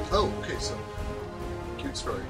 Oh, okay, so, cute story.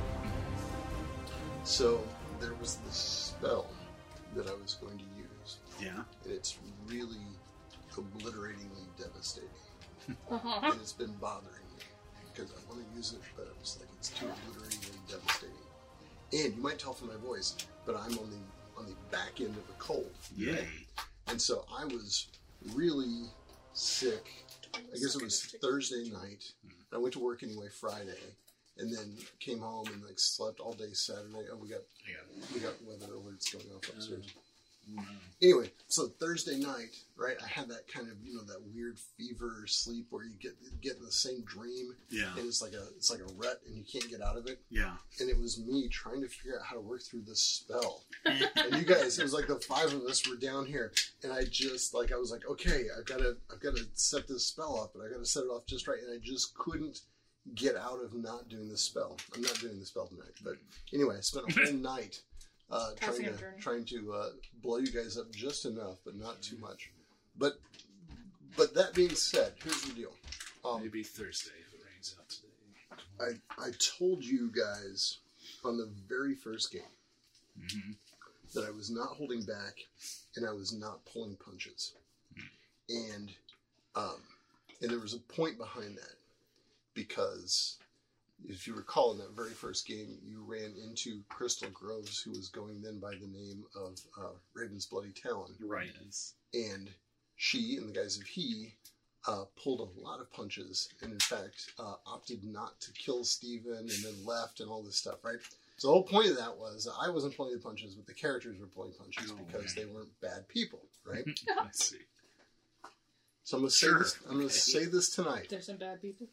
So, there was this spell that I was going to use. Yeah. And it's really obliteratingly devastating. Uh-huh. And it's been bothering me, because I want to use it, but I was like, it's too obliteratingly devastating. And you might tell from my voice, but I'm on the back end of a cold. Yay. Right? And so I was really sick. I guess it was Thursday night. I went to work anyway Friday, and then came home and like slept all day Saturday. Oh, we got weather alerts going off upstairs. Anyway, so Thursday night, right? I had that kind of that weird fever sleep where you get in the same dream. Yeah. And it's like a rut, and you can't get out of it. Yeah. And it was me trying to figure out how to work through this spell. And you guys, it was like the five of us were down here, and I was like, okay, I've got to set this spell up, and I got to set it off just right, and I just couldn't get out of not doing the spell. I'm not doing the spell tonight, but anyway, I spent a whole night trying to blow you guys up just enough, but not too much. But that being said, here's the deal. Maybe Thursday if it rains out today. I told you guys on the very first game that I was not holding back and I was not pulling punches. And there was a point behind that, because if you recall, in that very first game, you ran into Crystal Groves, who was going then by the name of Raven's Bloody Talon. Right. And she and the guys of He pulled a lot of punches, and in fact opted not to kill Steven and then left and all this stuff, right? So the whole point of that was I wasn't pulling the punches, but the characters were pulling punches because they weren't bad people, right? I see. So I'm going to say this tonight. There's some bad people.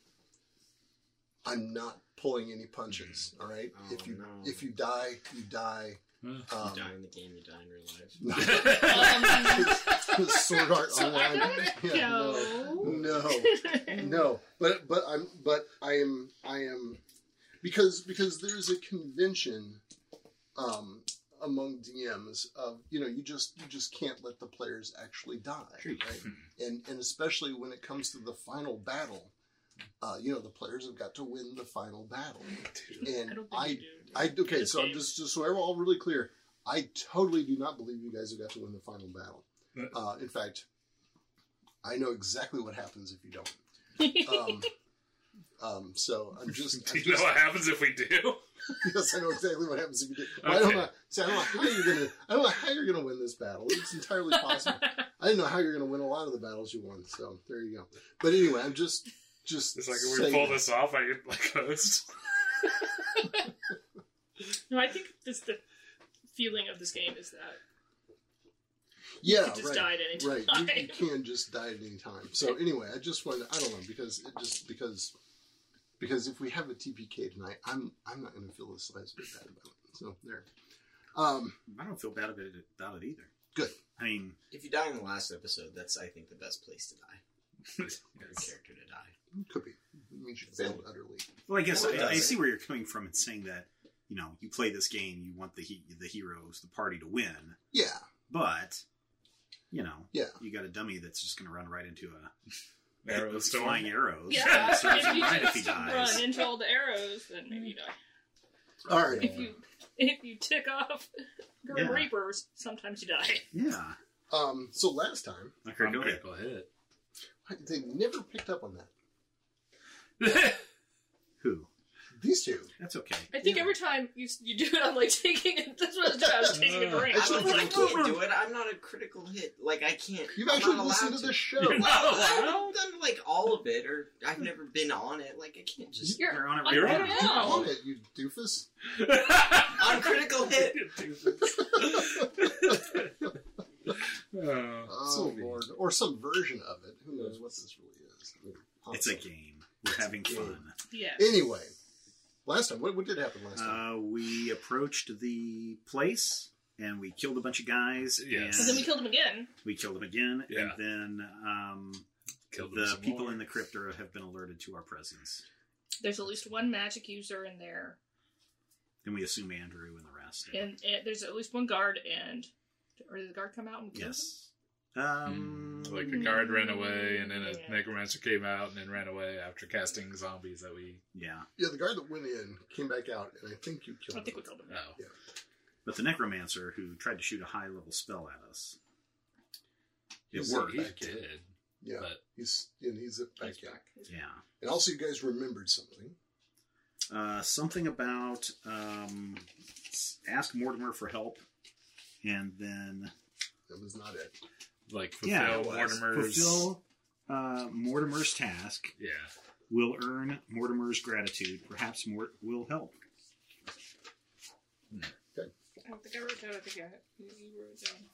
I'm not pulling any punches, all right? Oh, if you die, you die. You die in the game, you die in real life. Sword Art So Online. No. But I am because there's a convention among DMs of you just can't let the players actually die, right? And especially when it comes to the final battle. The players have got to win the final battle. And okay, so I'm just so we're all really clear. I totally do not believe you guys have got to win the final battle. In fact, I know exactly what happens if you don't. So I'm just. Do you know what happens if we do? Yes, I know exactly what happens if you do. Well, Okay. I don't know how you're gonna win this battle. It's entirely possible. I didn't know how you're gonna win a lot of the battles you won. So there you go. But anyway, I'm just. It's like if we pull this off, I get like host. No, I think the feeling of this game is that Yeah, you could just die at any time. Right, you can just die at any time. So anyway, I just wanted, I don't know, because if we have a TPK tonight, I'm not going to feel the slightest bit bad about it. So there. I don't feel bad about it either. Good. I mean, If you die in the last episode, that's, I think, the best place to die. For your character to die. Could be. It means you failed utterly. well, I guess Well, it I does. see where you're coming from in saying that, you play this game, you want the heroes, the party to win, Yeah. but, Yeah. you got a dummy that's just going to run right into a Arrow with storm. flying arrows. Yeah, And serves if him you right if he just dies. run into all the arrows, then maybe you die. All right. If you tick off Grim Yeah. Reapers, sometimes you die. Yeah. So last time, Okay, From go ahead. critical hit. they never picked up on that. Who? These two. That's okay. I think every time you do it, I'm like taking it. That's what I was doing. I was taking a drink. Actually, I was I like, can't do it. I'm not a critical hit. Like, I can't. You've I'm actually not listened allowed to the show. Well, I've done, like, all of it, or I've never been on it. Like, I can't just... You're on it You're right on now. it. now. On it, you doofus. On critical hit! Oh, Lord. Or some version of it. Who knows what this really is. I mean, It's a game. We're having fun. yeah. Anyway, last time, what did happen last time? We approached the place and we killed a bunch of guys. Yes. And then we killed him again. We killed them again, Yeah. and then Killed the some people more. in the crypt have been alerted to our presence. There's at least one magic user in there, And we assume Andrew and the rest. and there's at least one guard. Or did the guard come out and kill him? Yes. Like a guard ran away, and then a necromancer came out and then ran away after casting zombies that we... Yeah. Yeah, the guard that went in came back out, and I think you killed I think we him. killed him. Oh. Yeah. But the necromancer who tried to shoot a high-level spell at us, it He's worked. He did. Yeah, But- he's back in. Yeah. And also, you guys remembered something. Something about ask Mortimer for help, and then That was not it. Like, Yeah, fulfill Mortimer's... fulfill Mortimer's task. Yeah. Will earn Mortimer's gratitude. Perhaps Mort will help. I don't think I wrote it down. I think you wrote it down.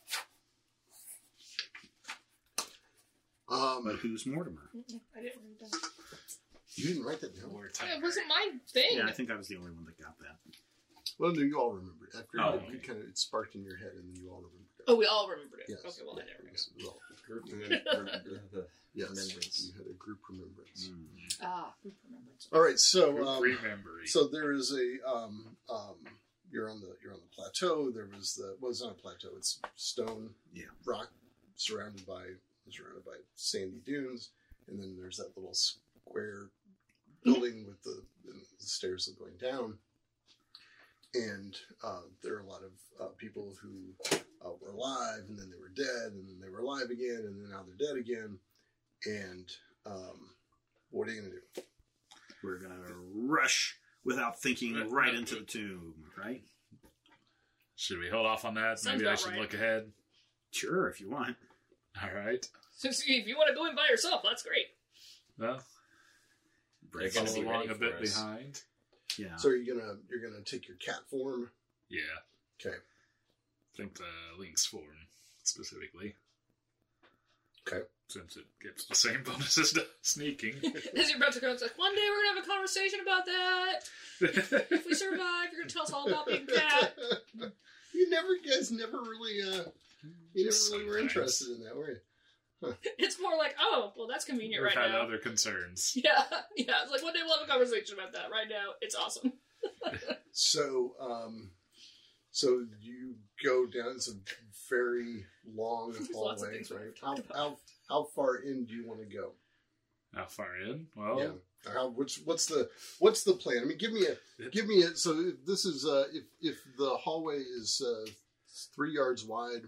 But who's Mortimer? I didn't write it down. You didn't write that down. It wasn't my thing. Yeah, I think I was the only one that got that. Well, no, you all remembered. After Oh, it kind of sparked in your head, and then you all remembered it. Oh, we all remembered it. Yes. Okay, well, I never got Yes, it was all- Group yes, remembrance. you had a group remembrance. group remembrance. All right, so Remembering. so there is a you're on the plateau. There was it's not a plateau. It's stone, rock surrounded by sandy dunes, and then there's that little square building with the stairs going down. And there are a lot of people who were alive, and then they were dead, and then they were alive again, and then now they're dead again. And what are you gonna do? We're gonna rush without thinking right into the tomb, right? Should we hold off on that? Sounds Maybe I about should right. look ahead. Sure, if you want. All right. Since if you want to go in by yourself, that's great. Well, They're gonna follow be along ready a bit for us. behind. Yeah. So you're gonna take your cat form. Yeah. Okay. I think the Lynx form specifically. Okay. Since it gets the same bonuses to sneaking. As you're about to go, it's like, one day we're going to have a conversation about that. If we survive, you're going to tell us all about being cat. You guys never really were interested in that, were you? It's more like, oh, well, that's convenient We've right had now. other concerns. Yeah. It's like, one day we'll have a conversation about that. Right now, it's awesome. So, so you go down. It's a very long There's lots of hallway, things we right? haven't talked How far in do you want to go? How far in? Well, Yeah. What's the plan? I mean, give me a. So this is if the hallway is 3 yards wide,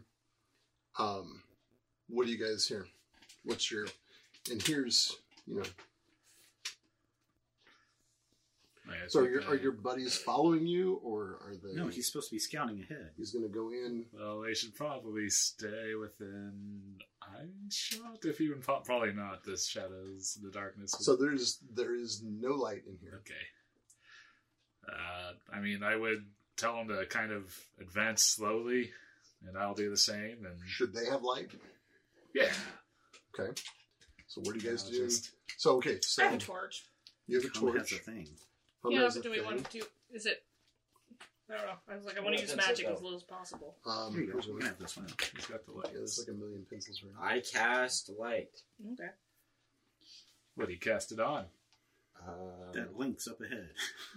what do you guys hear? What's your? And here's I So think, are your buddies following you, or are they? No, he's supposed to be scouting ahead. He's going to go in. Well, they should probably stay within eyeshot, if even probably not. The shadows, the darkness. So there is no light in here. Okay. I mean, I would tell them to kind of advance slowly, and I'll do the same. And Should they have light? yeah, Okay. So what do you guys I'll do? just- So okay, so I have a torch. you have a Hum has torch. a thing. Hum Yeah, has but a do we thing. want to do... Is it... I don't know. I was like, I want to use pencil magic go. as little as possible. Here you go. here's You one. can have this one. he's got the Yeah, light. there's like a million pencils right I cast light. Okay. What do you cast it on? That link's up ahead.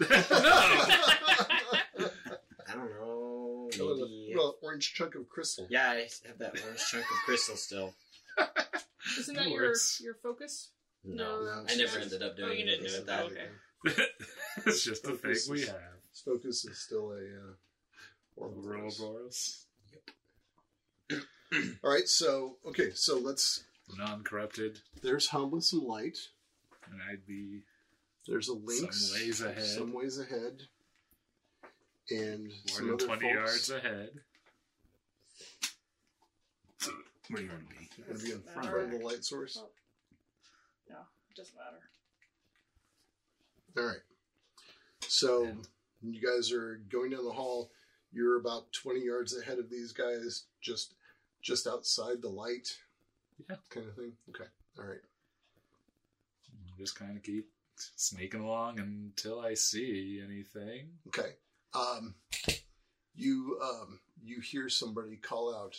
I don't know. now. Maybe. Well, orange chunk of crystal. Yeah, I have that orange chunk of crystal still. Isn't that Works. your focus? No, No, I never ended up Oh, doing you didn't anything do with it. that. Okay. It's just the thing we have. Focus is still a Ouroboros. Ouroboros. All right, so let's. Non-corrupted. There's hum with some light. And I'd be There's a lynx. some ways ahead. Some ways ahead. And More some than other 20 folks. yards ahead. Where do you want to be? Gonna be in Doesn't front of matter. the light source. Oh. No, it doesn't matter. All right. So you guys are going down the hall. You're about 20 yards ahead of these guys, just outside the light. Yeah. Kind of thing. Okay. All right. Just kind of keep sneaking along until I see anything. Okay. You hear somebody call out.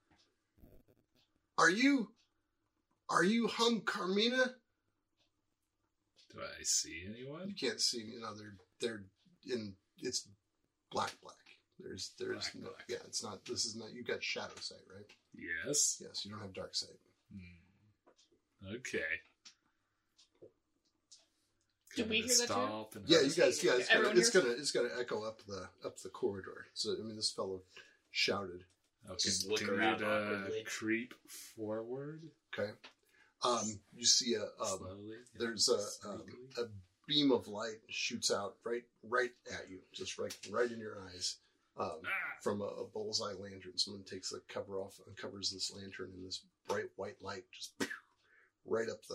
Are you Hum Carmina? Do I see anyone? You can't see. They're in. It's black. There's Black, no, black. yeah, it's not. This is not. You got shadow sight, right? Yes. Yes, you don't have dark sight. Okay. Did we hear that too? Stop and Yeah, you guys. Yeah, Everyone it's hears? gonna echo up the corridor. So I mean, this fellow shouted. Okay. Just look Can around we awkwardly. creep forward Okay. You see slowly? there's Sneakily? a beam of light shoots out right at you, just right in your eyes, from a bullseye lantern. Someone takes the cover off, uncovers this lantern, and this bright white light just right up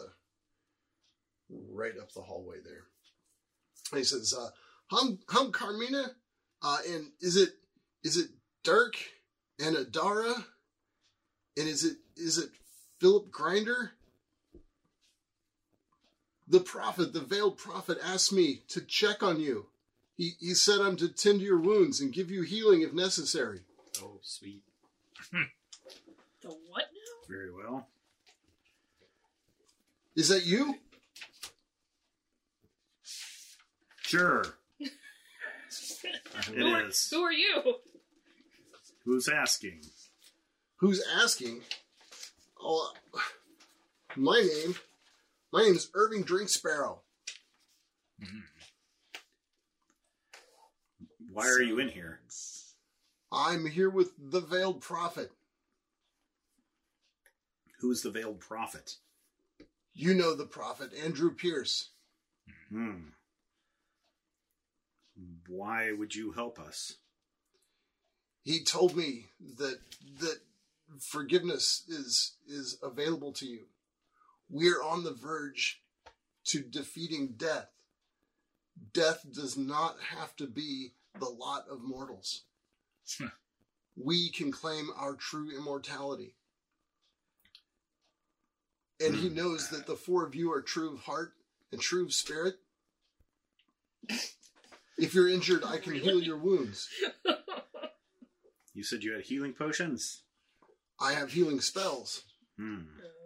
the hallway there. And he says, "Hum Carmina, and is it Dirk and Adara, and is it Philip Grinder? The prophet, the veiled prophet, asked me to check on you. He said I'm to tend to your wounds and give you healing if necessary." Oh, sweet. The what now? Very well. Is that you? Sure. Who It is. Who are you? Who's asking? Who's asking? Oh, my name's Irving Drinksparrow. Why are you in here? I'm here with the veiled prophet. Who's the veiled prophet? You know the prophet, Andrew Pierce. Why would you help us? He told me that forgiveness is available to you. We're on the verge to defeating death. Death does not have to be the lot of mortals. We can claim our true immortality. And he knows that the four of you are true of heart and true of spirit. If you're injured, I can heal your wounds. You said you had healing potions? I have healing spells. Oh, No,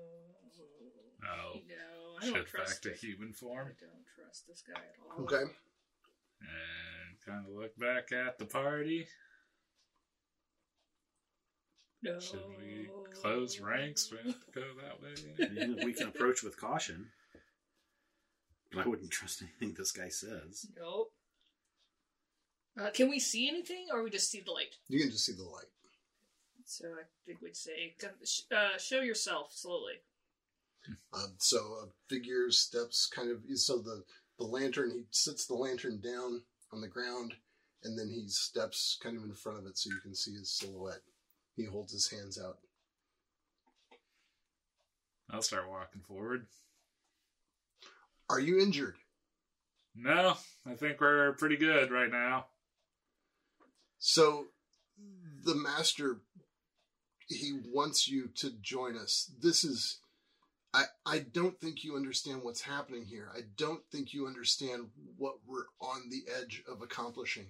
I don't shift trust back to it. human form. I don't trust this guy at all. Okay. And kind of look back at the party. No. Should we close ranks? We have to go that way. Yeah, we can approach with caution. But I wouldn't trust anything this guy says. Nope. Can we see anything, or we just see the light? You can just see the light. So I think we'd say, show yourself slowly. So a figure steps kind of, so the lantern, he sits the lantern down on the ground, and then he steps kind of in front of it so you can see his silhouette. He holds his hands out. I'll start walking forward. Are you injured? No, I think we're pretty good right now. So the master, he wants you to join us. This is, I don't think you understand what's happening here. I don't think you understand what we're on the edge of accomplishing.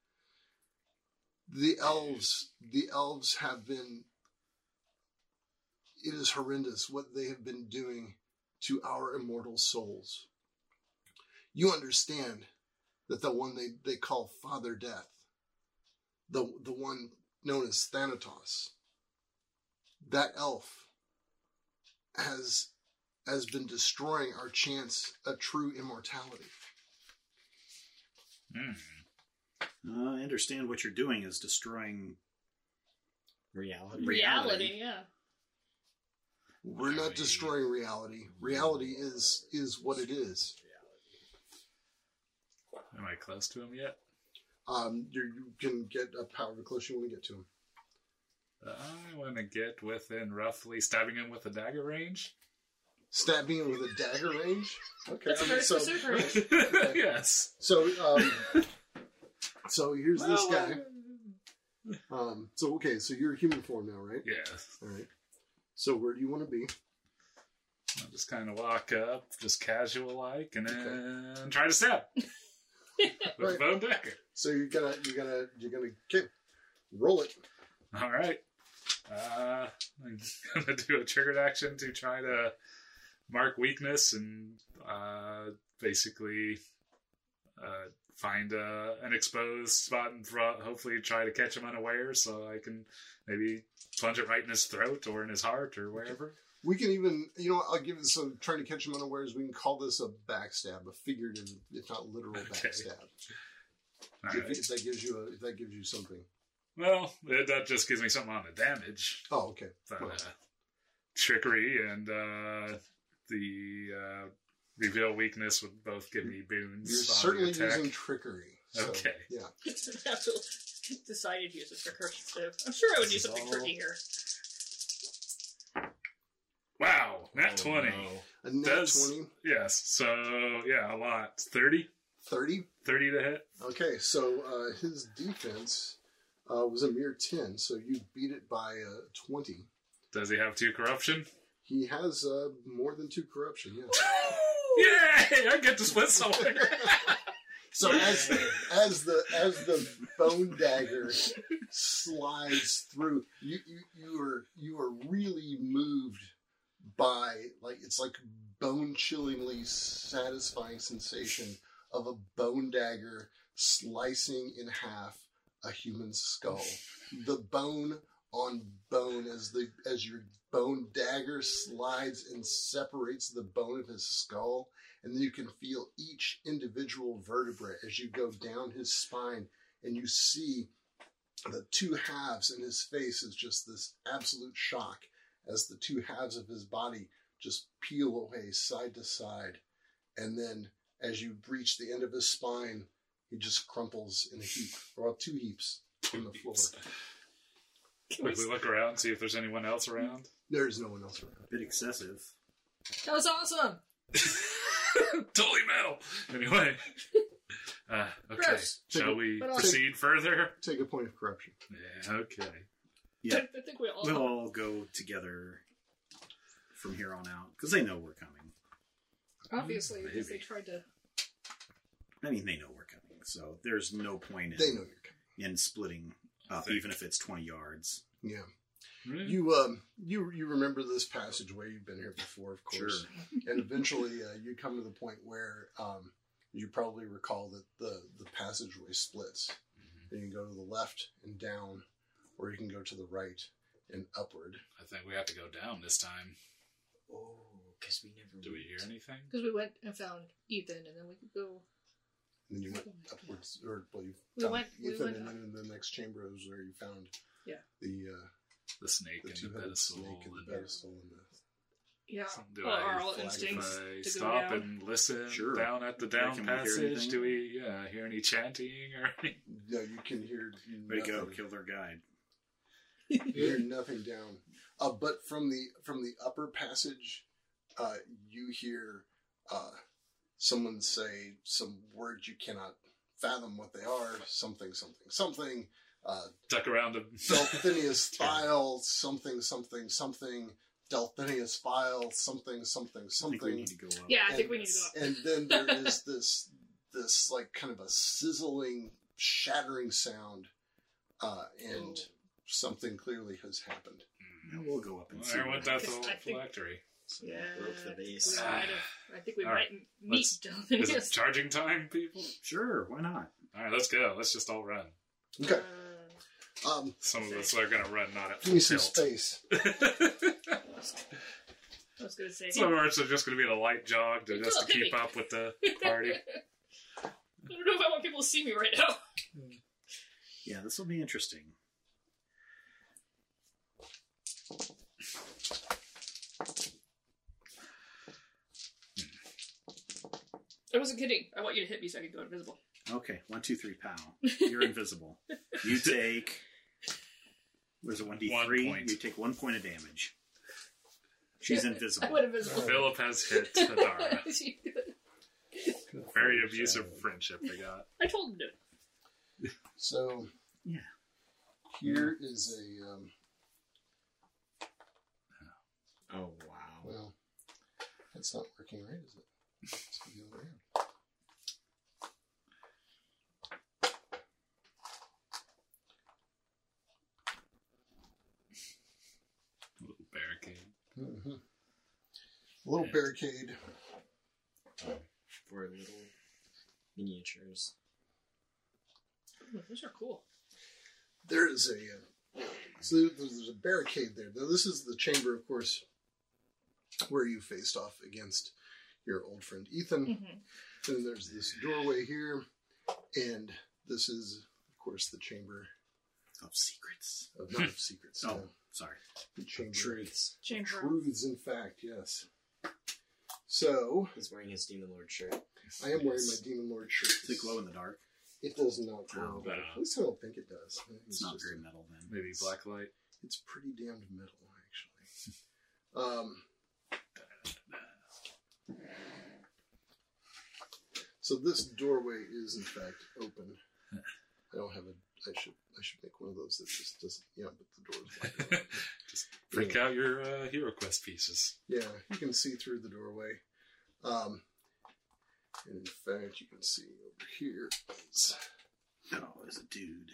The elves have been, it is horrendous what they have been doing to our immortal souls. You understand that the one they call Father Death, the one known as Thanatos, that elf has been destroying our chance at true immortality. I understand what you're doing is destroying Reality. Reality, yeah. We're not destroying reality. Reality is what it is. Am I close to him yet? You can get however close you want to get to him. I want to get within roughly stabbing him with a dagger range. Stabbing him with a dagger range. Okay, That's a very specific range. Yes. So here's this guy. So you're human form now, right? Yes. All right. So where do you want to be? I'll just kind of walk up, just casual like, and then try to stab with a bone dagger. So you're gonna okay, roll it. All right. I'm gonna do a triggered action to try to mark weakness and basically find an exposed spot and hopefully try to catch him unaware, so I can maybe plunge it right in his throat or in his heart or wherever. We can even, I'll give it some, trying to catch him unawares, we can call this a backstab, a figurative, if not literal backstab. If that gives you something. Well, that just gives me something on the damage. Oh, okay. But, trickery and the reveal weakness would both give me boons. You're certainly using trickery. So, okay. Yeah. Have to decided to use a trickery. I'm sure I would do something tricky here. Wow, nat 20. No. A nat 20? Yes, so, yeah, a lot. 30? 30? 30 to hit. Okay, so his defense was a mere 10, so you beat it by 20. Does he have 2 corruption? He has more than 2 corruption, yes. Yay! I get to split something. So as the bone dagger slides through, you are really moved by, like, it's like bone chillingly satisfying sensation of a bone dagger slicing in half a human skull. The bone on bone as your bone dagger slides and separates the bone of his skull, and then you can feel each individual vertebra as you go down his spine, and you see the 2 halves, and his face is just this absolute shock as the 2 halves of his body just peel away side to side, and then as you reach the end of his spine, he just crumples in a heap, or 2 heaps on the floor. Quickly look around and see if there's anyone else around. There's no one else around. A bit excessive. That was awesome. Totally metal. Anyway. Okay. Gross. Shall we But I'll proceed further? Take a point of corruption. Yeah, okay. Yeah, I think we all. we'll all go together from here on out because they know we're coming. Obviously, because they Maybe. tried to. I mean, they know we're coming, so there's no point They know you're coming. in splitting up, even if it's 20 yards. Yeah. Really? You remember this passageway. You've been here before, of course. Sure. And eventually you come to the point where you probably recall that the passageway splits. And you can go to the left and down, or you can go to the right and upward. I think we have to go down this time. Oh, because we never. Do we hear anything? Because we went and found Ethan, and then we could go. And then you went upwards, or well, you We found went Ethan, and up. then in the next chamber is where you found The snake the and the two-headed pedestal. snake and the pedestal and the Yeah. Do Well, I, our all flag instincts if I to go stop down. and listen Sure. down at the down Can we hear passage? anything? Do we hear any chanting or anything? No, you can hear Way to go, nothing. kill their guide. You hear nothing down. But from the upper passage, you hear someone say some words you cannot fathom what they are. Something. Duck around and Delphinius file. Something. Delphinius file. Something. I think we need to go up. Yeah, I think we need to go up. And then there is this like kind of a sizzling, shattering sound, and something clearly has happened. Yeah, we'll go up and see. there went that Because whole I think- phylactery. Yeah. Broke the base. We might have, I think we All might right. meet Is it Delphinius. charging time, people? Sure, why not? All right, let's go. Let's just all run. Okay. Some of us are going to run not at Give me full some tilt. space. I was going to say. Some of us are just going to be in a light jog to You just to told me. keep up with the party. I don't know if I want people to see me right now. Yeah, this will be interesting. I wasn't kidding. I want you to hit me so I can go invisible. Okay, 1, 2, 3, pow. You're invisible. You take. Where's it? 1d3. 1 point. You take 1 point of damage. She's I invisible. went invisible. Philip has hit Hadara. She did. Very abusive friendship they got. I told him to. So Yeah. here is a Oh wow. well, it's not working right, is it? Let's go the other way around. Little barricade. Mm-hmm. A little barricade. For a little. miniatures. Ooh, those are cool. There is so there's a barricade there. Now this is the chamber, of course, where you faced off against your old friend Ethan. Mm-hmm. And there's this doorway here, and this is, of course, the chamber Of secrets. not of secrets. Oh, no. sorry. The chamber Truths. Chamber. truths, in fact, yes. So He's wearing his Demon Lord shirt. I am wearing my Demon Lord shirt. Does it glow in the dark? It does not glow. Oh, in the dark. no. At least I don't think it does. I think It's not just- very metal then. Maybe black light. It's pretty damned metal, actually. So this doorway is in fact open. I don't have I should make one of those that just doesn't. Yeah, but the door's wide open. Just freak out your Hero Quest pieces. Yeah, you can see through the doorway. And in fact, you can see over here is Oh, there's a dude.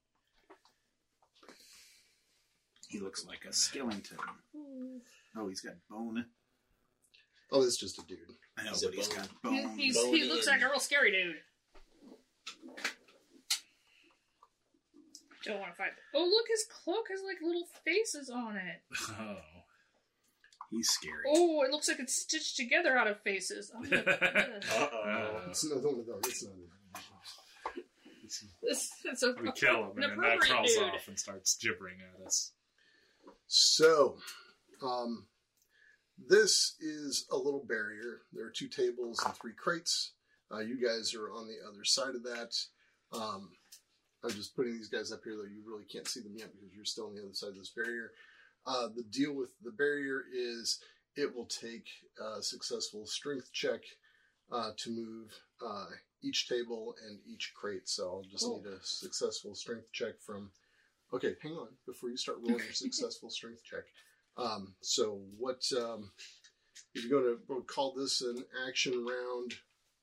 He looks like a skeleton. Oh, he's got bone. oh, it's just a dude. I know, He's a but he's bone. got bone. He Bony looks and- like a real scary dude. Don't want to fight. Oh, look, his cloak has like little faces on it. Oh. He's scary. Oh, it looks like it's stitched together out of faces. I'm gonna- Uh-oh. It's not one of those. It's not. it's a We kill him, and then that appropriate crawls dude. off and starts gibbering at us. So, this is a little barrier. There are 2 tables and 3 crates. You guys are on the other side of that. I'm just putting these guys up here, though you really can't see them yet because you're still on the other side of this barrier. The deal with the barrier is it will take a successful strength check to move each table and each crate. So I'll just need a successful strength check from... Okay, hang on. Before you start rolling your successful strength check. So what... if you're going to call this an action round...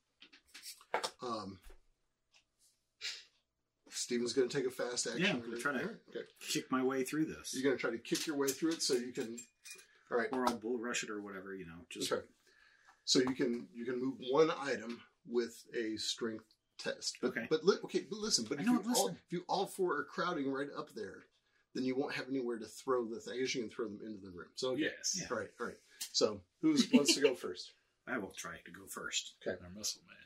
Steven's going to take a fast action. Yeah, I'm going to try to Okay. kick my way through this. You're going to try to kick your way through it so you can... All right. Or I'll bull rush it or whatever, you know. Just Okay. So you can move one item with a strength test. But, Okay. But listen. But I if know, if you all 4 are crowding right up there, then you won't have anywhere to throw the thing. I guess you can throw them into the room. So okay. Yes. Yeah. All right. So who wants to go first? I will try to go first. Okay. Our muscle man.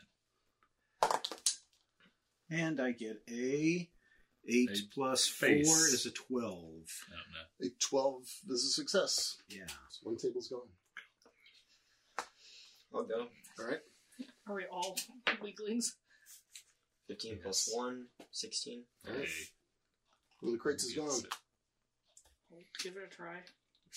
And I get a 8 plus 4 face. is a 12. I don't know. A 12 is a success. Yeah. So one table's gone. I'll go. All right. Are we all weaklings? 15 plus 1, 16. All right. Hey. One of the crates is gone. We'll give it a try.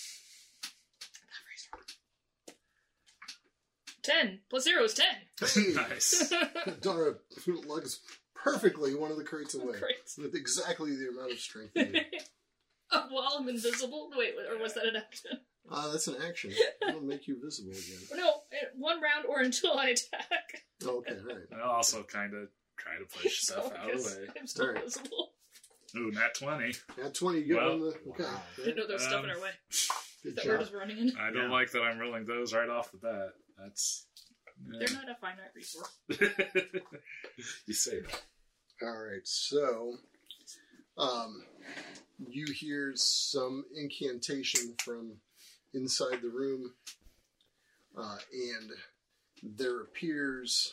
10 plus 0 is 10. Hey! Nice. Dara lugs perfectly one of the crates away Great. with exactly the amount of strength you need. Oh, well, I'm invisible. Wait, or was that an action? That's an action. It'll make you visible again. No, 1 round or until I attack. Okay, all right. I also kind of try to push stuff So, out of the guess way. I'm still Alright. invisible. Ooh, nat 20. At 20, you get Well, on the... Okay. wow. Didn't know there was stuff in our way Good that we're job. just running in. I don't Yeah. like that I'm rolling those right off the bat. That's... They're not a finite resource. You say that. All right, so you hear some incantation from inside the room, and there appears...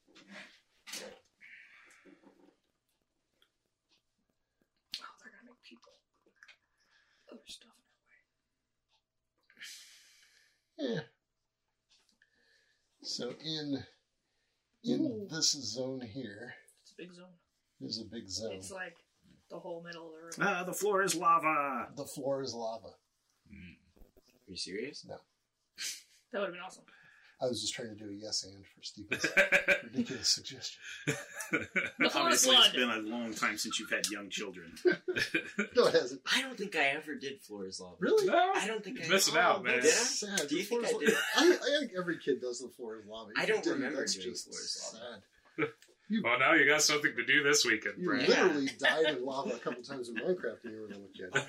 Oh, they're gonna make people. Other stuff in our way. Yeah. So in Ooh. this zone here It's a big zone. is a big zone. It's like the whole middle of the room. The floor is lava. The floor is lava. Are you serious? That would have been awesome. I was just trying to do a yes and for Steven's ridiculous suggestion. The floor is Obviously, it's blood. been a long time since you've had young children. No, it hasn't. I don't think I ever did Floor is Lava. Really? No? I don't think I Missing oh, out, man. Did I? That's sad. Do you The floor think is I la- did? I think every kid does the floor is lava. I If you don't didn't, remember that's doing just floor is lava. sad. Well, now you got something to do this weekend, You Brad. literally died in lava a couple times in Minecraft and you were no kid.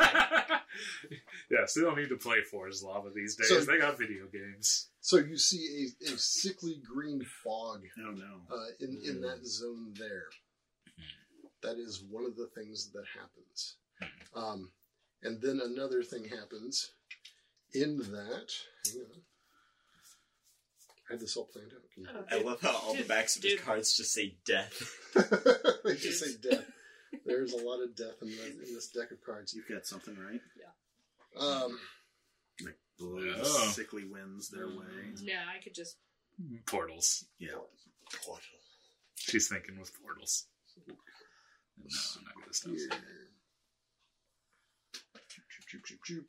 Yes, they don't need to play Forest Lava these days. So- They got video games. So you see a sickly green fog Oh no. in that zone there. That is one of the things that happens. And then another thing happens in that. Hang on. I had this all planned out. Can you- I love how all the backs of his Dude. cards just say death. they just say death. There's a lot of death in this deck of cards. You've got something right. Like blows Oh. sickly winds their way. Yeah, I could just. Portals. Yeah. Portal. She's thinking with portals. No, not this stuff. Here. Choop, choop, choop, choop.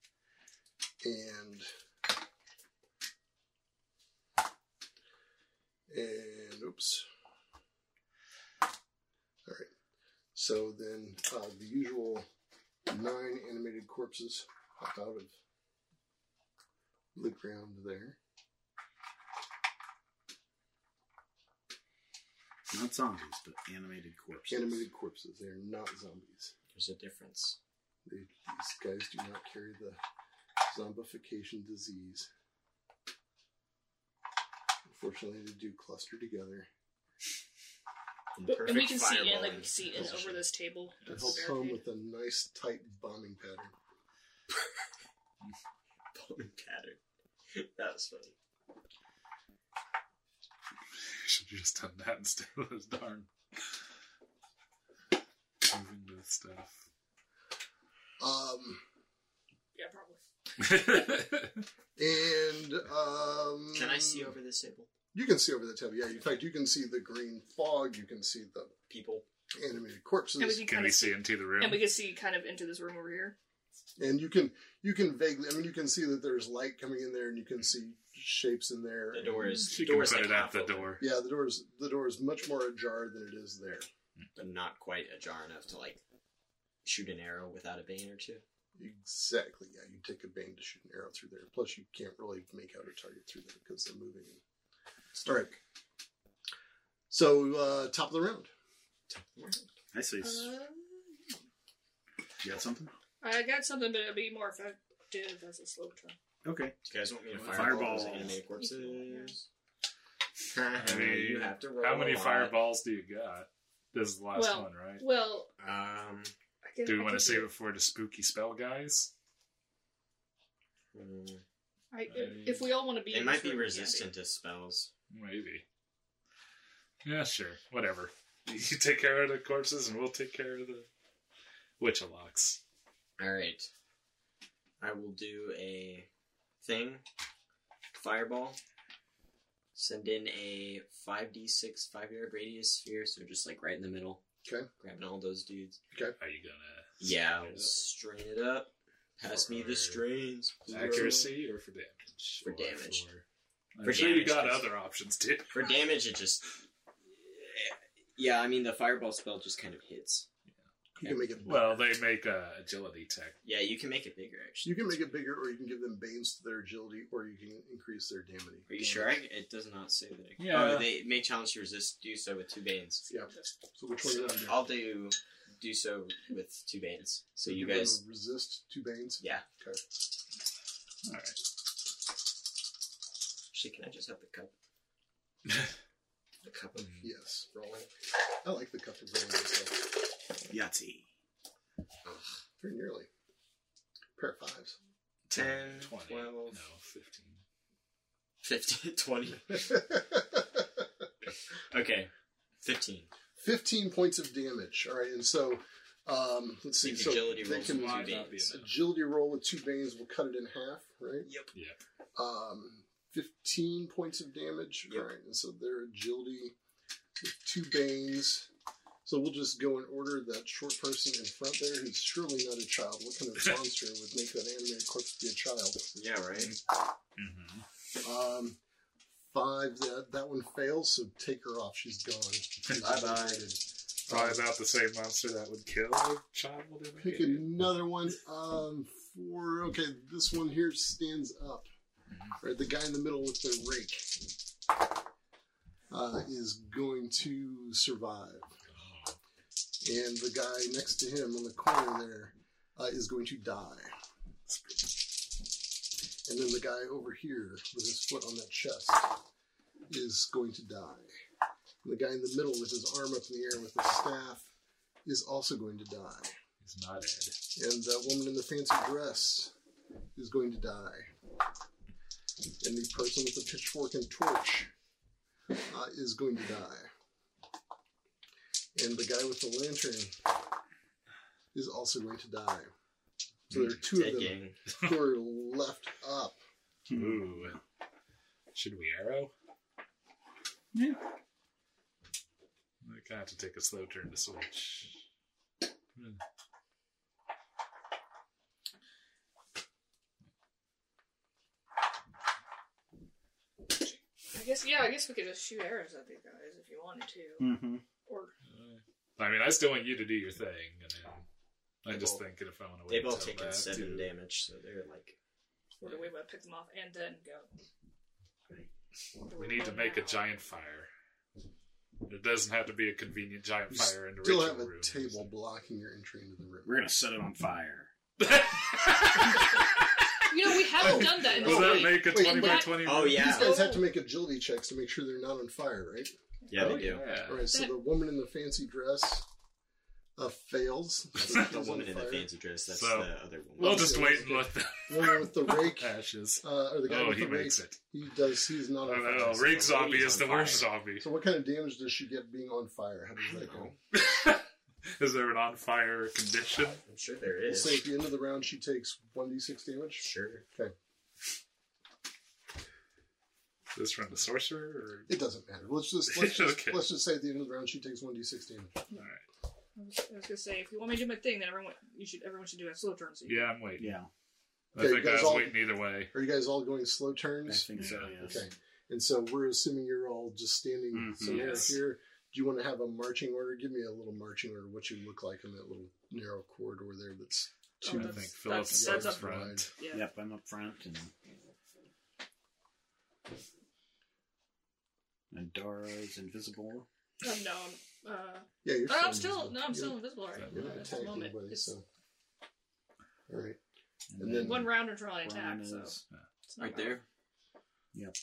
And oops. All right. So then the usual 9 animated corpses pop out of the ground there. Not zombies, but animated corpses. Animated corpses. They're not zombies. There's a difference. These guys do not carry the zombification disease. Unfortunately, they do cluster together. In And we perfect can see in, like, we fireballing can see in position. over this table. It That's helps home barricade. with a nice tight bombing pattern. Bombing pattern. That was funny. You should have just done that instead of this darn moving the stuff. Yeah, probably. And Can I see over this table? You can see over the table. Yeah, in fact, you can see the green fog. You can see the People. animated corpses, And we can Can kind we of see into the room? and we can see kind of into this room over here. and you can vaguely. I mean, you can see that there's light coming in there, and you can see shapes in there. The door is. She the can door is put like it at half the open, door. Yeah, the door is much more ajar than it is there. but not quite ajar enough to like shoot an arrow without a bane or two. Exactly. Yeah, you take a bane to shoot an arrow through there. Plus, you can't really make out a target through there because they're moving. All right. So, top of the round. I say. You got something? I got something, but it'll be more effective as a slow turn. Okay. Do you guys want me to Fireball. fireball those animated corpses? I mean, you have to roll how many a lot. fireballs do you got? This is the last Well, one, right? Well, Um, I guess, Do we want to save it for the spooky spell guys? if we all want to be, they in might this be room, we can resistant to spells. Maybe. Yeah, sure. Whatever. You take care of the corpses, and we'll take care of the Witchalocks. Alright. I will do a thing. Fireball. Send in a 5d6 5-yard radius sphere, so just like right in the middle. Okay. Grabbing all those dudes. Are you gonna? Yeah, I'll strain it up. Pass me the strains. Accuracy or for damage? For Or damage. I'm For sure you damage, got 'cause- other options too. For damage, it just... Yeah, I mean, the fireball spell just kind of hits. You can make it. Well, they make agility tech. Yeah, you can make it bigger, actually. You can make it bigger, or you can give them banes to their agility, or you can increase their damage. Are you sure? It does not say that. Yeah. Oh, they may challenge to resist. Do so with 2 banes. Yeah. So which one you want to do? I'll do so with 2 banes. So you Give them guys, a resist 2 banes. yeah. Okay. All right. Actually, can I just have the cup? The cup of Yes. rolling. I like the cup of rolling myself. Yahtzee. Very nearly. Pair of 5s. 10, 20. 12. No, 15. 15, 20. Okay, 15. 15 points of damage. All right, and so let's see. Think So agility they rolls can with 2 might not be banes. enough. agility roll with 2 banes will cut it in half, right? Yep. Yeah. 15 points of damage. Yep. All right, and so their agility with 2 banes. So we'll just go in order. That short person in front there, who's surely not a child. What kind of monster would make that animated corpse be a child? Yeah, right? Mm-hmm. 5, that one fails, so take her off. She's gone. She's Bye-bye. obliterated. Probably about the same monster that would kill a child. in the Pick game. another one. 4. Okay, this one here stands up. Right, the guy in the middle with the rake. is going to survive. And the guy next to him on the corner there is going to die. And then the guy over here with his foot on that chest is going to die. And the guy in the middle with his arm up in the air with the staff is also going to die. He's not dead. And that woman in the fancy dress is going to die. And the person with the pitchfork and torch is going to die. And the guy with the lantern is also going to die. So there are two of them who are left up. Ooh. Should we arrow? Yeah. I kind of have to take a slow turn to switch. I guess we could just shoot arrows at these guys if you wanted to. Mm-hmm. Or I mean, I still want you to do your thing, and then I'm just thinking if I want to wait They've all until taken that 7 to- damage, so they're like... or do we want to pick them off and then go? Or do We need to go make a now? giant fire. It doesn't have to be a convenient giant You fire in the still ritual have a room. table blocking your entry into the room. We're gonna set it on fire. You know, we haven't done that in Will the that week. make a Wait, 20 by that- 20 Oh, room? yeah. These guys have to make agility checks to make sure they're not on fire, right? Yeah, Oh, they do. yeah. All right, so the woman in the fancy dress fails. That's not the woman in the fancy dress, that's So, the other woman. We'll just wait and let them Woman with the rake, ashes. or the guy Oh, with he the rake, makes it. he's not on Oh, fire. no, Rake zombie lady's is the on worst fire. zombie. So what kind of damage does she get being on fire? How does that go? Is there an on fire condition? I'm sure there We'll is. say at the end of the round she takes 1d6 damage. Sure. Okay. Is this from the sorcerer? Or... It doesn't matter. Let's just Okay. let's just say at the end of the round she takes 1d6 damage. Alright. I was gonna say, if you want me to do my thing, then everyone should do a slow turn. So you Yeah, I'm waiting. Yeah, I Okay, think you I guys was all- waiting either way. Are you guys all going slow I turns? think so. Yes. Okay. And so we're assuming you're all just standing Mhm. somewhere Yes. here. Do you want to have a marching order? Give me a little marching order. What you look like in that little narrow corridor there. That's Oh, two. I that's- think Philip's that's up up front. Yeah. Yep, I'm up front, and Dara's invisible. No, Yeah, you're. I'm still still invisible right You're now not at the attacking moment. anybody, It's so. All right. And And then then- one round until I attack, Ryan so is- it's not Right bad. there. Yep.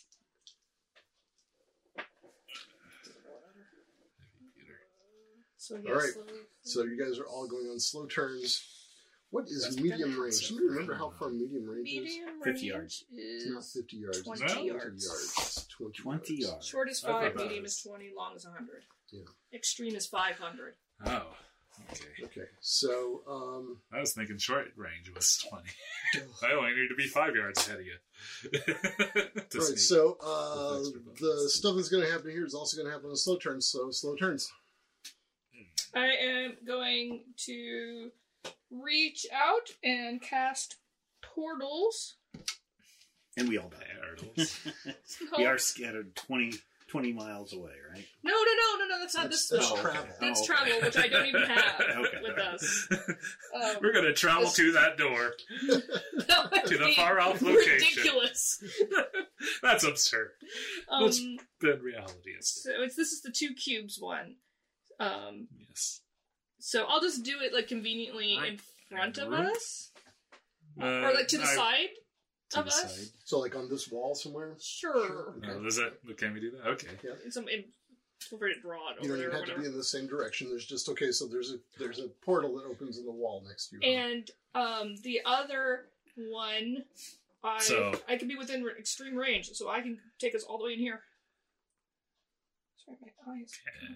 So yes, All right. slow- So you guys are all going on slow turns. What is That's medium better. range? Do you remember how far medium range is? medium 50 range yards. It's not is 50 yards. 20 it's 20 yards. It's 20, 20 yards. short is I thought 5, that medium was- is 20, long is 100. Yeah. Extreme is 500. Oh, okay. Okay, so I was thinking short range was 20. I only need to be 5 yards ahead of you. To right. sneak. So With extra bonus. the stuff that's going to happen here is also going to happen on slow turns. So slow turns. I am going to reach out and cast portals. And we all die. Turtles. We are scattered 20 miles away, right? No, that's not That's this. travel. That's Oh, okay. travel, which I don't even have Okay, with alright. us. We're going to travel this- to that door. That would To the be far-off location. ridiculous. That's absurd. That's Um, been reality. so this is the 2 cubes one. Yes. So I'll just do it like conveniently in front of us, or like to the side of the us. side. So like on this wall somewhere. Sure. Okay. Is that? Can we do that? Okay. Feel free to draw it You over don't there even or have to whatever. be in the same direction. There's just okay. So there's a portal that opens in the wall next to you. And the other one, I can be within extreme range, so I can take us all the way in here. Sorry, my eyes. And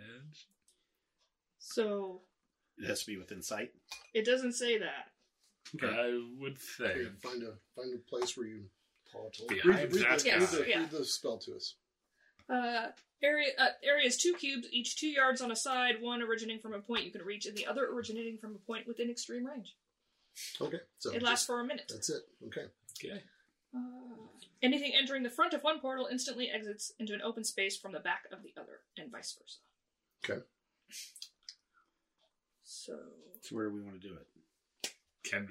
So It has to be within sight. it doesn't say that. I would Okay, think. find a place where you. Behind that guy. read the spell to us. Area is 2 cubes, each 2 yards on a side, one originating from a point you can reach, and the other originating from a point within extreme range. Okay, so It lasts for a minute. That's it. Okay. Okay. Anything entering the front of one portal instantly exits into an open space from the back of the other, and vice versa. Okay. So So where do we want to do it? Can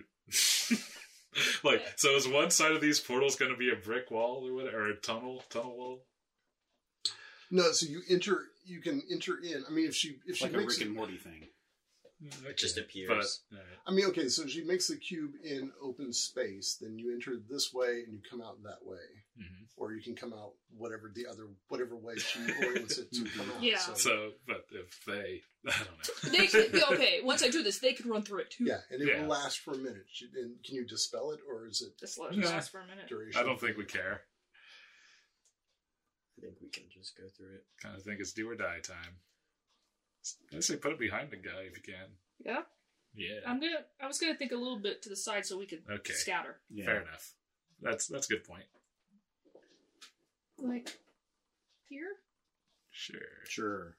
so is one side of these portals going to be a brick wall or whatever, or a tunnel wall? No, so you can enter in. I mean, if she like a makes Rick and Morty thing. It just appears. But, I mean, okay, so she makes the cube in open space, then you enter this way and you come out that way. Mhm. Or you can come out whatever way she orients it to come out. Yeah. So, but if they, I don't know. They can, okay, once I do this, they can run through it too. Yeah, and it Yeah. will last for a minute. And can you dispel it, or is it Just let Yeah. it last for a minute. duration? I don't think we care. I think we can just go through it. Kind of think it's do or die time. I say put it behind the guy if you can. Yeah. Yeah. I was gonna think a little bit to the side so we could Okay. scatter. Yeah. Fair enough. That's a good point. Like here? Sure. Sure.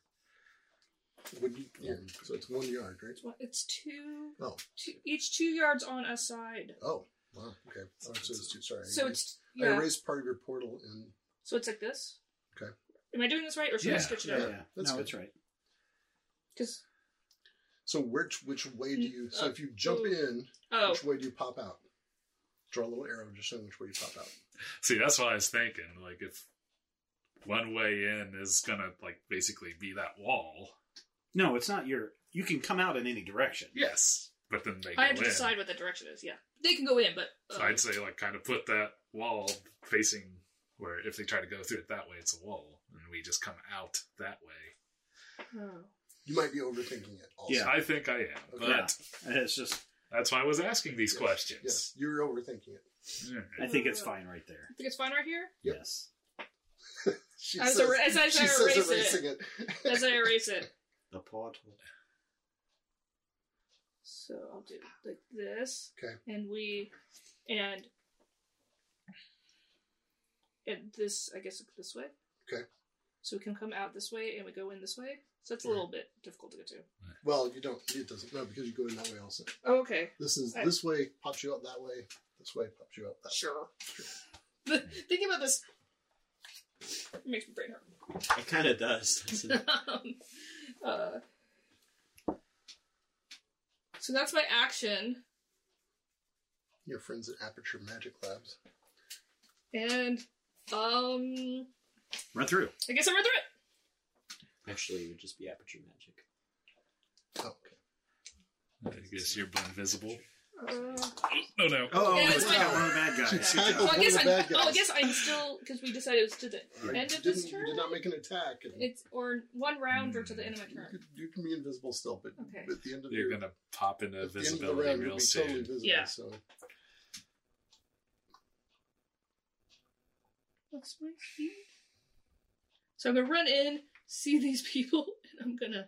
So it's 1 yard, right? It's two. Oh. Each 2 yards on a side. Oh, wow. Okay. Oh, so it's two. Sorry. So it's I yeah. erased part of your portal and So it's like this. Okay. Am I doing this right, or should I Yeah. switch it Yeah, up? yeah. That's No, good. that's right. Because so which way do you? So if you jump in, oh, which way do you pop out? Draw a little arrow just showing which way you pop out. See, that's what I was thinking. Like, if one way in is gonna, like, basically be that wall. No, it's not your... You can come out in any direction. Yes. But then they go I have to in. decide what the direction is. Yeah, they can go in, but So I'd say, like, kind of put that wall facing where if they try to go through it that way, it's a wall. And we just come out that way. oh. You might be overthinking it. Also. Yeah. I think I am. Okay. But It's just... that's why I was asking these Yes. questions. Yes, you're overthinking it. I think it's fine right there. I think it's fine right here. Yep. Yes. She As says, I she erase says it. erasing it. As I erase it. The portal. So I'll do like this. Okay. And this, I guess, this way. Okay. So we can come out this way and we go in this way. So that's a little bit difficult to get to. Well, you don't. It doesn't. No, because you go in that way also. Oh, okay. This way pops you out that way. This way pops you out that Sure. Thinking about this makes my brain hurt. It kind of does. Doesn't it? So that's my action. way. Your friends at Aperture Magic Labs. And, Run through. I guess I run through it. Actually, it would just be aperture magic. Oh, okay. I guess you're invisible. Uh, Oh, no. Oh, Yeah, it's it's got fine. one of the bad guys. She Good tackled job. well, I one guess of the bad I guys. guess I'm still, because we decided it was to the end of this turn. You did not make an attack. And It's or one round or to the end of my turn. you can be invisible still, but Okay. at the end of You're your, going to pop into at the end of the visibility round, you'll real be soon. totally visible. Yeah. So What's my speed? So I'm gonna run in, see these people, and I'm gonna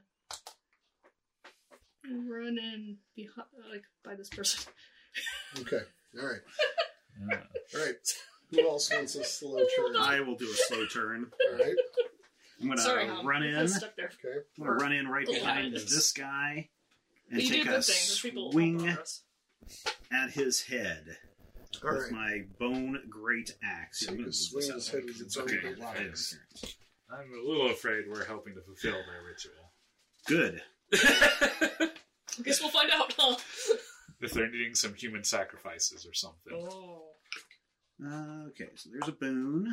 run in behind, like by this person. okay, all right, Yeah. all right. Who else wants a slow Hold turn? on. I will do a slow turn. All right, I'm going Sorry, to Hom. run I in. was stuck there. okay. I'm going to run in right Go behind ahead. this guy and But you do take good a things. There's people swing helping us. at his head All with right. my bone great axe. So I'm you gonna can move swing this his out head of with the way, its own 'cause big it's okay. rocks. I'm a little afraid we're helping to fulfill their ritual. Good. I guess we'll find out, huh? If they're needing some human sacrifices or something. Oh. Okay, so there's a boon.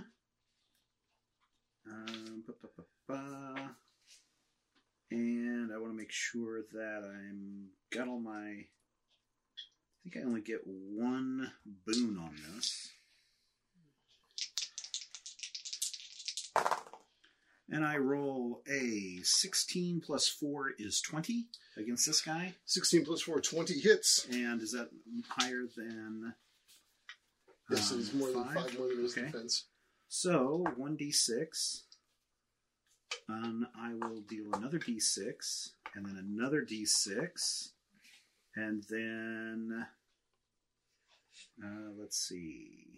And I want to make sure that I'm got all my. I think I only get one boon on this. And I roll a 16 plus 4 is 20 against this guy. 16 plus 4, 20 hits. And is that higher than... Yes, it is more than 5? 5 more than his Okay. defense. So, 1d6. I will deal another d6, and then another d6, and then... let's see...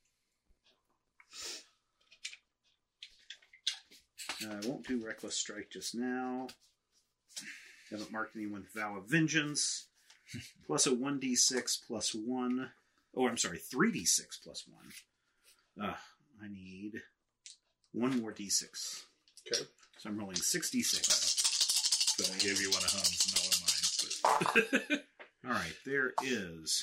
I won't do Reckless Strike just now. Haven't marked anyone with Vow of Vengeance. Plus a 1d6 plus 1. Oh, I'm sorry, 3d6 plus 1. I need one more d6. Okay. So I'm rolling 6d6. But I gave you one of Hum's, not one of mine. All right, there is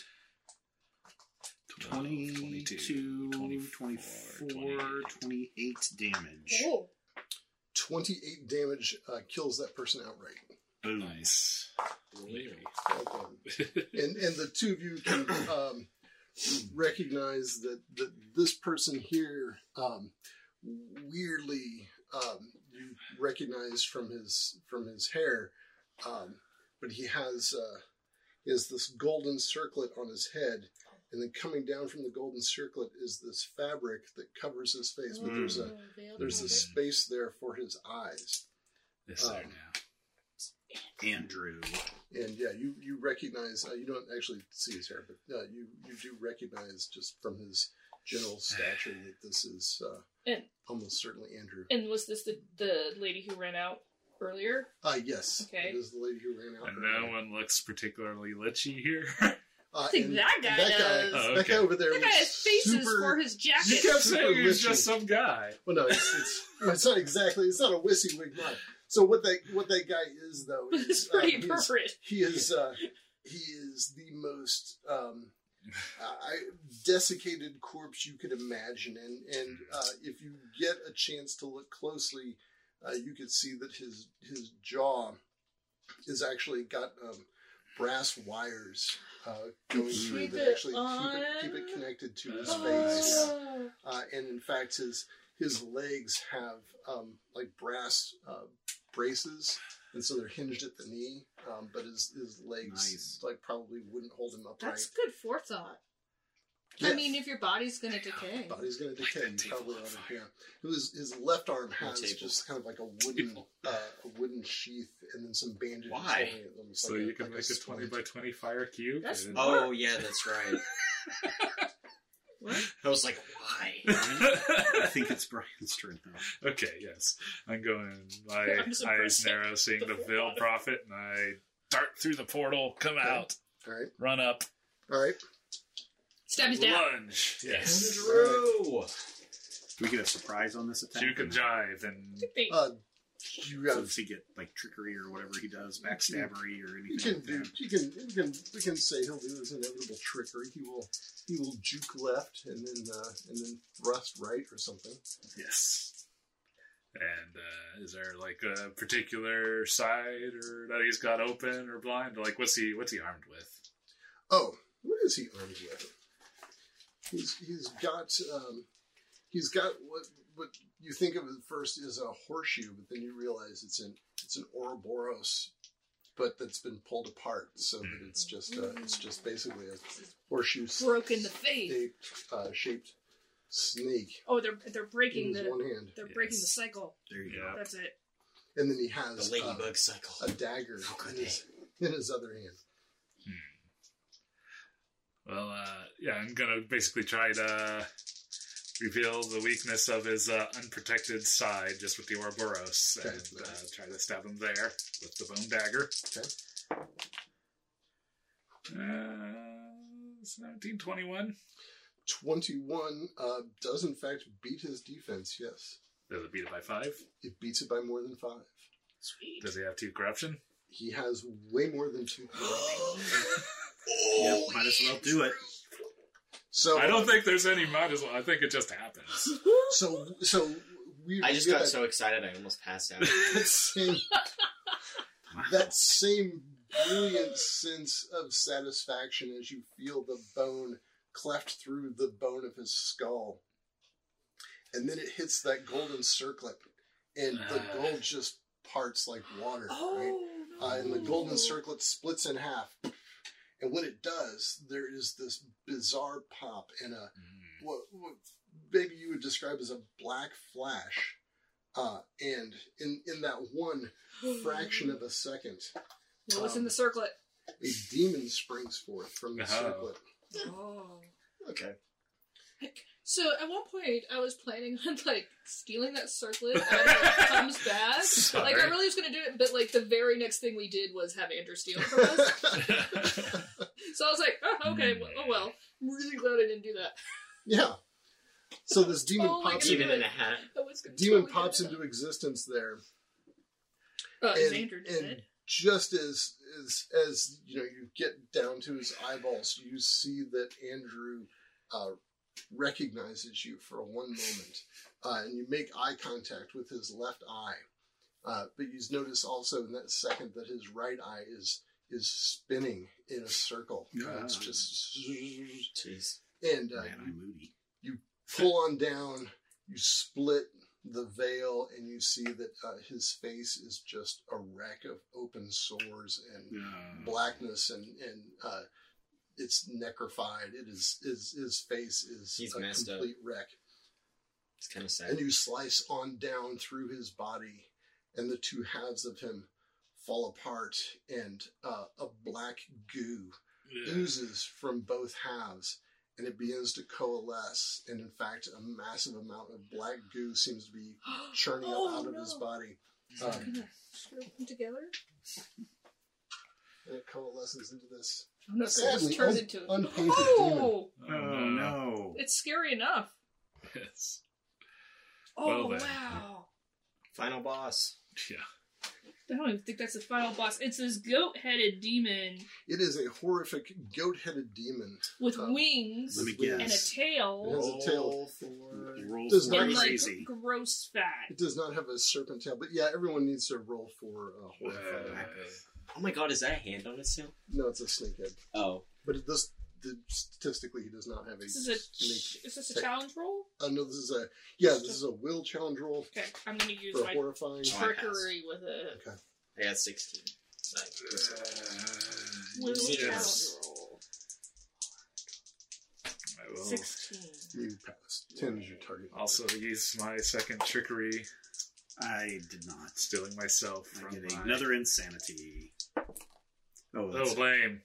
22, 24, 28 damage. Oh. 28 damage kills that person outright. Nice. Maybe. And the two of you can recognize that this person here, weirdly, you recognize from his hair, but he has this golden circlet on his head, and then coming down from the golden circlet is this fabric that covers his face, but there's a space there for his eyes. This there now. Andrew. And yeah, you recognize, you don't actually see his hair, but you do recognize just from his general stature that this is almost certainly Andrew. And was this the lady who ran out earlier? Yes. Okay. It is the lady who ran out And earlier. no one looks particularly lichy here. I think that guy does. Oh, That guy over there That guy has faces for his You jacket. kept Super saying he was lichy. just some guy. Well, no, it's not exactly. It's not a WYSIWYG mod. So what that guy is though It's is pretty appropriate. he is the most desiccated corpse you could imagine, and if you get a chance to look closely, you could see that his jaw is actually got brass wires going through Keep that it actually keep it connected to his face. Oh. And in fact, his legs have like brass braces, and so they're hinged at the knee. But his legs like probably wouldn't hold him upright. That's good forethought. Yeah. I mean, if your body's going to decay. Body's going to decay. Like that You probably table ought on to, yeah. His left arm has table. just kind of like a wooden sheath, and then some bandages. Why? holding it, almost So like you can like make a splint. 20 by 20 fire cube. That's- and- Oh, yeah, that's right. What? I was like, why? I think it's Brian's turn now. Okay, yes. I'm going, my I'm just eyes impressed narrow, seeing the veiled prophet, and I dart through the portal, come out, All right. run up, All right. Stab his down. lunge. Yes. Drew! Do we get a surprise on this attack? Juke and jive, and You So have does he get like trickery or whatever he does, backstabbery or anything? You can like do. that? We can say he'll do his inevitable trickery. He will juke left and then thrust right or something. yes. And is there like a particular side or that he's got open or blind? Like what's he armed with? Oh, what is he armed with? He's got what you think of at first is a horseshoe, but then you realize it's an Ouroboros, but that's been pulled apart so that it's just basically a horseshoe Broke in the face. shaped snake Oh, they're breaking in his one the hand, breaking the cycle. There you Yeah. That's it. and then he has The ladybug cycle. a dagger How could in his other hand. Well, yeah, I'm gonna basically try to reveal the weakness of his unprotected side just with the Ouroboros Okay. and try to stab him there with the bone dagger. Okay. 1721. 21 does in fact beat his defense. Yes, Does it beat it by 5? it beats it by more than 5. Sweet. Does he have 2 corruption? He has way more than 2. Yep, might as well do it. So I don't think there's any might as well. I think it just happens. So we. I just got so excited I almost passed out. that same brilliant sense of satisfaction as you feel the bone cleft through the bone of his skull, and then it hits that golden circlet, and the gold just parts like water. Right? And the golden circlet splits in half. And when it does, there is this bizarre pop and what maybe you would describe as a black flash. And in that one fraction of a second, What was in the circlet? a demon springs forth from the circlet. Oh. Okay. So at one point, I was planning on like stealing that circlet as it comes back. Sorry. Like I really was going to do it, but like the very next thing we did was have Andrew steal it from us. So I was like, oh, okay, well. I'm really glad I didn't do that. Yeah. So this demon Oh my pops goodness. Even in a hat. I was gonna demon totally pops do that. into existence there. Is Andrew dead? Just as you know, you get down to his eyeballs, you see that Andrew recognizes you for one moment, and you make eye contact with his left eye, But you notice also in that second that his right eye is spinning in a circle. It's just... Jeez. And I'm moody. you pull on down, you split the veil, and you see that his face is just a wreck of open sores and blackness, and it's necrofied. It is his face is He's a messed up. complete wreck. It's kind of sad. And you slice on down through his body, and the two halves of him fall apart, and a black goo oozes from both halves, and it begins to coalesce. And in fact, a massive amount of black goo seems to be churning up out of his body. Screw them together. And it coalesces into this Oh, no, so it sadly just turns into unpainted demon. Oh, Oh, no. it's scary enough. Yes. Oh Well, then. wow! Final boss. Yeah. I don't even think that's the final boss. It's this goat-headed demon It is a horrific goat-headed demon. with wings Let me With guess. and a It tail has a tail. Roll Does for not and like crazy. gross fat. It does not have a serpent tail, but yeah, everyone needs to roll for horrifying. Oh my god, is that a hand on its tail? No, it's a snakehead. Oh. But statistically, he does not have a Is snake. this a challenge roll? No, this is a will challenge roll Okay, I'm going to use for my horrifying. trickery with it. Okay. I got 16. Will Yes. challenge roll. I will 16. You passed. 10 is your target. also use my second trickery, I did not. stealing myself I from get my... another insanity. Oh, Oh, that's lame.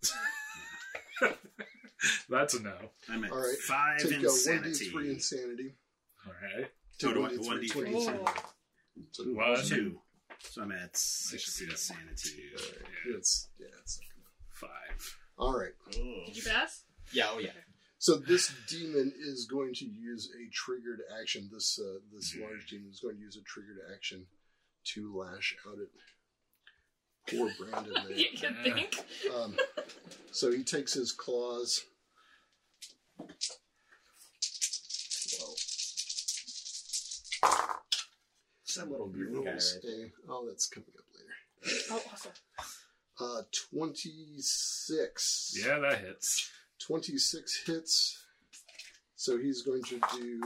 That's a no. I'm at All right. 5 Take insanity. 1d3 insanity. All right. Oh, do I- 1d3 1d3. Oh. So, Ooh, One. 2. So I'm at I 6 should see that. insanity. it's not gonna... 5. All right. Did you pass? Yeah, oh yeah. So this demon is going to use a triggered action. This large demon is going to use a triggered action to lash out at poor Brandon there. You can think. So he takes his claws. Some little He green guy rolls right there. oh, that's coming up later. Oh, awesome. 26. Yeah, that hits. 26 hits. So he's going to do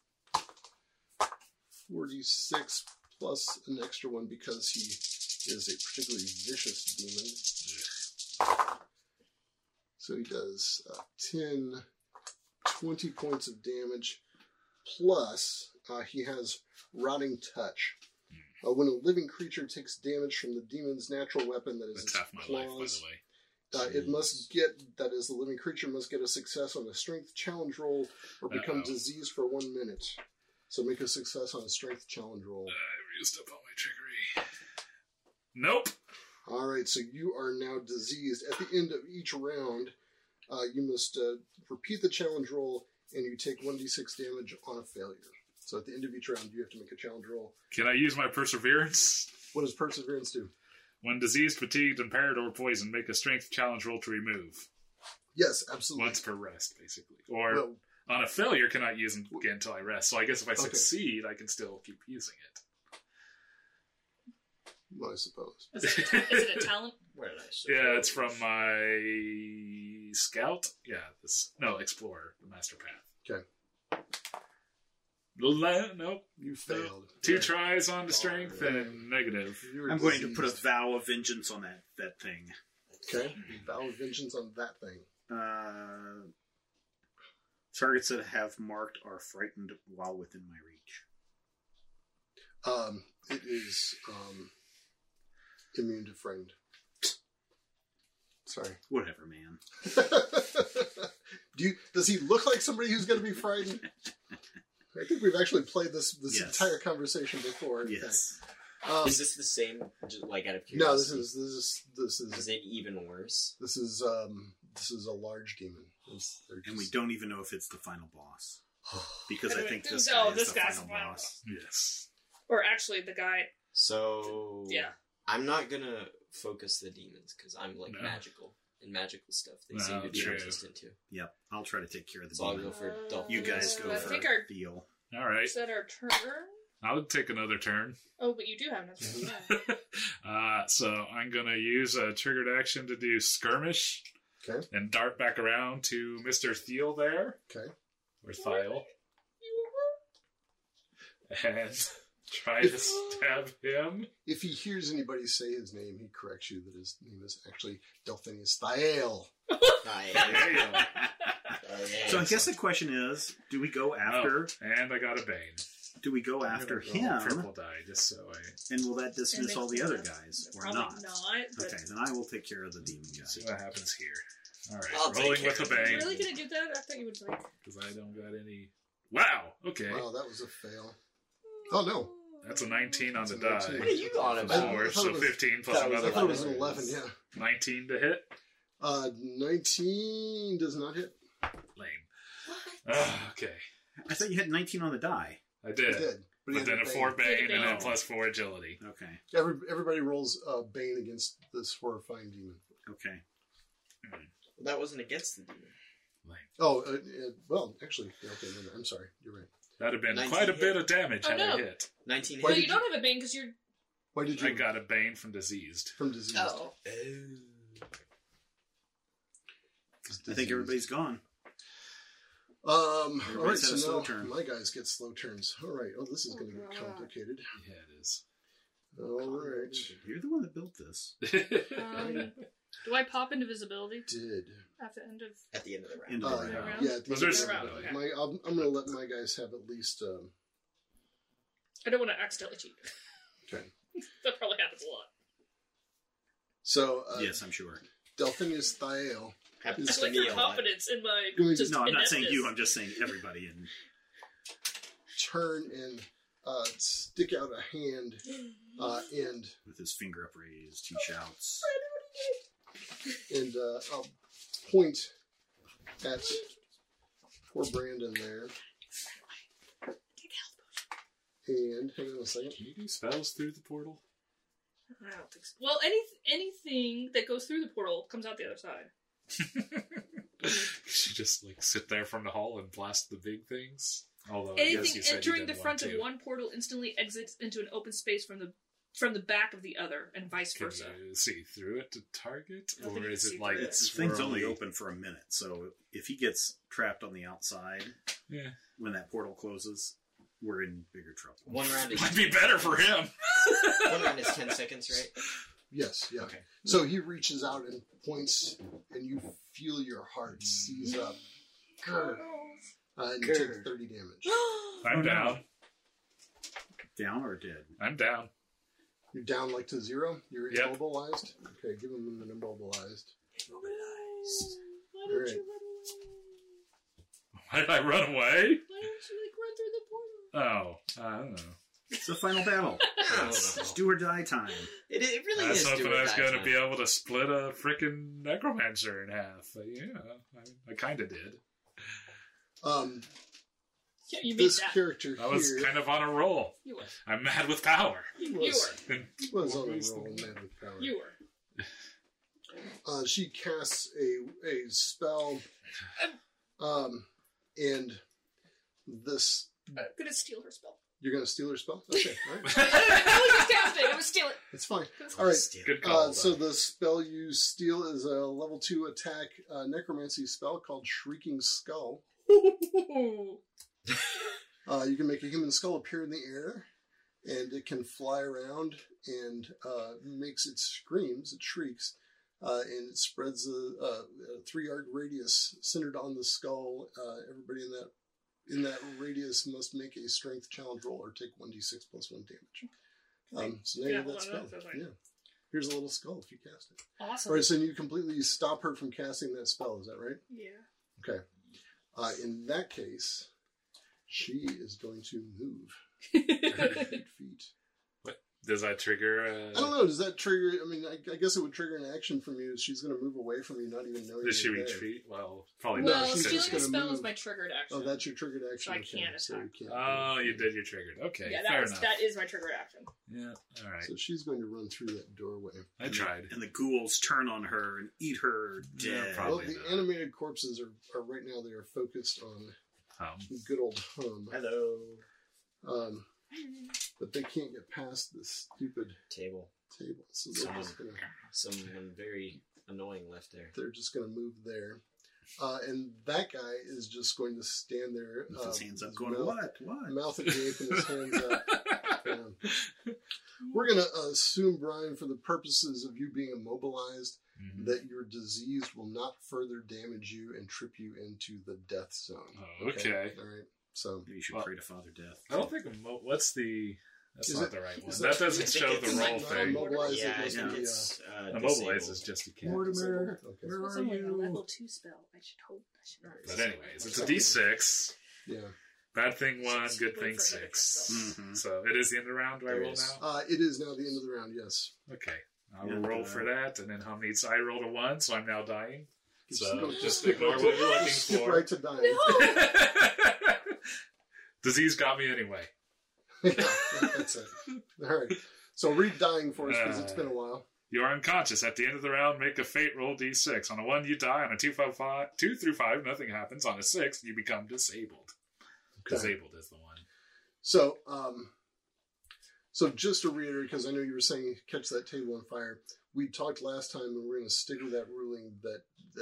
46 plus an extra one because he is a particularly vicious demon. So he does 10, 20 points of damage. Plus, he has Rotting Touch. When a living creature takes damage from the demon's natural weapon, that is That's its half my life, by claws, the way. it must get, that is, the living creature must get a success on a strength challenge roll or become diseased for 1 minute. So make a success on a strength challenge roll. I used up all my trickery. Nope. Alright, so you are now diseased. At the end of each round, you must repeat the challenge roll, and you take 1d6 damage on a failure. So at the end of each round, you have to make a challenge roll. Can I use my perseverance? What does perseverance do? When diseased, fatigued, impaired, or poisoned, make a strength challenge roll to remove. Yes, absolutely. Once per rest, basically. Or Well, on a failure, can I use them again until I rest? So I guess if I Okay. succeed, I can still keep using it. well, I suppose. Is it a talent? Where did I show Yeah, it's from my scout. Yeah, explorer, the master path. Okay. Nope. You failed. 2 tries on the strength and negative. You were I'm going to put a diseased. vow of vengeance on that thing. Okay. Vow of vengeance on that thing. Targets that have marked are frightened while within my reach. It is immune to friend. Sorry. Whatever, man. Does he look like somebody who's going to be frightened? I think we've actually played this Yes. entire conversation before. in Yes. fact. Is this the same? Just like out of No, curiosity. this Is is it even worse? this is a large demon. And we don't even know if it's the final boss. Because I think this No, guy this is the guy's final the final boss. Yes. Or actually, the guy. So Yeah. I'm not gonna focus the demons because I'm like No. magical and magical stuff. They No, seem to be true. resistant to. Yep, I'll try to take care of the So I'll demon. go for Dolphin. You guys go I for think our Theo. All right. is that our turn. I'll take another turn. Oh, but you do have another one. So I'm going to use a triggered action to do skirmish. Okay. And dart back around to Mr. Thiel there. Okay. Or Thiel. And try to stab him. If he hears anybody say his name, he corrects you that his name is actually Delphinius Thiel. So I guess the question is, do we go after... and I got a Bane. Do we go after him? Triple die, just so I... And will that dismiss all the other guys, or Probably not? But... Okay, then I will take care of the demon guy. See what happens here. Alright, I'll take rolling care with of the it. Bane. You're really gonna do that? I thought you would like. Because I don't got any... Wow, okay. Wow, that was a fail. Oh, no. That's a 19 on the It's a 19. die. What are you on about? 4, so 15 plus thought it was another I thought it was 1. an 11, yeah. 19 to hit? 19 does not hit. Lame. Okay. I thought you had 19 on the die. I It did. did. But he But had then a Bane. 4 Bane and then Oh. plus 4 agility. Okay. Everybody rolls Bane against this horrifying demon. Okay. That wasn't against the demon. Lame. Oh, well, actually, yeah, okay, no, I'm sorry. You're right. That'd have been 19 quite a hit. bit of damage Oh, had no. I hit. 19 Well, hit. you don't have a Bane because you're. Why did you? I got a Bane from diseased. From disease. Oh. I think everybody's gone. All right, Everybody's had a so slow now turn. my guys get slow turns. All right. Oh, this is going to God. get complicated. Yeah, it is. All right. You're the one that built this. Do I pop into visibility Did. at the end of? At the end of the round. End of the round. round? Yeah. At the Was end there of the some- round. okay. I'm going to let my guys have at least. I don't want to accidentally cheat. Okay. That probably happens a lot. So Yes, I'm sure. Delphinius Thiel. Happens I to like me your a lot. confidence in my. Really Just No, I'm not saying ineptness. you. I'm just saying everybody. And turn and stick out a hand and with his finger upraised, he shouts. I'll point at poor Brandon there. And hang on a second. Can you do spells through the portal? I don't think so. Well, anything that goes through the portal comes out the other side. You just like sit there from the hall and blast the big things. Although I guess you Anything said entering you the didn't front want of to. one portal instantly exits into an open space from the back of the other, and vice Can versa. you see through it to target, I don't think or you is can see it like through it. The thing's only swirly? open for a minute, so if he gets trapped on the outside Yeah, when that portal closes, we're in bigger trouble. One round is might be better for him. 10 seconds, right? Yes, yeah. Okay. So he reaches out and points, and you feel your heart seize up. And you take Grr. 30 damage. I'm Oh, no. down. Down or dead? I'm down. You're down like to 0? You're Yep. immobilized? Okay, give him an immobilized. Why All don't right. you run away? Why did I run away? Why don't you run through the portal? Oh, I don't know. It's the final battle. Oh, It's do or die time. it really I was is. hoping do or I was die going to time. be able to split a freaking necromancer in half. But yeah, I kind of did. Yeah, you made This that. character I was here kind of on a roll. You were. I'm mad with power. You was, were. And was on a What was roll, the- man with power. You were. She casts a spell, and this. I'm gonna steal her spell. You're going to steal her spell? Okay, all right. I was just casting. I was stealing. It's fine. All right. good call. So the spell you steal is a level 2 attack necromancy spell called Shrieking Skull. You can make a human skull appear in the air, and it can fly around and makes it screams, it shrieks, and it spreads a 3-yard radius centered on the skull. Everybody in that radius must make a strength challenge roll or take 1d6 plus 1 damage. So now you Yeah, have that hold on, spell. that's fine. Yeah. Here's a little skull if you cast it. Awesome. All right, so you completely stop her from casting that spell. Is that right? Yeah. Okay. In that case, she is going to move 8 feet. Does that trigger? I don't know. Does that trigger? I mean, I guess it would trigger an action from you. She's going to move away from you, not even knowing. Does she you're there. retreat? Well, probably No, Well, not. she's stealing just a gonna spell is move. my triggered action. Oh, that's your triggered action. So I Okay, can't so attack. you can't Oh, you did your triggered. Okay, Yeah, fair enough. that is my triggered action. Yeah, all right. So she's going to run through that doorway. I tried. And the ghouls turn on her and eat her Yeah, dead. probably. Well, the not. animated corpses are right now. They are focused on good old Hum. Hello. but they can't get past this stupid Table. table. So they're Someone very annoying left there. they're just going to move there. And that guy is just going to stand there With his hands up, his going, mouth, what? mouth agape and his hands up. We're going to assume, Brian, for the purposes of you being immobilized, Mhm. that your disease will not further damage you and trip you into the death zone. Oh, okay. All right. So Maybe you should Well, pray to Father Death. I don't think what's the. That's Is not it- the right one. is That that- doesn't I think show it's the roll not thing. immobilized, Yeah, I it think must be, it's Immobilize is just you can't. Mortimer, Okay. Where It's are only a you? level 2 spell. I should hope. But anyways, it's a D6. Yeah. Bad thing 1, Just good wait thing for another 6. Mhm. So it is the end of the round. Do I There roll is. now? It is now the end of the round, yes. Okay. I will And, roll for that, and then how many? I rolled a 1, so I'm now dying. So just skip ignore right what to- you're looking skip for. right to dying. Disease got me anyway. Yeah, that's it. All right. So read dying for us because it's been a while. You are unconscious. At the end of the round, make a fate roll D6. On a 1, you die. On a 2 through 5, nothing happens. On a 6, you become disabled. Okay. Disabled is the one. So, so just to reiterate, because I know you were saying catch that table on fire. We talked last time, and we're going to stick with that ruling that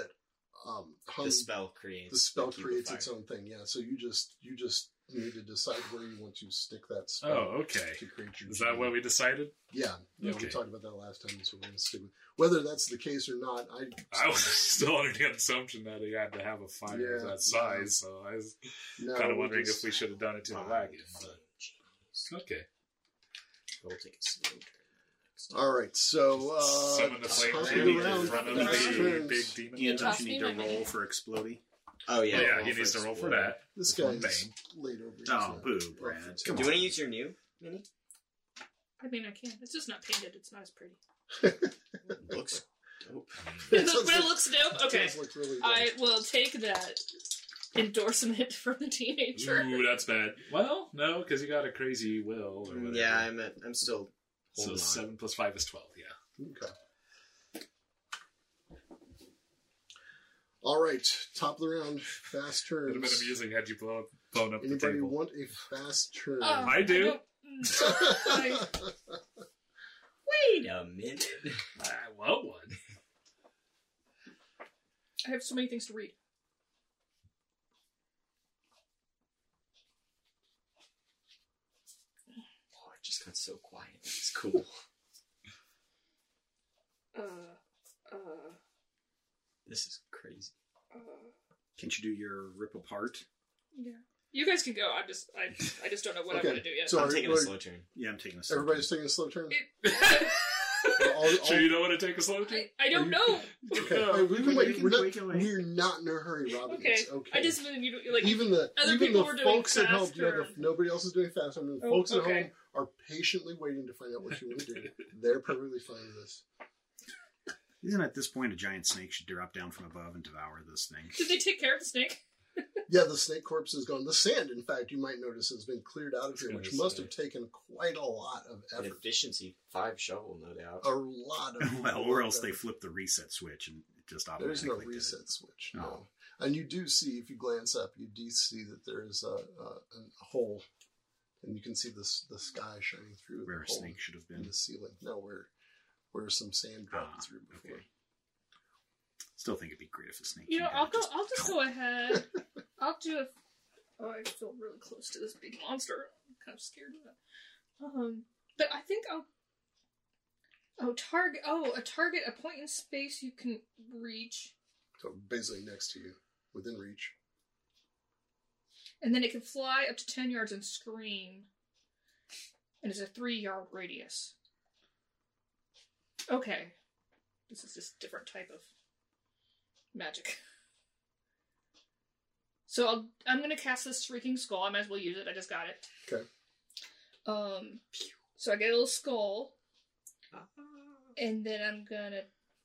The spell creates. the spell the cube of creates fire. its own thing. Yeah. So you just need to decide where you want to stick that spell. Oh, okay. To create your Is that what we decided? Yeah. Yeah. Okay. We talked about that last time, so we're going to stick with whether that's the case or not. I was still under the assumption that he had to have a fire of Yeah, that size, so I was no, kind of we wondering just- if we should have done it to the Fine, wagon. fine, But jeez. okay. We'll take a slow turn. next time. All right. So Summon the flame top of genie the in round, front of fast the turns. big demon. Ian, Toss don't you me need to my roll minute. for exploding? Oh yeah. Yeah, roll he needs to roll for explode. that. This This one guy's bane. laid over. He's Oh, not boo, up for Brad. two. Do you want to use your new mini? I mean, I can. It's just not painted. It's not as pretty. Looks dope. It But does it look- looks dope. Okay. It does look really I good. will take that endorsement from the teenager. Ooh, that's bad. Well, no, because you got a crazy will or whatever. Yeah, I'm still So holding on. 7 plus 5 is 12, yeah. Okay. All right, top of the round, fast It would have been turns. amusing had you blown up the Anybody table. want a fast turn? I do. don't- I- Wait a minute. I want one. I have so many things to read. Oh, it just got so quiet. It's cool. This is crazy. Can't you do your rip apart? Yeah. You guys can go. I just don't know what Okay, I'm going to do yet. so- I'm taking a Sorry, slow turn. Yeah, I'm taking a slow Everybody's turn. taking a slow turn. It- Sure you don't want to take a slow turn? I don't know. Okay, No, hey, we can wait. We're we can wait. not in a hurry, Robin. Okay. It's okay. I just mean you like even the people were doing folks at home. fast Yeah, turn. nobody else is doing fast. I mean, the Oh, folks at okay. home are patiently waiting to find out what you want to do. They're perfectly fine with this. Isn't at this point a giant snake should drop down from above and devour this thing? Did they take care of the snake? Yeah, the snake corpse is gone. The sand, in fact, you might notice, has been cleared out of here, gonna which must say. have taken quite a lot of An effort. efficiency 5 shovel, no doubt. A lot of Well, or else they flip the reset switch and it just There's no automatically did it. reset switch. Oh. No. And you do see, if you glance up, you do see that there is a hole, and you can see the sky shining through Where the a hole snake should have in been. the ceiling. No, where some sand dropped through before. Okay. Still think it'd be great if a snake. You know, came I'll down go. and I'll just go ahead. I'll do a. Oh, I feel really close to this big monster. I'm kind of scared of it. But I think I'll. Oh, target. Oh, a target. A point in space you can reach, So basically next to you, within reach. and then it can fly up to 10 yards and scream. And it's a 3-yard radius. Okay, this is just a different type of magic. So I'm gonna cast this Shrieking Skull. I might as well use it. I just got it. Okay. So I get a little skull, and then I'm gonna.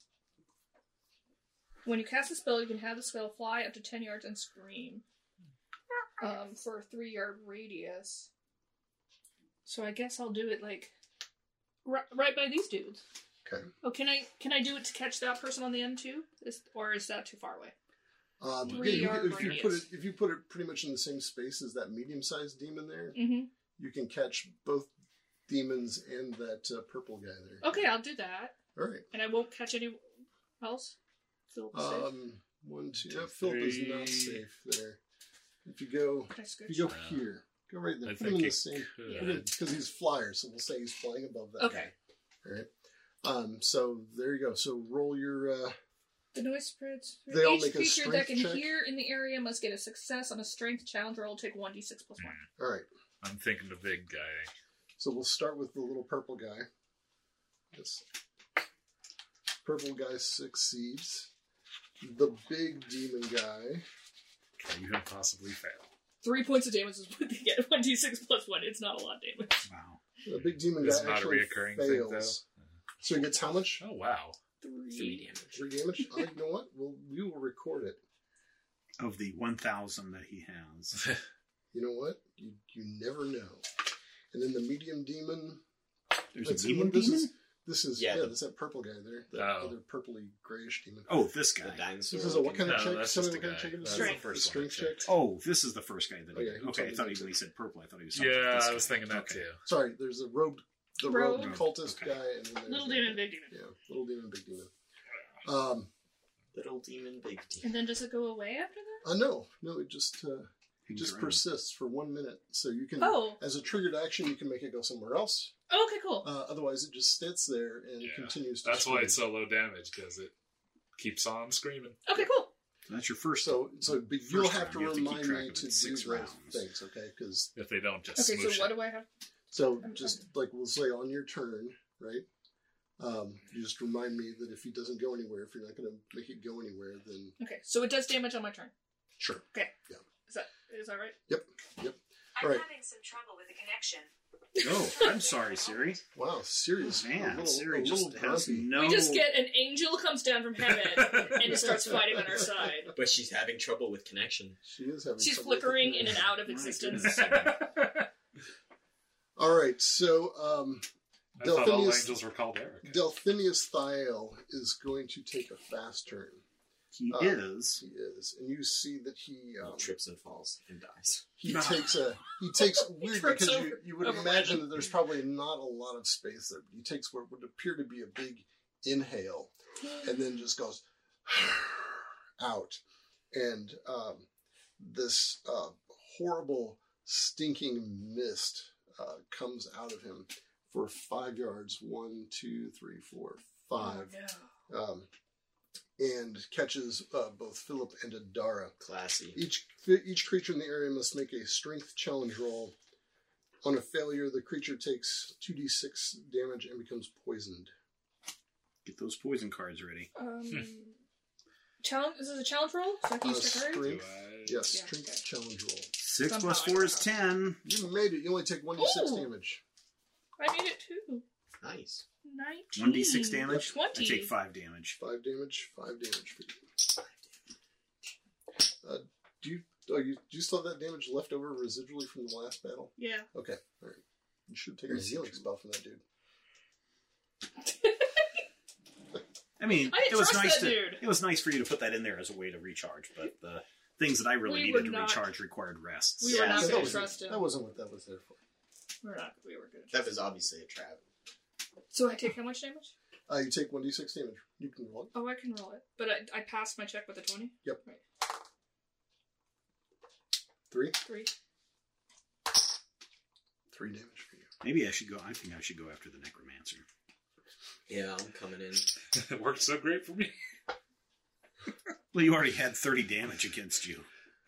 When you cast a spell, you can have the spell fly up to 10 yards and scream. For a 3-yard radius. So I guess I'll do it like right by these dudes. Okay. Oh, can I do it to catch that person on the end too? Or is that too far away? Yeah, 3-yard if you put it radius. if you put it pretty much in the same space as that medium-sized demon there, Mm-hmm. you can catch both demons and that purple guy there. Okay, I'll do that. All right. And I won't catch anyone else? Philip is safe? 1, 2. Philip is not safe there. If you go, Can I scooch? if you go here, go right there. I Put him think in the it same could. because he's flyer, so we'll say he's flying above that. Okay. Guy. All right. So there you go. So roll your. The noise spreads. They all Each make a creature that strength can check. hear in the area must get a success on a strength challenge roll. Take 1d6 plus 1. All right. I'm thinking the big guy. So we'll start with the little purple guy. This purple guy succeeds. The big demon guy. Can even possibly fail? 3 points of damage is what they get. 1d6 plus 1. It's not a lot of damage. Wow. The big demon It's guy not a actually reoccurring fails. thing, though. So he gets how much? Oh wow! 3 damage. 3 damage. You know what? We will record it. Of the 1,000 that he has. You know what? You never know. And then the medium demon. There's Let's a see, demon this demon? is Yeah, that's that purple guy there. That Oh. other purpley grayish demon. Oh, this The guy. dinosaur. This is a what kind of No, check? that's Tell me just what the kind of guy. check it is. That's the The first strength one I check. checked. Oh, this is the first guy that Oh, yeah, he he okay, I told thought me when that. he said purple, I thought he was talking Yeah, about this I was guy. thinking that Okay. too. Sorry, there's the rogue Rogue. cultist Okay. guy, and then there's Little that demon, guy. big demon. Yeah, little demon, big demon. Little demon, big demon. And then does it go away after that? No, it just Hangs around. persists for 1 minute. So you can, Oh. as a triggered action, you can make it go somewhere else. Oh, okay, cool. Otherwise, it just sits there and Yeah. continues to. That's why scream. it's so low damage, because it keeps on screaming. Okay, cool. So that's your first. So but First you'll have round, to you have to keep remind track me of it. to do 6 those rounds. things, okay? Because If they don't just Okay, smoosh so what it. do I have? so I'm just like we'll say on your turn, right? You just remind me that if he doesn't go anywhere, if you're not going to make it go anywhere, then Okay, so it does damage on my turn. sure. Is that right? I'm Right. having some trouble with the connection. Oh, I'm sorry, Siri. Wow, Siri's Man, Siri a just little has grumpy. no. We just get an angel comes down from heaven and starts fighting on our side. But she's having trouble with connection. She is having. She's trouble with flickering the in and connection. out of My existence. goodness. All right, so I thought all Delphinius- angels were called Eric. Delphinius Thiel is going to take a fast turn. He He is, and you see that he Trips and falls and dies. he No. takes weird trips because over- you would over imagine random. that there's probably not a lot of space there. But he takes what would appear to be a big inhale, and then just goes out, and this horrible stinking mist comes out of him for 5 yards. 1, 2, 3, 4, 5. Oh, no. And catches both Philip and Adara. Classy. Each creature in the area must make a strength challenge roll. On a failure, the creature takes 2d6 damage and becomes poisoned. Get those poison cards ready. Challenge. This is a challenge roll, so I can On a use Trickery? strength, yes, Yeah, strength okay. challenge roll. 6 Somehow plus I 4 is don't 10. You made it. You only take 1d6 Ooh. damage. I made it too. Nice. 19. 1d6 damage. 20. I take 5 damage. 5 damage. 5 damage for you. Do you still have that damage left over residually from the last battle? Yeah. Okay, all right. You should take a healing spell from that dude. I mean, I didn't it was trust nice that dude. It was nice for you to put that in there as a way to recharge, but the things that I really We needed were to not- recharge required rest. We were Yeah, not so going that to wasn't- trust him. That wasn't what that was there for. We were good. That was obviously a trap. So I take how much damage? You take 1d6 damage. You can roll it. Oh, I can roll it. But I passed my check with a 20? Yep. Right. 3? 3. 3 damage for you. Maybe I should go. I think I should go after the necromancer. Yeah, I'm coming in. It worked so great for me. Well, you already had 30 damage against you.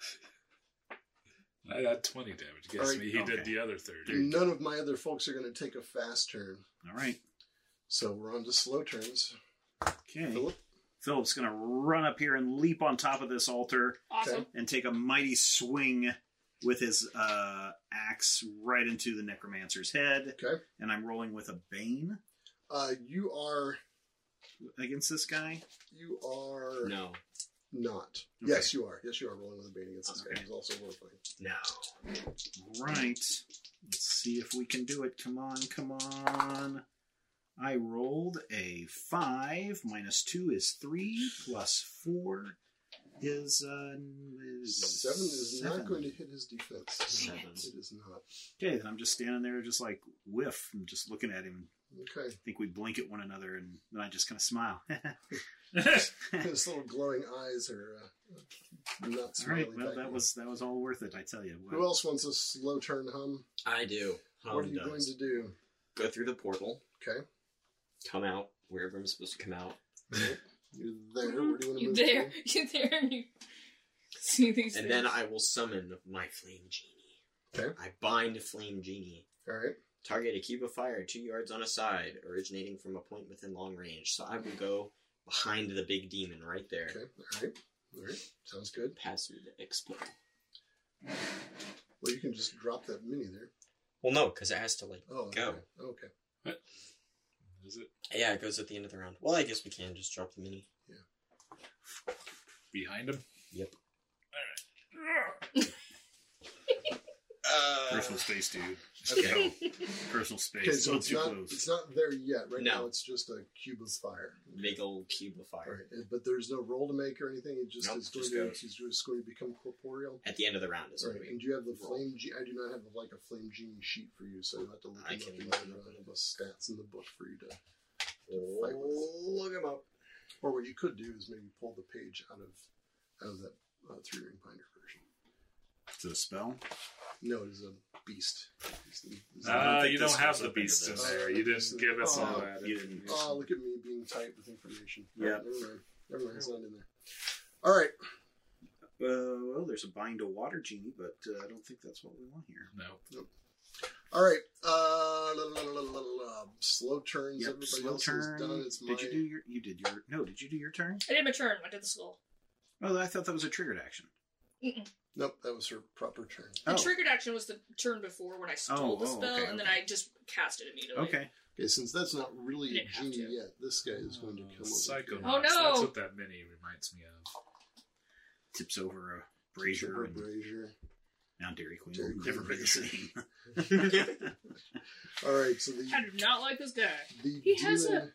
I had 20 damage against Alright, me. He did okay. the other 30. None of my other folks are going to take a fast turn. All right. So we're on to slow turns. Okay. Philip? Philip's going to run up here and leap on top of this altar Awesome. Okay. and take a mighty swing with his axe right into the necromancer's head. Okay. And I'm rolling with a bane You are against this guy. No. not. Okay. Yes, you are. Yes, you are rolling with a bane against this guy. Okay. He's also horrifying. No. Right. Let's see if we can do it. Come on, come on. I rolled a 5. Minus 2 is 3. Plus 4 is 7 is not going to hit his defense. 7. It is not. Okay, then I'm just standing there, just like whiff, and just looking at him. Okay. I think we blink at one another, and then I just kind of smile. His little glowing eyes are not All smiling. right, well, back that at you. was all worth it, I tell you. Who else wants a slow turn hum? I do. What are you going to do? Go through the portal, Okay. come out wherever I'm supposed to come out. You're there. Where do you want to You move there? to? You there? And you see these And things. then I will summon my Flame Genie. Okay. I bind Flame Genie. All right. Target a cube of fire 2 yards on a side, originating from a point within long range. So I will go behind the big demon right there. Okay. All right. All right. Sounds good. Pass through the explode. Well, you can just drop that mini there. Well, no, because it has to, like, Oh, go. Okay. Okay. Is it Yeah, it goes at the end of the round. Well, I guess we can just drop the mini. behind him? Yep. Personal space, dude. Okay. No. Personal space. Okay, so Not it's too not close. it's not there yet. Right No. now, it's just a cube of fire. Big old cube of All fire. right, but there's no roll to make or anything. It just Nope, is going just to goes. he's just going to become corporeal. At the end of the round is All what right, we and do you have the roll. flame? I do not have like a flame genie sheet for you, so you'll have to look I them can up. look And them up. have the stats in the book for you to. Look him up. Or what you could do is maybe pull the page out of that 3-ring binder version. Is it a spell? No, it is a beast. It's you think don't this have was the up into beast in this. there. You didn't give us all Oh, that. you didn't. Oh, look at me being tight with information. Yeah. Never mind. Never mind. It's not in there. All right. Well, there's a bind a water genie, but I don't think that's what we want here. No. All right. Slow turns. Yep, Everybody slow else turn. is done. It's my. Did you do your? You did your. No, did you do your turn? I did my turn. I did the skull. Oh, I thought that was a triggered action. Mm-mm. Nope, that was her proper turn. The Oh. triggered action was the turn before when I stole the Oh, spell, okay, and then okay. I just cast it immediately. Okay. Okay, since that's not really You a didn't have genie to. yet, this guy is going to come over. Psycho. here. Oh, no! That's what that mini reminds me of. Tips over a brazier Super and brazier. now Dairy Queen. Dairy will Queen never be the brazier. same. All right, so I do not like this guy. the He has demon,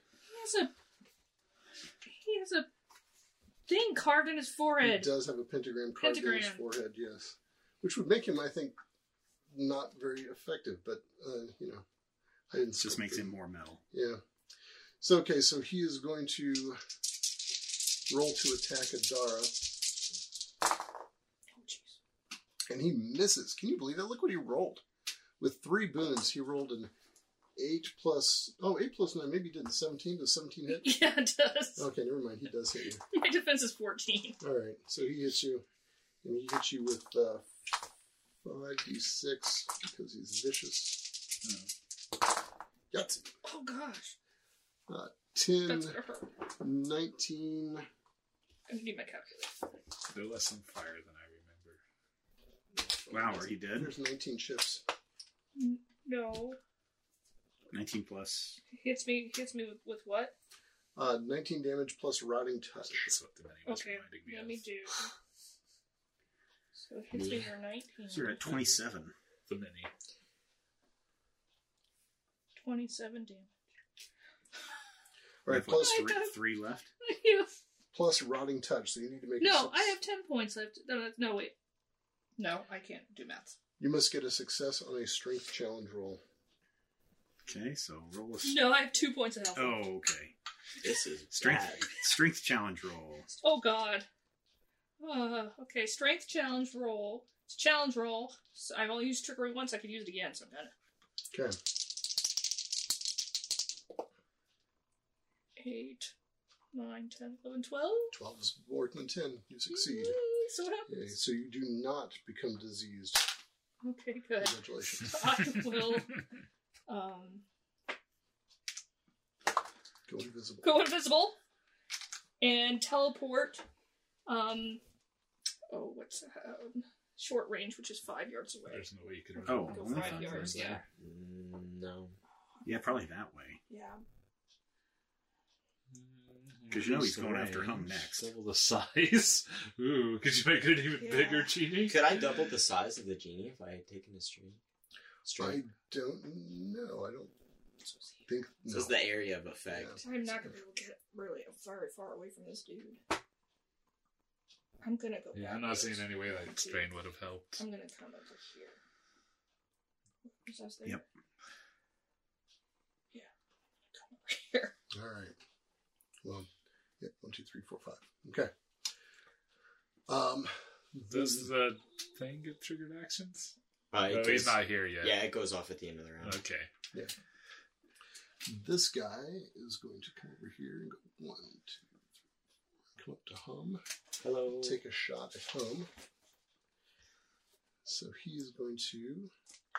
He has a thing carved in his he forehead. does have a pentagram carved in his Pentagram. forehead, yes, which would make him, I think, not very effective. But I didn't. Just script makes it. him more metal. Yeah. So okay, so he is going to roll to attack Adara, Oh, jeez. and he misses. Can you believe that? Look what he rolled. With 3 boons, he rolled an 8 plus 9. Maybe he did 17. Does 17 hit? Yeah, it does. Okay, never mind. He does hit you. My defense is 14. All right, so he hits you, and he hits you with 5d6 because he's vicious. Yahtzee. Oh gosh, 10, that's gonna hurt. 19. I need my calculator. No less on fire than I remember. Wow, are you dead? There's 19 chips. No, 19 plus. hits me with what? 19 damage plus rotting touch. That's what the mini was Okay, reminding me let of. me do. So it hits me for 19. So you're at 27. The mini. 27 damage. All right, You have, plus, what, I got- 3 left? plus rotting touch, so you need to make a No, I have 10 points left. No, wait. No, I can't do maths. You must get a success on a strength challenge roll. Okay, so roll a... No, I have 2 points of health. Oh, okay. This is Strength challenge roll. Oh god. Okay, strength challenge roll. It's a challenge roll. So I've only used trickery once, I could use it again, so I'm gonna. Okay. 8, 9, 10, 11, 12. 12 is more than 10. You succeed. So what Okay, happens? so you do not become diseased. Okay, good. Congratulations. I will Go invisible. go invisible and teleport. What's short range, which is 5 yards away. There's no way you could. Oh, Go only 5 5 yards, yards yeah. there. No. Yeah, probably that way. Yeah. Because you know he's going after Hum next. Double the size. Ooh, could you make it an even Yeah. bigger genie? Could I double the size of the genie if I had taken a stream? I don't know. I don't think. This No. is the area of effect. I'm not going to be able to get really very far away from this dude. I'm gonna go. Yeah, I'm not backwards. seeing any way that strain would have helped. I'm gonna come over here. Was that there? Yep. Yeah. Come over here. All right. Well, yeah, 1, 2, 3, 4, 5. Okay. Does the thing get triggered actions? It Oh, goes, he's not here yet. Yeah, it goes off at the end of the round. Okay. This guy is going to come over here and go 1, 2, 3, 4. Come up to Hum. Hello. Take a shot at Hum. So he is going to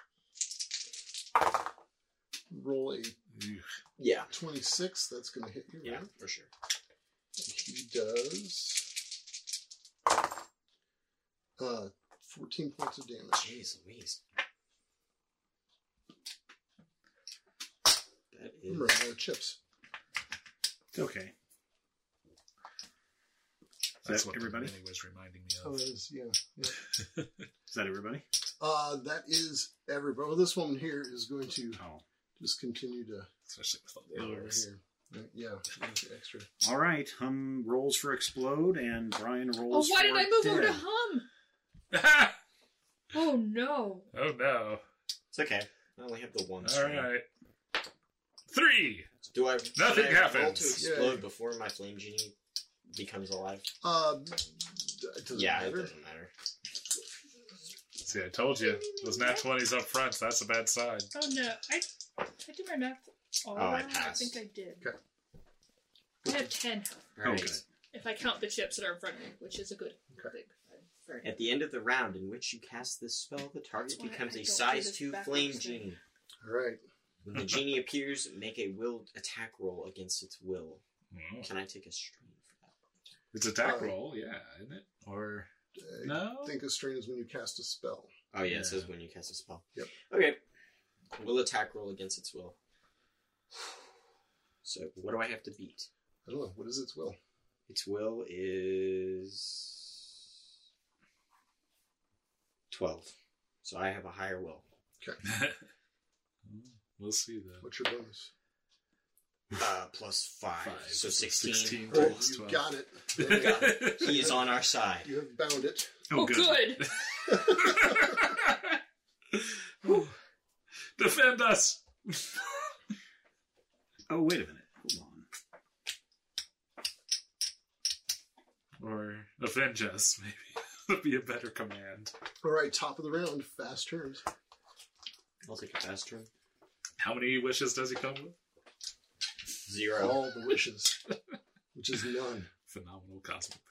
roll a Yeah. 26. That's going to hit you, Yeah, right? for sure. He does 14 points of damage. Jeez Louise. That is... Remember, chips. Okay. That's Is that what everybody? Vinny was reminding me Oh, of. that is, yeah. Is that everybody? That is everybody. Well, this woman here is going to Oh. just continue to Especially with all go the over others. here. Yeah, there's the extra. All right. Hum rolls for explode, and Brian Oh, rolls why for did I move over to dead. Hum? Oh no. Oh no. It's okay. I only have the one All string. right. 3! Do I Nothing can I roll happens. to explode Yeah. before my flame genie becomes alive? It doesn't Yeah, matter. it doesn't matter. See, I told you. Those nat 20s up front, that's a bad sign. Oh no. I did my math. Oh, I passed. think I did. Okay. I have 10 health. Oh, Alright. good. If I count the chips that are in front of me, which is a good Okay. thing. Very At the end of the round in which you cast this spell, the target That's why becomes I a don't do size this 2 backwards flame thing. genie. All right. When the genie appears, make a willed attack roll against its will. Oh. Can I take a strain for that? It's attack Oh. roll, yeah, isn't it? Or I no? think a strain is when you cast a spell. Oh yeah, Yeah. it says when you cast a spell. Yep. Okay. Will attack roll against its will. So what do I have to beat? I don't know. What is its will? Its will is 12. So I have a higher will. We'll see though. What's your bonus? Plus 5. So 16. 16 Oh, times you 12. got it. We got it. He is on our side. You have bound it. Oh, good. Defend us! Oh, wait a minute. Hold on. Or avenge us, maybe. Would be a better command. All right, top of the round. Fast turns. I'll take a fast turn. How many wishes does he come with? 0. All the wishes, which is none. Phenomenal cosmic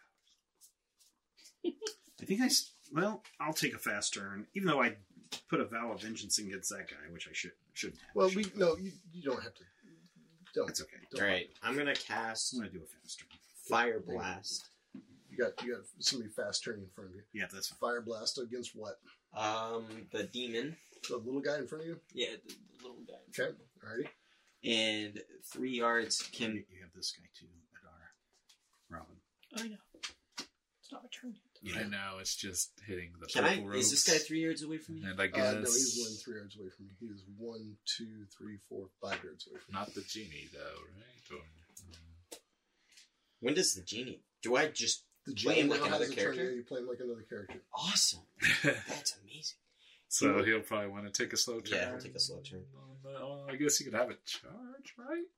I think well, I'll take a fast turn, even though I put a vow of vengeance against that guy, which I shouldn't have. Well, you don't have to. Don't. That's okay. Don't. Alright, I'm going to cast I'm going to do a fast turn. Fire Blast. You got somebody fast turning in front of you. Yeah, that's fine. Fire blast against what? The demon. The little guy in front of you. Yeah, the little guy. Okay. Alrighty. And 3 yards can... You have this guy too, Adara. Robin. I know. It's not my turn yet. I know, it's just hitting the Can I... purple Is this ropes. guy 3 yards away from me? And I guess... No, he's one 3 yards away from you. He is 1, 2, 3, 4, 5 yards away from you. Not the genie, though, right? Or, When does the genie... Do I just The play him genie like now another has a turn. character? Yeah, you play him like another character. Awesome. That's amazing. so he'll probably want to take a slow turn. Yeah, he'll take a slow turn. I guess he could have a charge, right?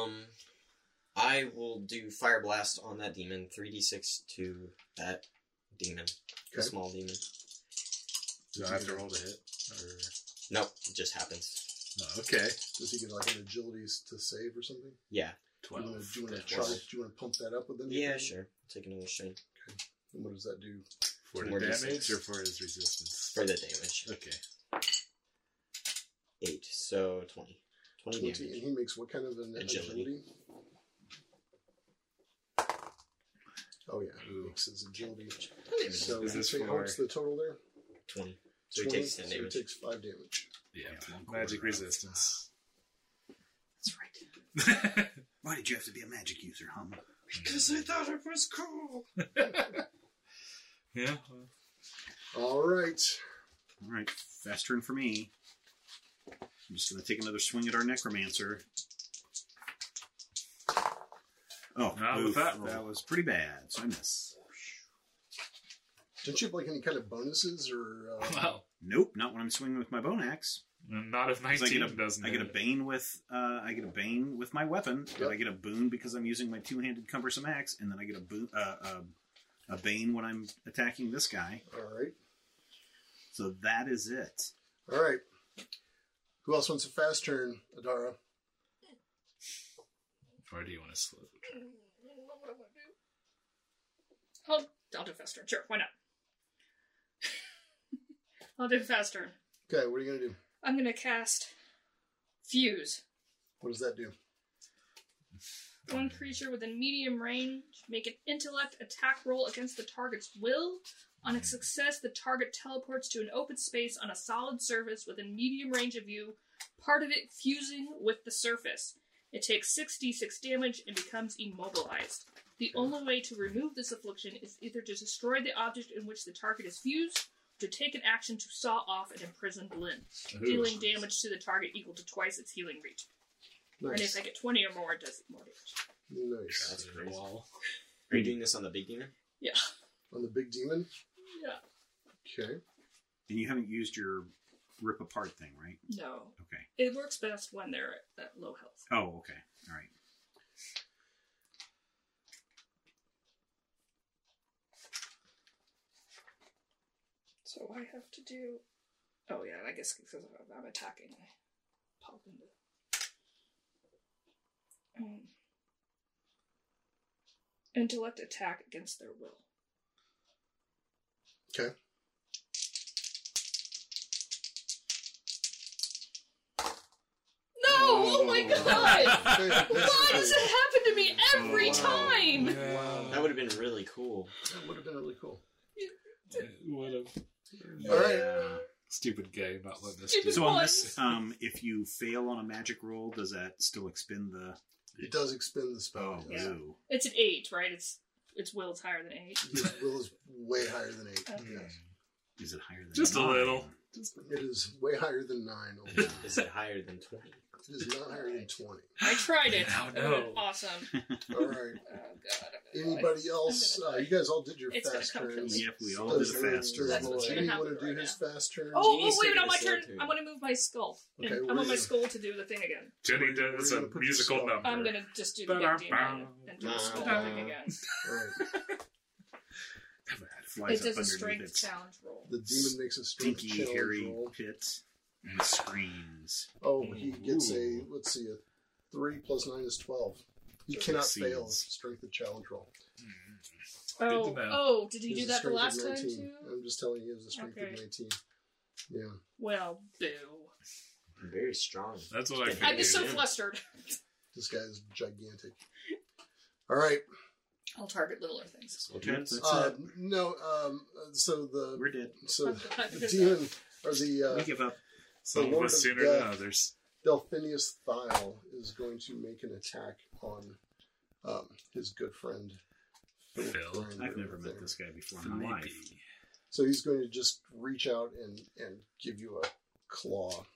I will do Fire Blast on that demon. 3d6 to that demon. The Okay. small demon. Do I have to roll to hit? Or... Nope, it just happens. Oh, okay. Does he get like an agility to save or something? Yeah. 12. Do you want to 12. charge? Do you want to pump that up with anything? Yeah, sure. Take another strain. And what does that do? For the More damage D6. or for his resistance? For the damage. Okay. 8, so 20. 20 20. And damage. he makes what kind of an Agility. agility? Oh yeah, he Ooh. makes his agility. So So Is this take, for- what's the total there? 20. So he 20, takes 10 so he damage. takes 5 damage. Yeah. Yeah, one Magic quarter. resistance. That's right. Why did you have to be a magic user, Hum? Because I thought it was cool. Yeah. All right. All right, fast turn for me. I'm just going to take another swing at our necromancer. Oh, Not with oof, that roll. that was pretty bad, so I miss. Don't you have like any kind of bonuses or? Well, Nope, not when I'm swinging with my bone axe. not if 'Cause 19 doesn't. I get a hit. bane with my weapon, Yep. but I get a boon because I'm using my two-handed cumbersome axe, and then I get a boon, a bane when I'm attacking this guy. All right. So that is it. All right. Who else wants a fast turn, Adara? Or do you want to slow? I don't know what I want to do. I'll do a fast turn. Sure, why not? I'll do a fast turn. Okay, what are you gonna do? I'm gonna cast Fuse. What does that do? One creature within medium range make an intellect attack roll against the target's will. On a success, the target teleports to an open space on a solid surface within medium range of you, part of it fusing with the surface. It takes 6d6 damage and becomes immobilized. The only way to remove this affliction is either to destroy the object in which the target is fused, or to take an action to saw off an imprisoned limb, dealing damage to the target equal to twice its healing reach. And if I get 20 or more, it does more damage. Nice. That's crazy. Wall. Are you doing this on the big demon? Yeah. On the big demon? Yeah. Okay. And you haven't used your rip apart thing, right? No. Okay. It works best when they're at low health. Oh, okay. All right. So I have to do... Oh yeah, I guess because I'm attacking, I pop into... Intellect attack against their will. Okay. No! Oh my god! Okay, Why does it happen to me every wow. time? That would have been really cool. That would have been really cool. What a All right. Yeah. stupid game not letting us Stupid do. So on Ones. this, if you fail on a magic roll, does that still expend the? It does expend the spell. Oh, yes. ooh. It's an 8, right? Its will's higher than 8. His will is way higher than 8. Okay. Yes. Is it higher than Just a 9? little. It is way higher than 9. Oh, Yeah. Is it higher than 20? it is not higher than 20. I tried it. Now It no. went awesome. All right. Oh god. I'm gonna die. Anybody else? I'm gonna You guys all did your It's gonna fast come turns. to me. Yep, we all did a Does fast turn. That's what's gonna Genie happen want to do right his now. fast turn? Oh, Genie's wait, taking on my a slow turn. turn. I'm gonna move my skull. And Okay, I where want my is it? skull to do the thing again. Jenny Where does you a gonna put musical your skull? number. I'm gonna just do the big demon and do the skull thing again. All right. Flies It does up a underneath strength its challenge roll. The demon makes a strength stinky, challenge hairy roll. pit and screams. Oh, he gets a, Ooh. let's see, a 3 plus 9 is 12. He cannot Succeeds. fail strength of challenge roll. Oh, to know. oh, did he He do has a that the strength of last time 19. too? I'm just telling you, he has a strength Okay. of 19. Yeah. Well, boo. Very strong. That's what I I'm I'm figured. just so Yeah. flustered. This guy is gigantic. All right. I'll target littler things. Yep, that's it. No, so We're dead. the demon, or We the give up. Some of Lord us of sooner Death. than others. Delphinius Thyle is going to make an attack on his good friend Phil. Phil. Grinder I've never met there. this guy before in my life. Maybe. So he's going to just reach out and give you a claw.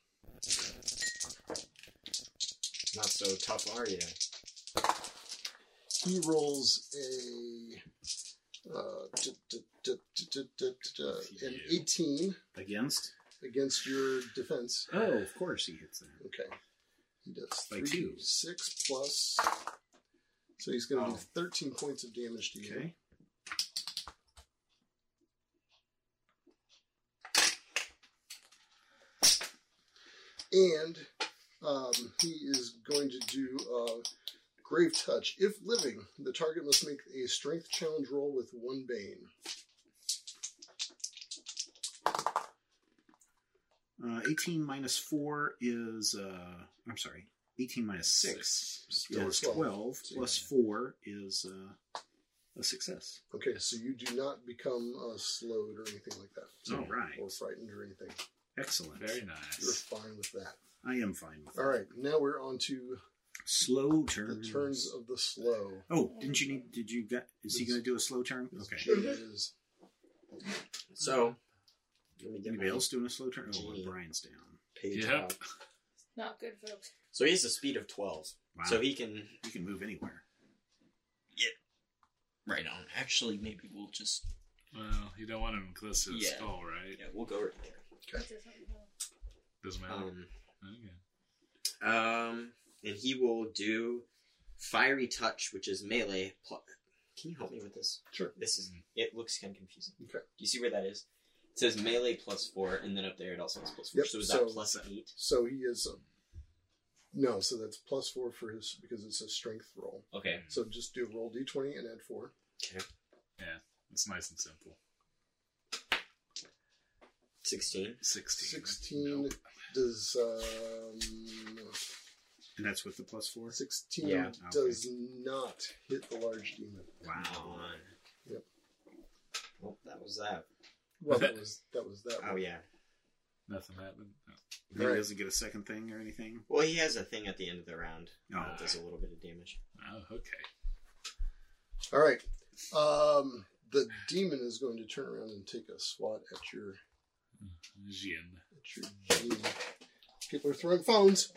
Not so tough, are you? He rolls an 18 Against? against your defense. Oh, of course he hits that. Okay. He does By 2. 6 plus. So he's going to do Oh. 13 points of damage to you. Okay. And he is going to do Grave Touch. If living, the target must make a strength challenge roll with 1 bane. 18 minus 4 is, I'm sorry, 18 minus 6 Still is 12. 12, So plus 4 is a success. Okay, so you do not become slowed or anything like that. All right. Or frightened or anything. Excellent. Very You're nice. fine with that. I am fine with that. All right, now we're on to Slow the turns. turns of the slow. Oh, is he going to do a slow turn? Okay. It is So, let me get Anybody my else doing a slow turn? Oh, Genie. Brian's down. page Yep. up. Not good, folks. So he has a speed of 12. Wow. So he can... You can move anywhere. Right on. Actually, maybe we'll just Well, you don't want him close to his Yeah. skull, right? Yeah, we'll go right there. That's it, something else. Doesn't matter. Okay. And he will do Fiery Touch, which is melee. Can you help me with this? Sure. It looks kind of confusing. Okay. Do you see where that is? It says melee +4, and then up there it also has +4. Yep, So is so- that +8? So he is. No, so that's +4 for his because it's a strength roll. Okay. So just do roll d20 and add 4. Yeah, it's nice and simple. 16. 16. 16 Nope. does. And that's with the +4? 16 Yeah. does not hit the large demon. Wow. Come on. Yep. Well, that was that. Well, that was that. Oh, one. yeah. Nothing happened. No. He Right. doesn't get a second thing or anything? Well, he has a thing at the end of the round. Oh. That does a little bit of damage. Oh, okay. All right. The demon is going to turn around and take a swat at your Jin. genie. People are throwing phones.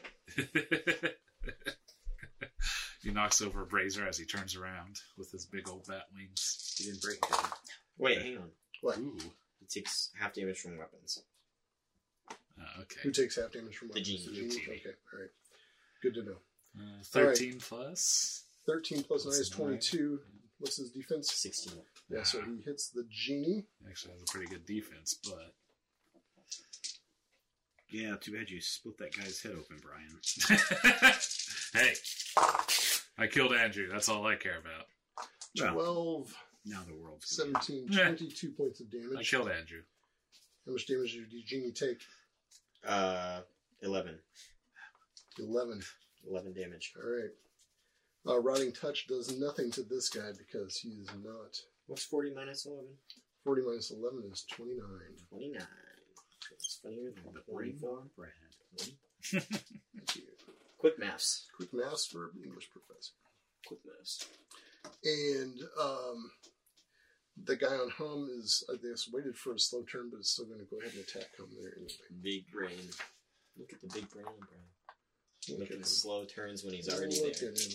He knocks over Brazier as he turns around with his big old bat wings. He didn't break it. did he? Wait, hang on. What? Ooh. It takes half damage from weapons. Okay. Who takes half damage from The weapons? genie. The genie. Okay. All right. Good to know. 13 plus. 13 plus 9 is That's 9. 22. What's his defense? 16. Yeah, so he hits the genie. Actually has a pretty good defense, but Yeah, too bad you split that guy's head open, Brian. hey, I killed Andrew. That's all I care about. Well, 12, now the world's gonna 17, Yeah. 22 points of I damage. killed Andrew. How much damage did the genie take? 11. 11. 11 damage. All right. Rotting Touch does nothing to this guy because he is not. What's 40 minus 11? 40 minus 11 is 29. 29. It's funnier than the brain 24. on Brad. Thank you. Quick maths. Quick maths for English professor. Quick maths. And the guy on Hum is, I guess, waited for a slow turn, but is still going to go ahead and attack Hum there anyway. Big brain. Look at the big brain, Brian. Look at at him. the slow turns when he's already Look there. at him.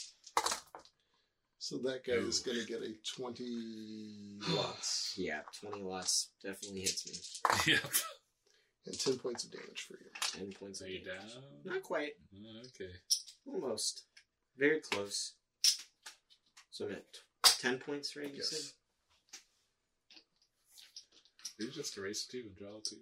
So that guy is going to get a 20 lots Yeah, 20 lots definitely hits me. Yep. and 10 points of damage for you. 10 points Are of you damage. down? Not quite. Okay. Almost. Very close. So I'm at 10 points, right? You Yes. said? Did you just erase 2 and draw 2?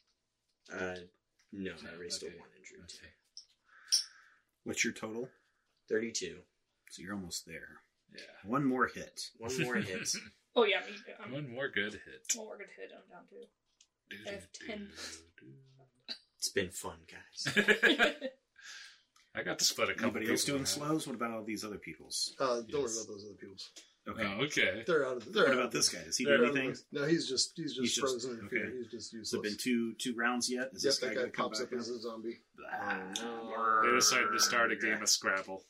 No, I raised a Okay. 1 and drew 2. Okay. What's your total? 32. So you're almost there. Yeah. One more hit. One more hit. Oh yeah, me. I'm One more good hit. one more good hit. I'm down to. I have 10. It's been fun, guys. I got to split a couple Anybody else people doing out. slows? What about all these other people's? Don't worry Yes. about those other people's. Okay. Oh, okay. They're out of the. What about this guy? Does he do They're out of anything? the- No, he's just He's just- frozen in fear. okay. He's just Has it been useless. two rounds yet? Is Yep, this guy that going guy to come pops back up up? as a zombie. They decided to start a game of Scrabble.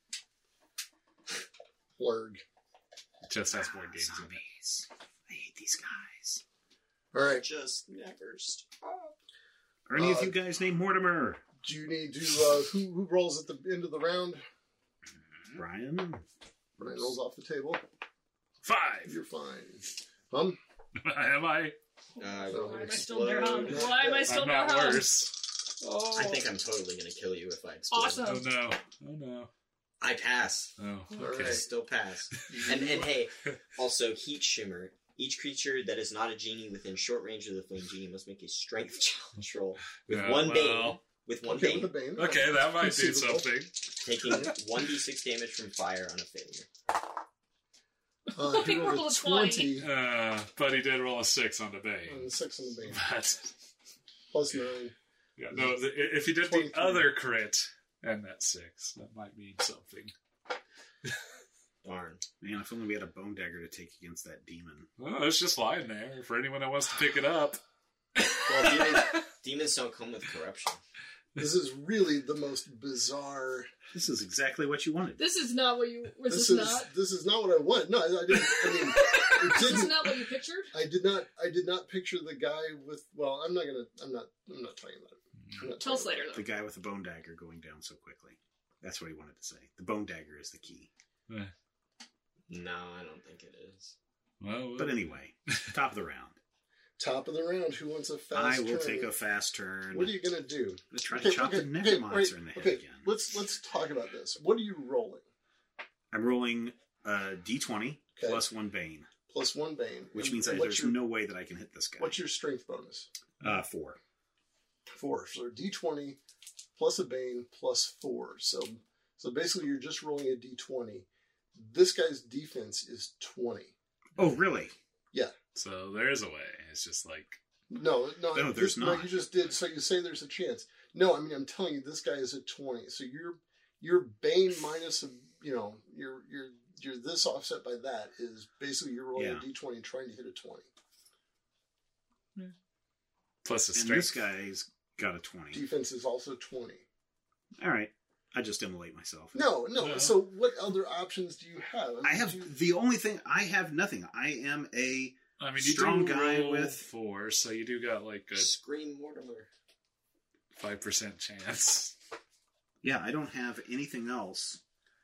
Blurg. Just has board games in it. Zombies. I hate these guys. All right. Just never stop. Are any of you guys named Mortimer? Do you need to? Who rolls at the end of the round? Brian? Brian rolls off the table. 5. You're fine. Hum. Am I? So- Why am I still there? Why am I still I'm there? not worse. Oh, I think I'm totally going to kill you if I explode. Awesome. Oh no. Oh no. I pass. Oh, All okay. I right. still pass. And hey, also Heat Shimmer. Each creature that is not a genie within short range of the flame genie must make a strength challenge roll with Yeah, one well, bane. With one Okay, bane, with the bane. Okay, that might do Conceivable. something. taking 1d6 damage from fire on a failure. He He rolled rolled a a 20. 20 But he did roll a 6 on the on Bane. the 6 on the bane. But, Plus 9. yeah, no, if he did 23. the other crit and that 6, that might mean something. Darn. Man, if only we had a bone dagger to take against that demon. Oh, it's just lying there for anyone that wants to pick it up. Well, demons don't come with corruption. This is really the most bizarre. This is exactly what you wanted. this is not what you. Was This this, is not? this is not what I want. No, I didn't. I mean, it This is didn't. not what you pictured. I did not picture the guy with. Well, I'm not talking about it. I'm not Tell us talking later, The though. guy with the bone dagger going down so quickly. That's what he wanted to say. The bone dagger is the key. No, I don't think it is. Well, But anyway, top of the round. Top of the round. Who wants a fast I will turn? take a fast turn. What are you gonna do? I'm gonna try to chop the necromancer in the head again. Let's talk about this. What are you rolling? I'm rolling d20 Okay. plus 1 bane, Plus 1 bane, which means and there's no way that I can hit this guy. What's your strength bonus? 4. 4. So d20 plus a bane plus 4. So basically, you're just rolling a d20. This guy's defense is 20. Oh, really? So there is a way. It's just like No, there's No, not. you just did. So you say there's a chance. No, I mean I'm telling you, this guy is at 20. So your bane minus your this offset by that is basically you're rolling a d20 and trying to hit a 20. plus a And strength. this guy's got a 20. Defense is also 20. All right. I just immolate myself. No. No. So what other options do you have? I have the only thing. I have nothing. I am a I mean, you strong do guy roll with- 4, so you do got like a Scream Mortimer. 5% chance. Yeah, I don't have anything else.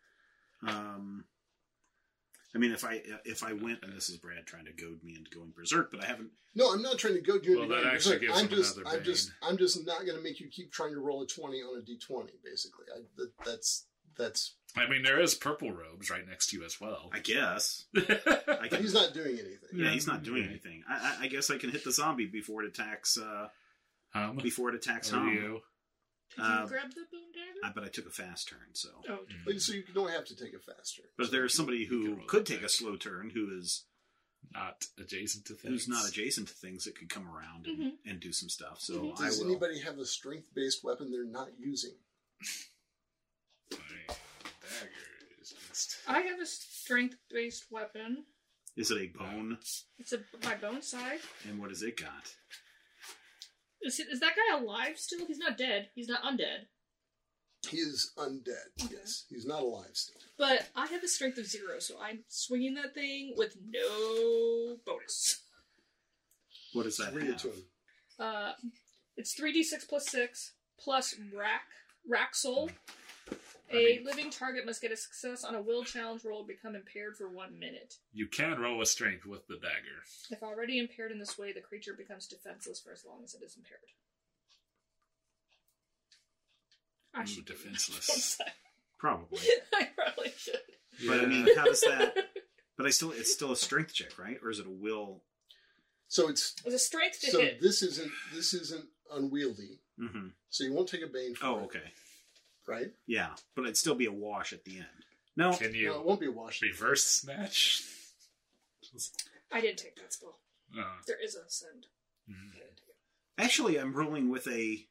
I mean, if I went, and this is Brad trying to goad me into going berserk, but I haven't. No, I'm not trying to go do Well, anything. that actually gives him another I'm just not going to make you keep trying to roll a 20 on a d20. Basically, that's. I mean, there is purple robes right next to you as well. I guess. I But can, he's not doing anything. yeah, he's not doing anything. I guess I can hit the zombie before it attacks. Before it attacks Or home. you. Did Uh, you grab the boom dagger? But I took a fast turn, so. Oh, But so you don't have to take a fast turn. But there's somebody You can who roll could that take a back. slow turn, who is Not adjacent to things. who's not adjacent to things that could come around and do some stuff. So Mhm. I Does will. anybody have a strength-based weapon they're not using? I mean, dagger is just... I have a strength-based weapon. Is it a bone? It's my bone side. And what has it got? Is that guy alive still? He's not dead. He's not undead. He is undead. Okay. Yes, he's not alive still. But I have a strength of 0, so I'm swinging that thing with no bonus. What does that Read it to have? him. It's 3d6 plus 6 plus rack soul. I A mean- living target must get a success on a will challenge roll and become impaired for 1 minute. You can roll a strength with the dagger. If already impaired in this way, the creature becomes defenseless for as long as it is impaired. I Ooh, should give you defenseless. that. Probably. I probably should. But I mean, how does that? But it's still a strength check, right? Or is it a will? So it's It was a strength to so hit. this isn't unwieldy. Mm-hmm. So you won't take a bane for Oh, it, okay. right? Yeah, but it'd still be a wash at the end. No, Can you No, it won't be a wash. reverse snatch? I didn't take that spell. Uh, There is a send. mhm. I didn't take it. actually, I'm rolling with a.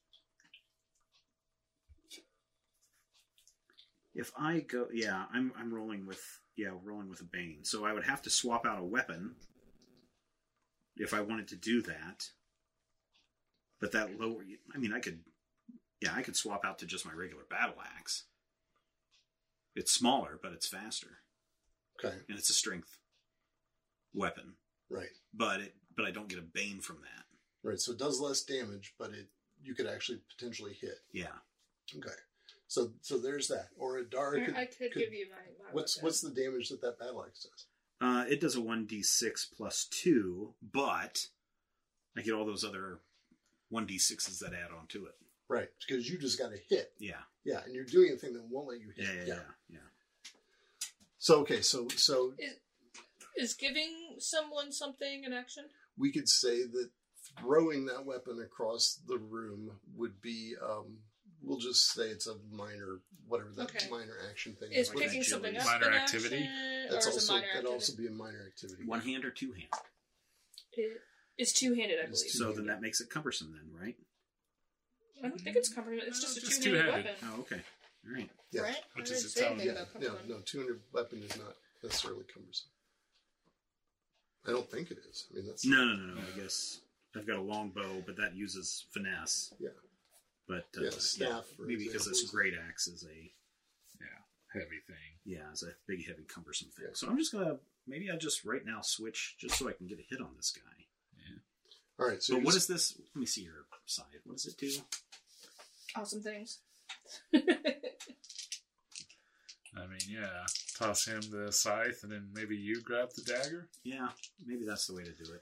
If I go, yeah, I'm rolling with a bane. So I would have to swap out a weapon if I wanted to do that. But that lower, I mean, I could swap out to just my regular battle axe. It's smaller, but it's faster, Okay, and it's a strength weapon. right, But I don't get a bane from that. right. So it does less damage, but you could actually potentially hit. Yeah. Okay, so there's that. Or a Dara I could give you my What's weapon. the damage that battle axe does? It does a 1d6 plus 2, but I get all those other 1d6s that add on to it. Right, because you just got to hit. Yeah. Yeah, and you're doing a thing that won't let you hit. Yeah. So okay, so Is giving someone something an action? we could say that throwing that weapon across the room would be. We'll just say it's a minor, whatever that Okay. minor action thing Is like picking agility. something up Minor an activity? action, That's or is also a minor that'd activity? also be a minor activity. One hand or two hand. It is two-handed, I It's believe. So then that makes it cumbersome then, right? I don't think it's cumbersome. It's just a Just two-handed two-handed. weapon, Oh, okay. All right. Yeah. right? Which I is didn't its say own- anything Yeah, about no, cumbersome. no, 200 weapon is not necessarily cumbersome. I don't think it is. I mean, that's No. I guess I've got a long bow, but that uses finesse. Yeah. But Yeah, staff, for maybe because example, this is- great axe is a Heavy thing. is a big, heavy, cumbersome thing. Yeah. So I'm just gonna maybe I just right now switch just so I can get a hit on this guy. All right. So But you're what just- is this? Let me see your side. What does it do? Awesome things. I mean, yeah. toss him the scythe, and then maybe you grab the dagger. Yeah, maybe that's the way to do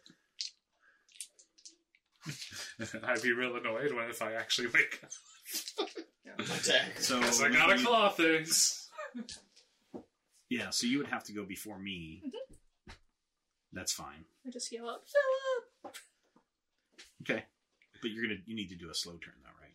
it. I'd be real annoyed if I actually wake up. Attack. So Because I gotta claw things. Yeah, so you would have to go before me. That's fine. I just yell out, Philip! Okay, but you need to do a slow turn though, right?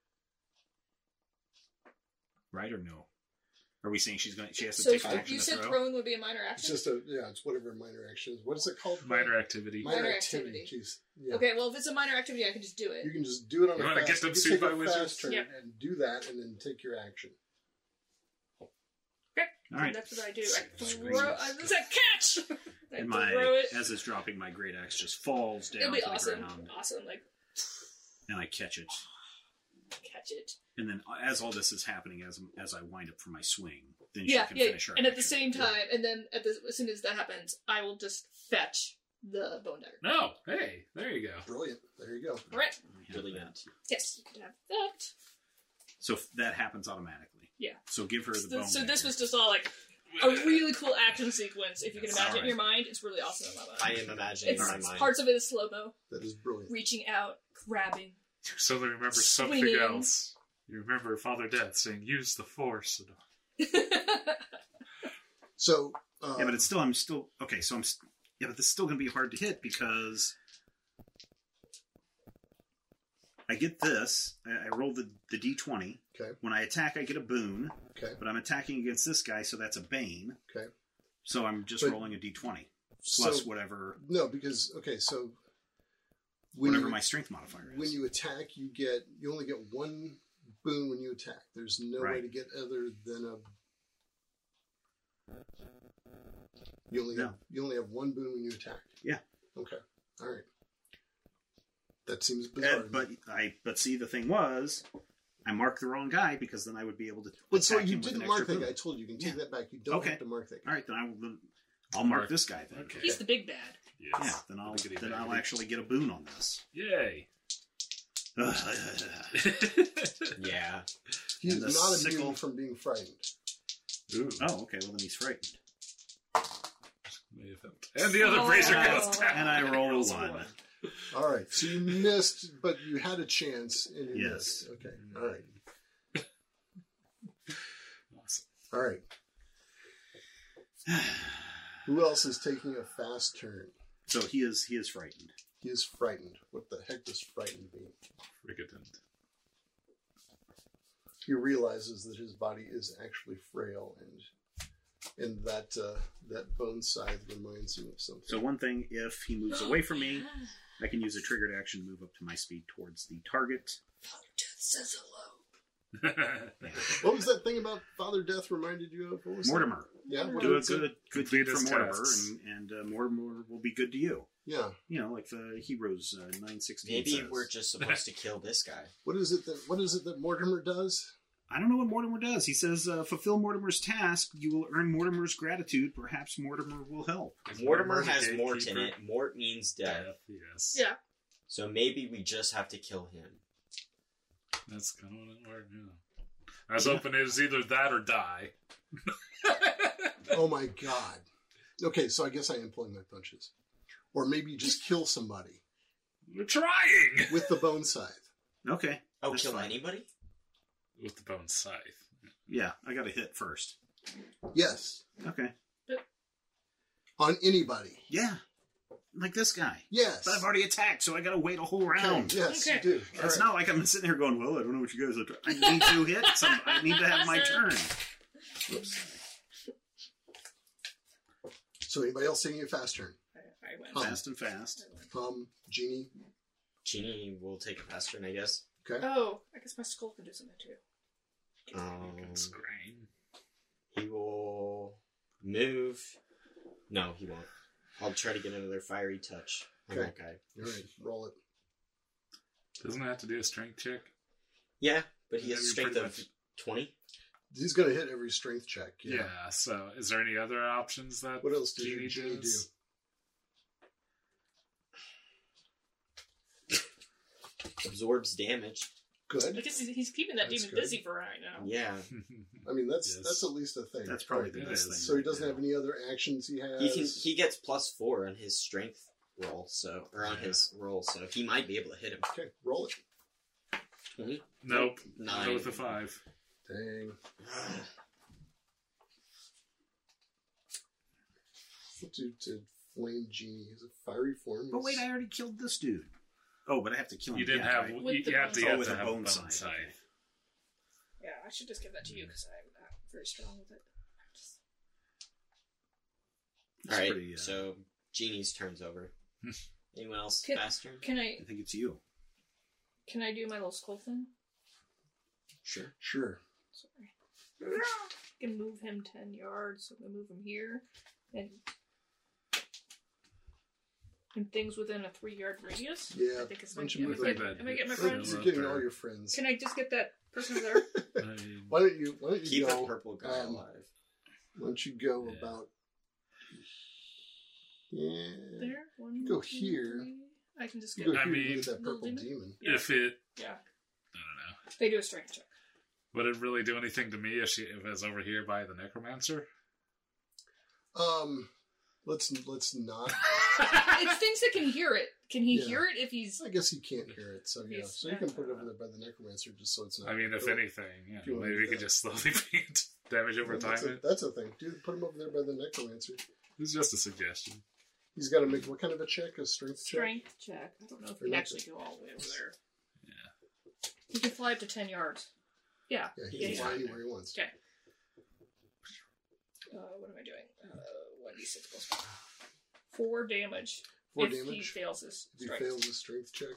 Right or no? Are we saying she has to So take an action you to said throw? throwing would be a minor It's action? just it's whatever minor action is. What is it called? Minor activity. Minor activity. Jeez. Yeah. Okay, well, if it's a minor activity, I can just do it. You can just do it on You a wanna fast, get them you sued take by a wizards? fast turn Yep. and do that, and then take your action. Okay, All right. that's what I do. I Scream. throw. It's a catch! I And throw it. as it's dropping, my great axe just falls down It'll be to awesome. the ground, Awesome. Like, and I catch it. catch it. And then, as all this is happening, as I wind up for my swing, then she Yeah, can yeah. finish her And at the action. same time, and then as soon as that happens, I will just fetch the bone dagger. No, hey, there you go. Brilliant. There you go. All right. I have Really that. good. Yes, you can have that. So that happens automatically. Yeah. So give her the bone. So this dagger. was just all like a really cool action sequence. If you can Yes. imagine it in your Alright. mind, it's really awesome in my mind. I am imagining in my It's mind. parts of it is slow mo, That is brilliant. reaching out, grabbing. You suddenly remember something Swinging. else. You remember Father Death saying, use the force. So, Yeah, but I'm still okay. So yeah, but this is still going to be hard to hit because I get this. I roll the d20. Okay. When I attack, I get a boon. Okay. But I'm attacking against this guy, so that's a bane. Okay. So I'm just But- rolling a d20 plus so whatever no, because so when whatever you, my strength modifier is. when you attack, you only get one boon when you attack. There's no way Right. to get other than a. You only have one boon when you attack. Yeah. Okay. All right. That seems bizarre. But see, the thing was, I marked the wrong guy because then I would be able to. But so attack you him with didn't an mark extra that boon. guy. I told you, you can take Yeah. that back. You don't Okay. have to mark that guy. All right, then I'll mark this guy then. Okay. He's the big bad. Yes. Yeah, then I'll Biggity-biggity. actually get a boon on this. Yay. Yeah. He's And the not sickle- immune from being frightened. Ooh. Oh, okay. Well, then he's frightened. May have helped. And the other brazier goes down. And I roll Rolls one. All right. So you missed, but you had a chance. And you Yes. missed. Okay. All right. Awesome. All right. Who else is taking a fast turn? So he is frightened. He is frightened. What the heck does frightened mean? Frigatent. He realizes that his body is actually frail, and that that bone scythe reminds him of something. So one thing, if he moves away from me, I can use a triggered action to move up to my speed towards the target. Father Death says hello. What was that thing about Father Death reminded you of? What was that? Mortimer, Yeah. What do a did it say? good Complete deed for his Mortimer, tasks. and Mortimer will be good to you. Yeah. You know, like the Heroes 916 Maybe says. we're just supposed to kill this guy. What is it that Mortimer does? I don't know what Mortimer does. He says, fulfill Mortimer's task. You will earn Mortimer's gratitude. Perhaps Mortimer will help. Mortimer the has Mort in gatekeeper. it. Mort means death. Yes. Yeah. So maybe we just have to kill him. That's kind of what it worked. Yeah. I was hoping it was either that or die. Oh my god. Okay, so I guess I am pulling my punches. Or maybe just kill somebody We're trying with the bone scythe. Okay. Oh, That's kill fine. anybody? with the bone scythe. Yeah, I got to hit first. Yes. Okay. On anybody. Yeah. Like this guy. Yes. But I've already attacked, so I got to wait a whole Okay, round. yes, Okay. you do. All It's right. not like I'm sitting here going, well, I don't know what you guys are I need to hit some. I need to have my turn. Whoops. So anybody else taking a fast turn? I went. Fast and fast. Genie. Genie will take a fast turn, I guess. Okay. Oh, I guess my skull can do something too. It's grain. He will move. No, he won't. I'll try to get another fiery touch on Okay. that guy. All right, roll it. Doesn't it have to do a strength check? Yeah, but he has a Maybe strength pretty of much- 20. He's going to hit every strength check. Yeah. So, is there any other options that What else does your Genie genie do? does? Absorbs damage. Good. I guess he's keeping that That's demon good. busy for right now. Yeah. I mean, that's Yes. at least a thing. That's probably right? the best thing. So he right doesn't now. have any other actions he has. He gets +4 on his strength roll, on his roll, so he might be able to hit him. Okay, roll it. 20? Nope. 9. Go with the 5. Dang. What to Flame Genie? He's a fiery form. But wait, I already killed this dude. Oh, but I have to kill him. You didn't again, have. right? With the You have to, bone you have with to a have bone bone scythe, scythe. okay. Yeah, I should just give that to you because I'm not very strong with it. It's Alright, pretty, so Genie's turn's over. Anyone else Can- faster? Can I I think it's you. do my little skull thing? Sure. Sure. Sorry. I can move him 10 yards, so I'm gonna move him here. And things within a 3-yard radius? Yeah. I think it's Why my don't you move am I that? getting my Yeah. friends? You're getting all your friends. Can I just get that person over there? Why don't you Keep go? a purple guy alive. Why don't you go Yeah. about? Yeah. There? One, Go two, here. three. I can just You get go I here mean- and get that Little purple demon? demon. If it, Yeah. I don't know. They do a strength check. Would it really do anything to me if it was over here by the necromancer? Let's not. It's things that can hear it. Can he Yeah. hear it if he's... I guess he can't hear it, so yeah. Yes. So you can put it over there by the necromancer, just so it's not. I mean, if Cool. anything, yeah, If you wanna maybe do we could that. just slowly bring damage over Well, time. that's a thing, dude. Put him over there by the necromancer. It's just a suggestion. He's got to make what kind of a check? A strength check. Strength check. I don't know if Or he not actually go all the way over there. Yeah. He can fly up to 10 yards. Yeah. Yeah, he Yeah, can yeah. fly anywhere he wants. Okay. What am I doing? 1d6 plus 1. 4 damage. 4 if he damage. fails his If he strength. fails his strength check,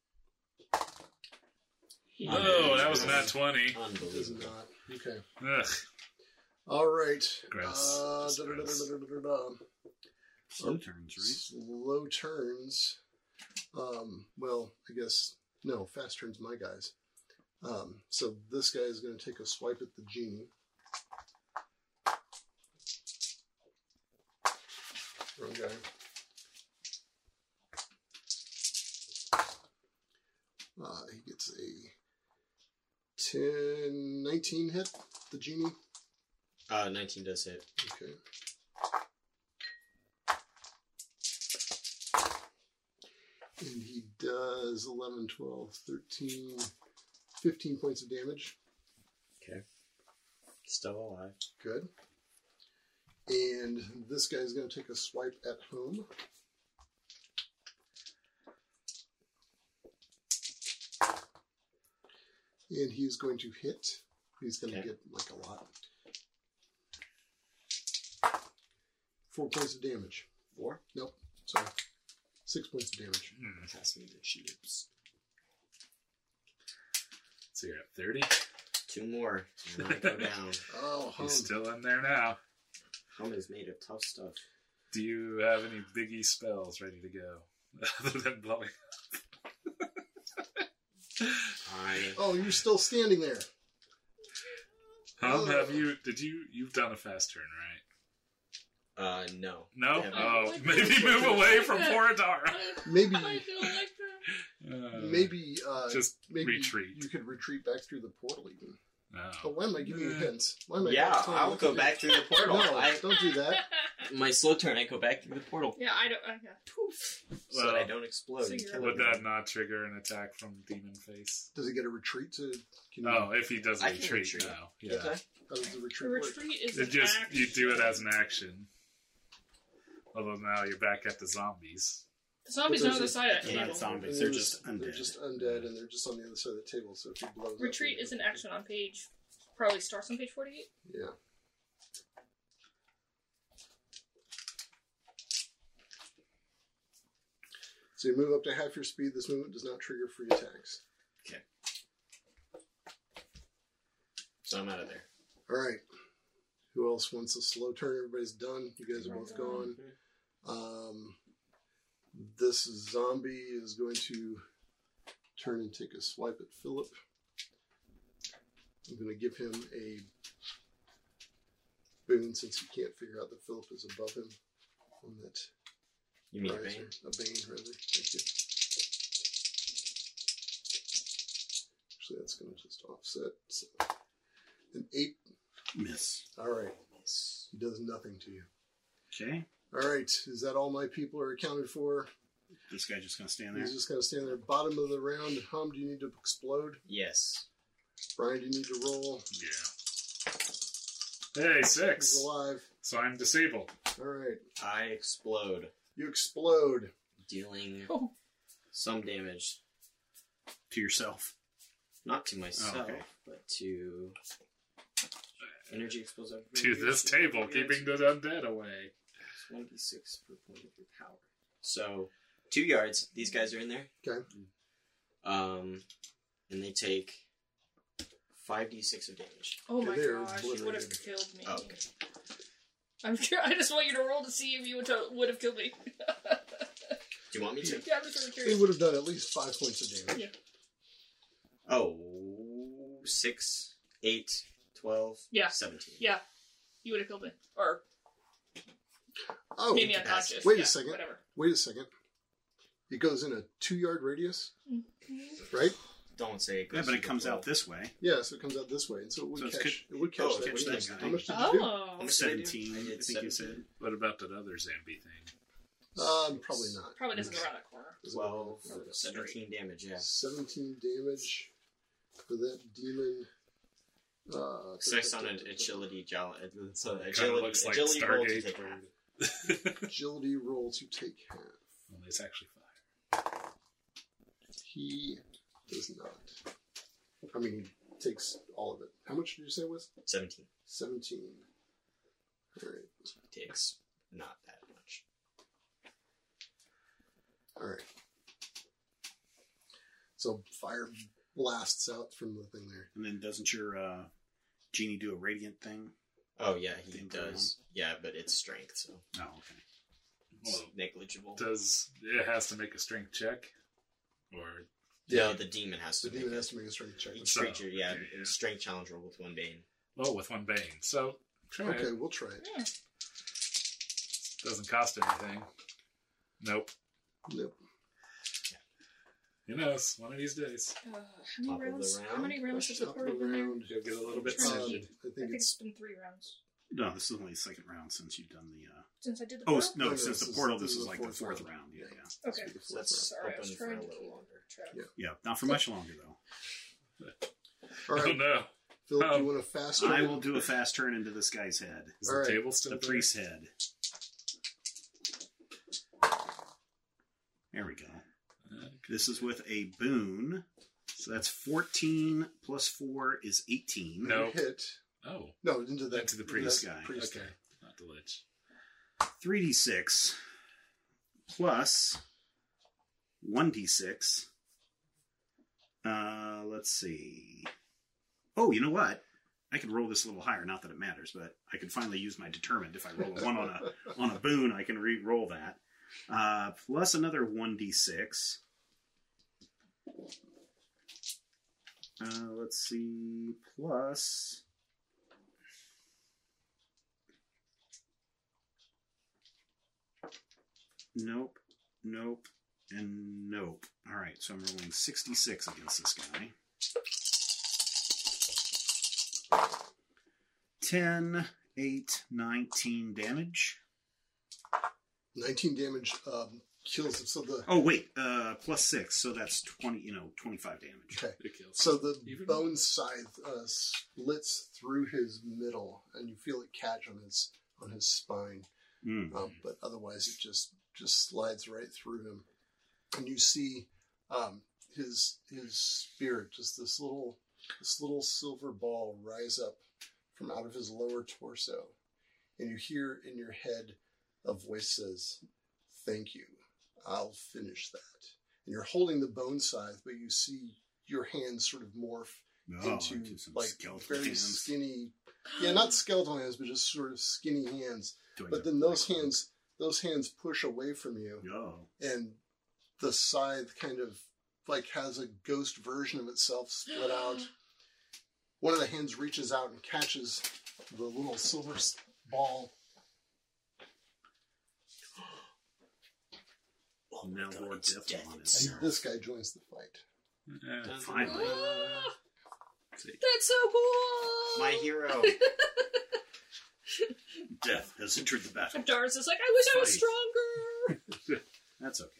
Oh, that was not 20. he does Unbelievable. not. Okay. Ugh. All right. Gross. Just gross. Slow turns, right? Slow turns. Well, I guess no. Fast turns, my guys. So this guy is going to take a swipe at the genie. Wrong guy. He gets a 19 hit. The genie. 19 does hit. Okay. And he does 11, 12, 13, 15 points of damage. Okay. Still alive. Good. And this guy's going to take a swipe at home. And he's going to hit. He's going to Okay. get like a lot. 4 points of damage. 4? Nope. Sorry. 6 points of damage. Pass me the chips. So you're at 30. 2 more. And I go down. Oh, hum. He's still in there now. Hum is made of tough stuff. Do you have any biggie spells ready to go? Other than blowing Oh, you're still standing there. You've done a fast turn, right? No. No? Yeah, Oh, but- maybe move away from Foradara. Maybe, I don't like that. maybe, Just maybe retreat. You could retreat back through the portal even. No. But why am I giving you hints? Why am I Yeah, telling you I'll what go to do? back through the portal. No, don't do that. My slow turn, I go back through the portal. Yeah, I don't... yeah. Poof. So that I Well, don't explode and so kill Would everyone. that not trigger an attack from Demon Face? Does he get a retreat to? Can you, Oh, if he does a I can retreat retreat. now. Okay. Yeah. How does the The retreat work? retreat is It an just action. you do it as an action. Although now you're back at the zombies. The zombies But are on the there's side of They're the not table. zombies. And They're just undead. They're just undead, and they're just on the other side of the table. So if he blows up, Retreat then- is an action on page... Probably starts on page 48. Yeah. So you move up to half your speed. This movement does not trigger free attacks. So I'm out of there. All right. Who else wants a slow turn? Everybody's done. You guys are both gone. This zombie is going to turn and take a swipe at Philip. I'm going to give him a boon since he can't figure out that Philip is above him on that You mean riser. Bane? A bane, rather. Thank you. Actually, that's going to just offset. So, an 8. Miss. All right. He does nothing to you. Okay. All right. Is that all my people are accounted for? This guy just gonna stand there. He's just going to stand there. Bottom of the round. Hum, do you need to explode? Yes. Brian, do you need to roll? Yeah. Hey, He's 6. alive. So I'm disabled. All right. I explode, You explode. dealing Oh. some damage, To yourself. not to myself, okay. but to energy explosive. To this table, keeping the undead away. 1d6 per point of your power. So, 2 yards. These guys are in there. Okay. And they take 5d6 of damage. Oh my They're gosh, you would have obliterated. killed me. Oh, okay. I'm sure. I just want you to roll to see if you would have killed me. Do you want me to? Yeah, I'm just really He curious. would have done at least 5 points of damage. Yeah. Oh, 6, 8, 12, Yeah. 17. Yeah, you would have killed me, or Oh, made me unconscious. Wait a Yeah, second. Whatever. wait a second. It goes in a 2-yard radius, Mm-hmm. right? Don't say it goes Yeah, but it to comes the out this way. Yeah, so it comes out this way, and so it would So it's catch. It would catch oh, that. catch wouldn't that it? guy. How much did you do? Oh. How much did I do? 17, I I did think you 17. said. What about that other zombie thing? Probably not. Probably doesn't go around that corner. 12, Probably not. 17 damage, yeah. 17 damage for that demon. 6 on an agility, it's an Kinda looks like agility roll to Stargate. take half. Agility roll to take half. Well, it's actually 5. He does not. I mean, he takes all of it. How much did you say it was? 17 17. All right. takes not that much. All right. So fire blasts out from the thing there. And then doesn't your genie do a radiant thing? Oh, yeah, he Thing does. Yeah, but it's strength, so Oh, okay. it's Well, negligible. does it has to make a strength check? Or No, the demon has The to demon make has to make a strength check. each So, creature, yeah, okay, yeah. strength challenge roll with 1 bane. with 1 bane. So try Okay, it. we'll try it. Yeah. Doesn't cost anything. Nope. Nope. Who knows? One of these days. How Top many of the rounds? round. How many rounds has the Top party of the been there? round. You'll get a little bit Um, I singeed. think think it's it's been 3 rounds No, this is only the second round since you've done the. since I did the. Oh, portal? no, No, since this the is- portal, this this is is the like the fourth fourth round. round. Yeah, yeah. Okay, the So that's sorry, I was open for trying a to little keep longer. track. Yeah. Yeah, not for much longer, though. all right. Oh no! Philip, do you want a fast I turn? will do a fast turn into this guy's head. Is All the right. table still The there? priest's head. There we go. This is with a boon. So that's 14 plus 4 is 18. No. Hit. Oh, No, into that. Into the priest that guy. Priest okay. guy. Not the lich. 3d6 plus 1d6. Let's see. Oh, you know what? I could roll this a little higher. Not that it matters, but I could finally use my determined. If I roll a 1 on a boon, I can re-roll that. Plus another 1d6. Let's see. Plus. Nope. Nope. And nope. All right, so I'm rolling 66 against this guy. 10, 8, 19 damage. 19 damage kills him. So the Oh, wait. Plus 6, so that's 25 damage. okay. It kills. So the Even- bone scythe splits through his middle, and you feel it catch on his spine. Mm. But otherwise, it just slides right through him, and you see his spirit, just this little silver ball, rise up from out of his lower torso, and you hear in your head a voice says, "Thank you. I'll finish that." And you're holding the bone scythe, but you see your hands sort of morph into some like skeletal very hands. skinny, not skeletal hands, but just sort of skinny hands. Doing But the then those right hands push away from you, one. Oh. and the scythe kind of like has a ghost version of itself split out. One of the hands reaches out and catches the little silver ball. Now Lord it's death Deathlon And is this guy joins the fight. Finally. Ah, See. that's so cool! My hero. Death has entered the battle. Dars is like, I wish I was Fight. stronger! That's okay.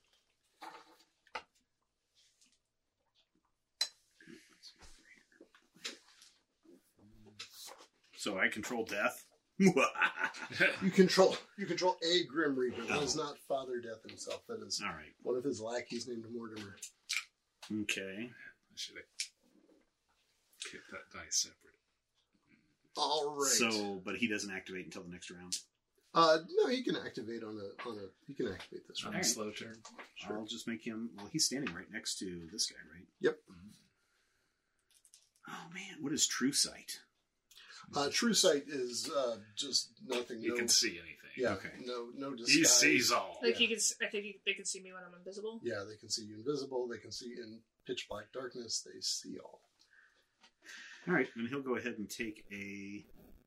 So I control death. You control a Grim Reaper. That is not Father Death himself. That is All right. one of his lackeys named Mortimer. Okay. I should have kept that dice separate. All right. So, but he doesn't activate until the next round. No, he can activate he can activate this On round. a slow turn. I'll just make him. Well, he's standing right next to this guy, right? Yep. Oh man, what is True Sight? True Sight is just nothing. You no, can see anything. Yeah. Okay. No disguise. He sees all. Like, Yeah. he can, I think they can see me when I'm invisible. Yeah, they can see you invisible. They can see in pitch black darkness. They see all. All right, and he'll go ahead and take a.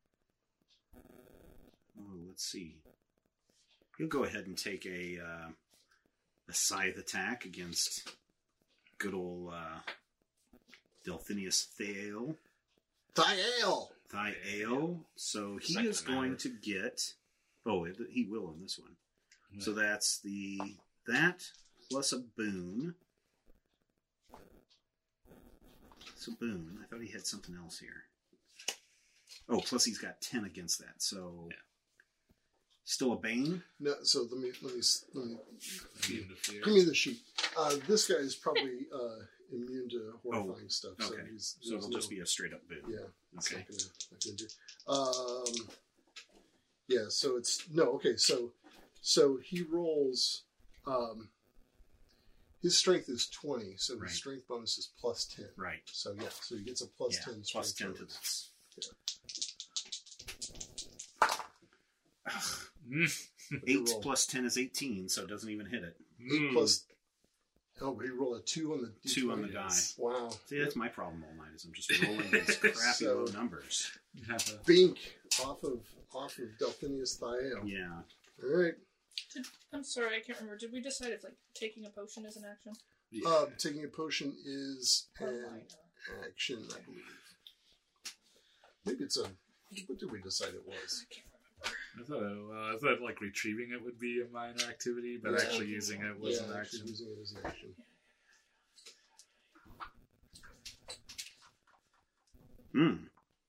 Oh, let's see. He'll go ahead and take a scythe attack against good old Delphinius Thale. Thiael. So he Second is going matter. to get. Oh, he will on this one. So that's that plus a boon. It's a boon. I thought he had something else here. Oh, plus he's got 10 against that. So still a bane. No, so let me Fiend of fear. give me the sheet. This guy is probably immune to horrifying stuff. So Okay. he's So it'll just be a straight up boon. yeah. It's Okay. not gonna do. Yeah. So it's no. Okay. So he rolls. His strength is 20, so Right. his strength bonus is plus 10. Right. So yeah, so he gets a plus Yeah, 10 plus strength 10 to bonus. this. What'd you 8 roll? plus 10 is 18, so it doesn't even hit it. 8 plus. Oh, but he rolled a 2 on the D20. 2 on the die. Yes. Wow. See, that's my problem all night, is I'm just rolling these crappy So- low numbers. Bink off of Delphinius Thiael. Yeah. All right. I'm sorry, I can't remember. Did we decide if, like, taking a potion is an action? Taking a potion is Or an minor? action, I believe. Maybe it's a. What did we decide it was? I can't remember. I thought like retrieving it would be a minor activity, but Yeah. actually using it was an actually action. using it as an action. Hmm.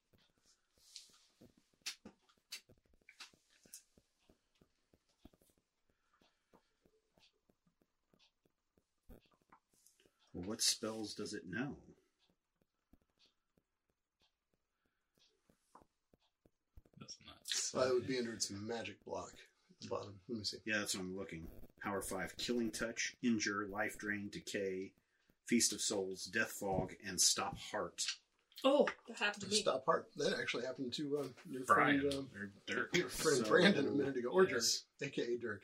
Well, what spells does it know? That's not. It would be under its magic block at the bottom. Let me see. Yeah, that's what I'm looking. Power 5, Killing Touch, Injure, Life Drain, Decay, Feast of Souls, Death Fog, and Stop Heart. Oh, that happened to me. Stop Heart. That actually happened to your Brian friend, or Dirk. your friend So- Brandon a minute ago, or Yes. Dirk, aka Dirk.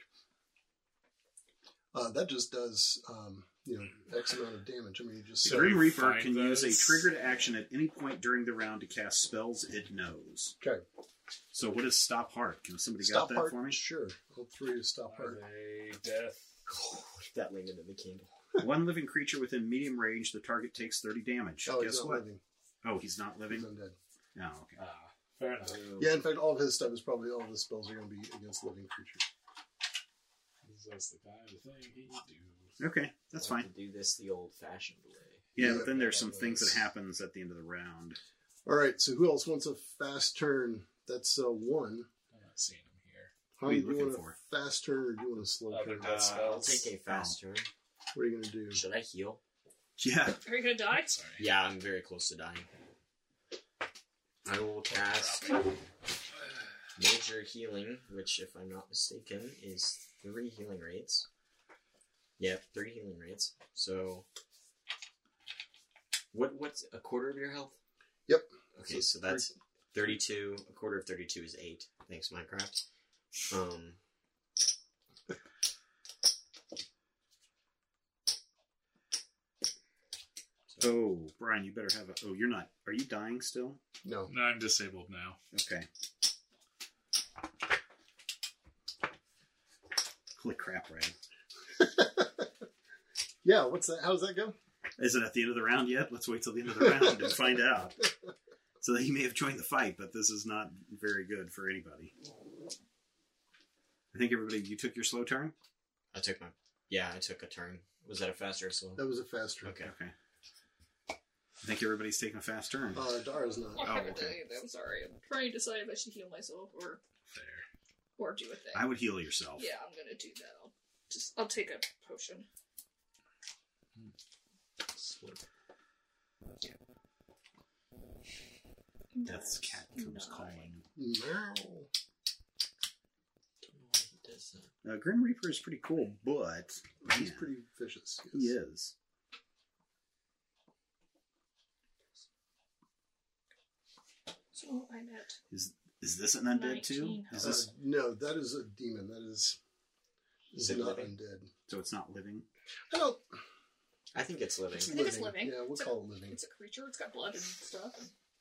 That just does X amount of damage. I mean, you just The So Grim you Reaper find can use a those- triggered action at any point during the round to cast spells it knows. okay. So what is Stop Heart? Can somebody Stop got that Heart for me? Sure. All three is Stop Are Heart. they death? That landed in the candle. One living creature within medium range, the target takes 30 damage. Oh, he's Guess not what? living. Oh, he's not He's living? undead. Oh, okay. Fair enough. Yeah, in fact, all of his stuff is probably all of his spells are going to be against living creatures. That's the kind of thing he do. Okay, that's I like fine. to do this the old-fashioned way. Yeah, Yeah. but then there's some things that happens at the end of the round. All right, so who else wants a fast turn? That's one. I'm not seeing him here. How What are you do you looking want for? a fast turn or do you want a slow Other turn? death I'll spells. take a fast turn. What are you going to do? Should I heal? Yeah. Are you gonna die? Sorry. Yeah, I'm very close to dying. I will cast Major Healing, which, if I'm not mistaken, is 3 healing rates. Yep, 3 healing rates. So, what's a quarter of your health? Yep. Okay, so that's 32. A quarter of 32 is 8. Thanks, Minecraft. Oh, Brian, you better have a... Oh, you're not... Are you dying still? No. No, I'm disabled now. Okay. Holy crap, Brian. Yeah, what's that? How does that go? Is it at the end of the round yet? Let's wait till the end of the round and find out. So that he may have joined the fight, but this is not very good for anybody. I think everybody, you took your slow turn? I took a turn. Was that a fast or slow? That was a fast turn. Okay. Okay. I think everybody's taking a fast turn. Dara's not. I haven't okay. done anything. I'm sorry. I'm trying to decide if I should heal myself or do a thing. I would heal yourself. Yeah, I'm gonna do that. I'll take a potion. Slip. Death's cat comes calling. No. Don't know why he does that. Grim Reaper is pretty cool, but He's man, pretty vicious. he is. So I'm at. Is this an undead too? 19. Is this No, that is a demon. That is Is it not living? undead. so? It's not living. I don't. I think it's living. I think it's living. Yeah, we'll It's a- call it living. It's a creature. It's got blood and stuff.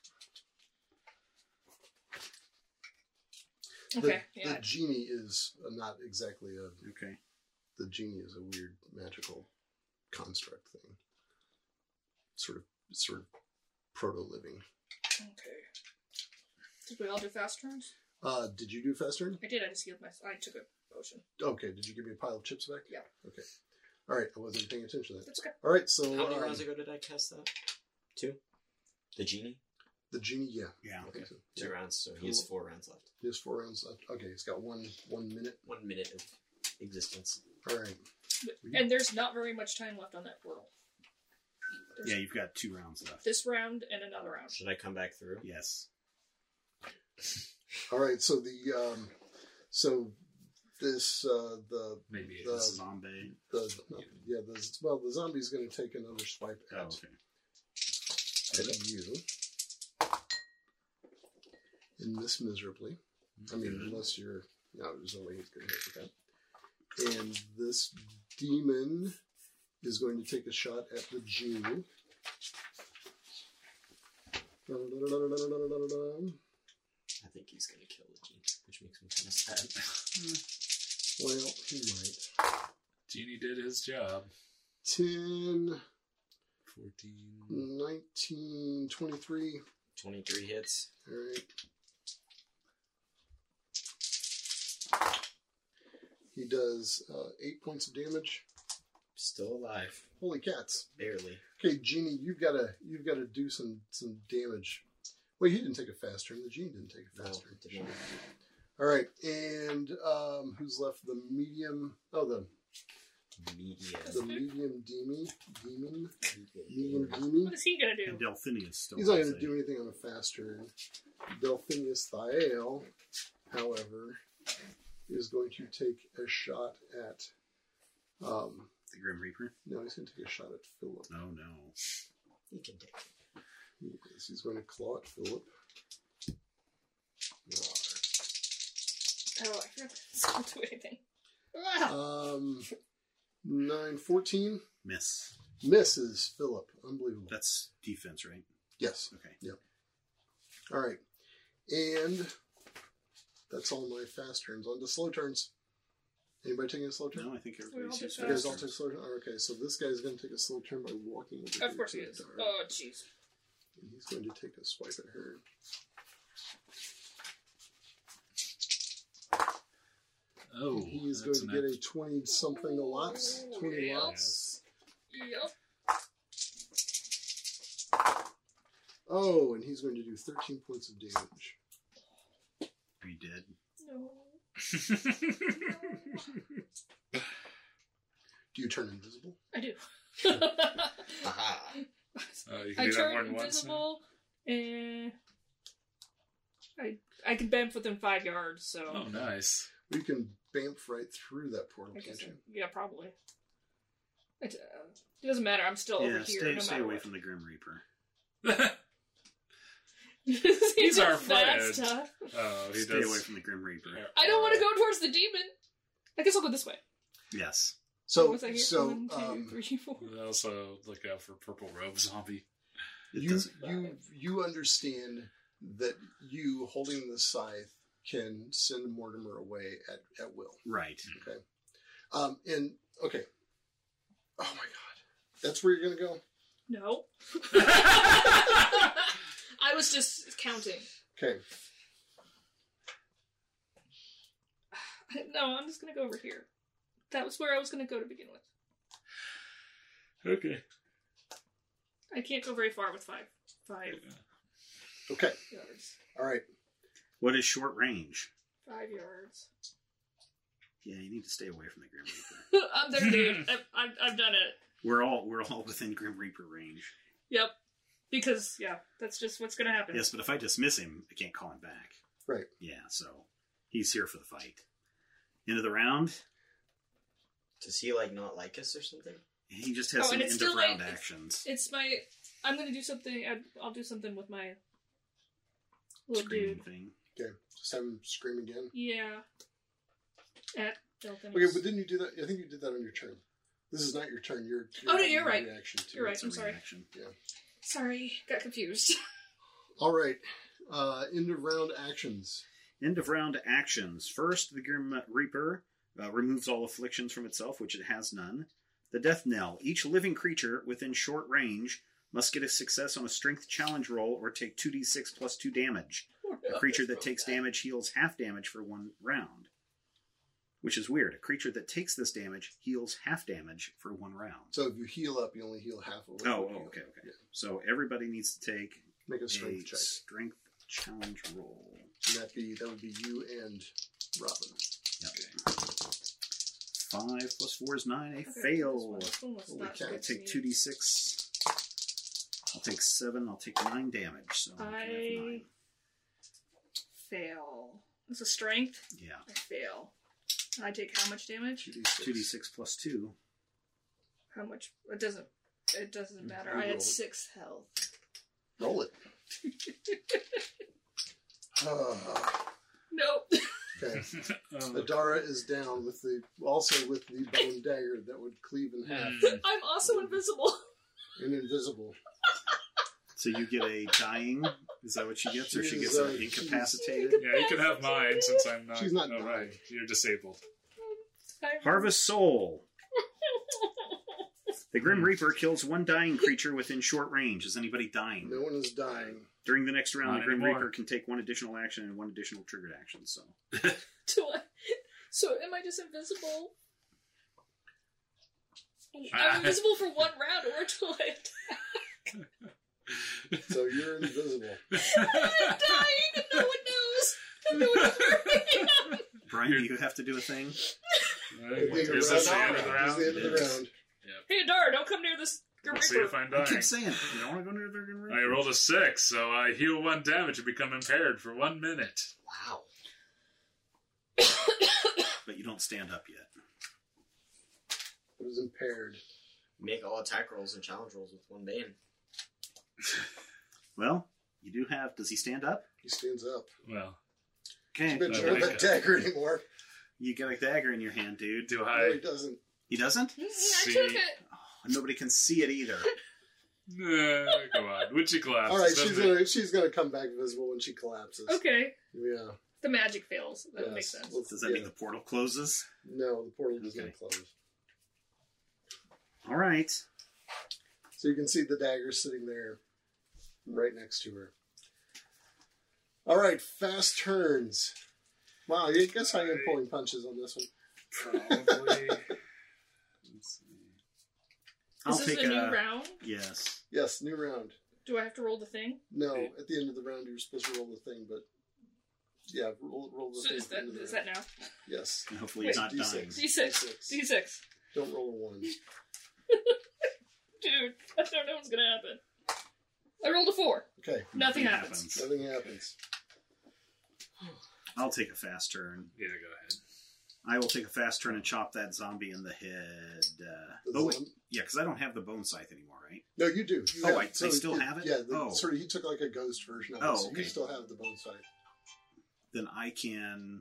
Okay. The genie is not exactly a. Okay. The genie is a weird magical construct thing. Sort of proto living. Okay. Did we all do fast turns? Did you do fast turn? I did. I just healed myself. I took a potion. Okay. Did you give me a pile of chips back? Yeah. Okay. All right. I wasn't paying attention to that. That's okay. All right. So How many rounds ago did I cast that? 2? The genie? the genie, yeah. Yeah. I think so. 2 Yeah. rounds, so he has 4 rounds left. He has 4 rounds left. Okay. He's got 1 minute. 1 minute of existence. All right. And there's not very much time left on that portal. There's Yeah, you've got 2 rounds left. this round and another round. Should I come back through? Yes. All right. So the Maybe The- it's Zombie. the zombie's going to take another swipe Oh, at okay. you and miss miserably. I mean, unless you're no, there's no way he's going to hit with that. And this demon is going to take a shot at the genie. I think he's going to kill the genie, which makes me kind of sad. Well, he might. Genie did his job. 10, 14. 19, 23. 23 hits. All right. He does 8 points of damage. Still alive. Holy cats! Barely. Okay, Genie, you've got to do some damage. Wait, he didn't take a fast turn. The Genie didn't take a No, fast turn. did not. All right, and who's left? The medium. Oh, the medium demon. Medium demon. What is he gonna And do? Delphinius still. He's not has going to do anything on a fast turn. Delphinius Thael, however, is going to take a shot at. the Grim Reaper. No, he's going to take a shot at Philip. Oh no. He can take it. He's going to claw at Philip. Oh, I forgot this won't do anything. Ah! 9, 14. Miss. Misses Philip. Unbelievable. That's defense, right? Yes. Okay. All right. And that's all my fast turns. On to slow turns. Anybody taking a slow turn? No, I think We all everybody's did used You guys fast all fast take turns. slow turn? Okay, so this guy's going to take a slow turn by walking over Of here course to he is. Dara. Oh, jeez. And he's going to take a swipe at her. Oh, He's going that's to an get a 20-something a lots. 20 Yeah. lots. Yep. Oh, and he's going to do 13 points of damage. Are you dead? No. Do you turn invisible? I do. Aha! You can I do that turn more than once. now? invisible, and I can bend within 5 yards. So Oh, nice. You can bamf right through that portal, I guess can't you? yeah, probably. It doesn't matter. I'm still over Yeah, here. No stay matter away what. from the Grim Reaper. He's our friend. That's tough. Oh, he Stay does. away from the Grim Reaper. I don't want to go towards the demon. I guess I'll go this way. Yes. So, What was I here? 1, 2, 3, 4. And also look out for purple robe zombie. It you doesn't- you understand that you holding the scythe can send Mortimer away at will. Right. Okay. And okay. Oh my God, that's where you're gonna go. No. I was just counting. Okay. No, I'm just gonna go over here. That was where I was gonna go to begin with. Okay. I can't go very far with 5 Okay. yards. All right. What is short range? 5 yards. Yeah, you need to stay away from the Grim Reaper. I'm there, dude. I've done it. We're all within Grim Reaper range. Yep. Because, yeah, that's just what's gonna happen. Yes, but if I dismiss him, I can't call him back. Right. Yeah, so he's here for the fight. End of the round. Does he like not like us or something? He just has Oh, some and end it's of still round like- actions. It's my... I'm gonna do something... I'll do something with my little Screaming dude. thing. Okay. Just have him scream again. Yeah. At Delphin. Okay, but didn't you do that? I think you did that on your turn. This is not your turn. Oh, no, you're right. Reaction to You're it. right. It's a I'm sorry. reaction. Sorry, got confused. All right. End of round actions. End of round actions. First, the Grim Reaper removes all afflictions from itself, which it has none. The Death Knell. Each living creature within short range must get a success on a strength challenge roll or take 2d6 plus 2 damage. A creature that takes damage heals half damage for 1 round. Which is weird. A creature that takes this damage heals half damage for 1 round. So if you heal up, you only heal half of what Oh, you heal. okay. Yeah. So everybody needs to take Make a a strength check. strength challenge roll. And that would be you and Robin. Yep. 5 plus 4 is 9. A Okay, fail. this one was Holy not cow. I'll good take to me. 2d6. I'll take 7. I'll take 9 damage. So I can have 9. Fail. It's a strength. Yeah. I fail. I take how much damage? 2d6 plus 2. How much? It doesn't matter. You I roll had it. 6 health. Roll it. Nope. Okay. Adara is down with the bone dagger that would cleave in half I'm also invisible. and invisible. So you get a dying. Is that what she gets? Or she She's, gets an she's- incapacitated? Yeah, you can have mine since I'm not. She's not oh, right. dying. You're disabled. Harvest Soul. The Grim Reaper kills 1 dying creature within short range. Is anybody dying? No one is dying. During the next round, Not the Grim anymore. Reaper can take 1 additional action and 1 additional triggered action. So So am I just invisible? I'm invisible for 1 round, or until I attack. So you're invisible. I'm dying, and no one knows. And no one knows where I am. Brian, do you have to do a thing? Is this the end of the It's round? the end of the round. Hey, Adara, don't come near this Grim We'll see if Reaper. I'm I dying. keep saying, you don't want to go near the Grim Reaper. I rolled a 6, so I heal 1 damage and become impaired for 1 minute. Wow. But you don't stand up yet. It was impaired. Make all attack rolls and challenge rolls with 1 bane. Well, you do have... Does he stand up? He stands up. Well, Okay. He doesn't I show like that it. dagger anymore. You got a dagger in your hand, dude. do No, I? he doesn't. He doesn't? I See. took it. Oh, nobody can see it either. Come on, witchy collapse. All right, she's gonna come back visible when she collapses. Okay. Yeah. The magic fails. That Yes. makes sense. Well, Does that mean the portal closes? No, the portal does Okay. not close. All right. So you can see the dagger sitting there, right next to her. All right, fast turns. Wow, I guess I am pulling punches on this one. Probably. Let's see. I'll Is this take a new round? Yes. Yes, new round. Do I have to roll the thing? No, at the end of the round you're supposed to roll the thing, but yeah, roll the So thing. is at the end of the is round. that now? Yes. And hopefully he's not D6. dying. D6. D6. Don't roll a 1. Dude, I don't know what's gonna happen. I rolled a 4. Okay, Nothing happens. nothing happens. I'll take a fast turn. Yeah, go ahead. I will take a fast turn and chop that zombie in the head. The Oh, wait. zom- Yeah, because I don't have the bone scythe anymore, right? No, you do. You Oh, have- I still have it? Yeah, Oh. sort of. He took like a ghost version of it. Oh, So okay. you still have the bone sight. Then I can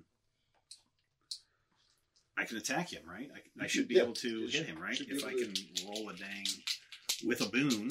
attack him, right? I should be able to you hit him, right? should be If I able can roll a dang with a boon.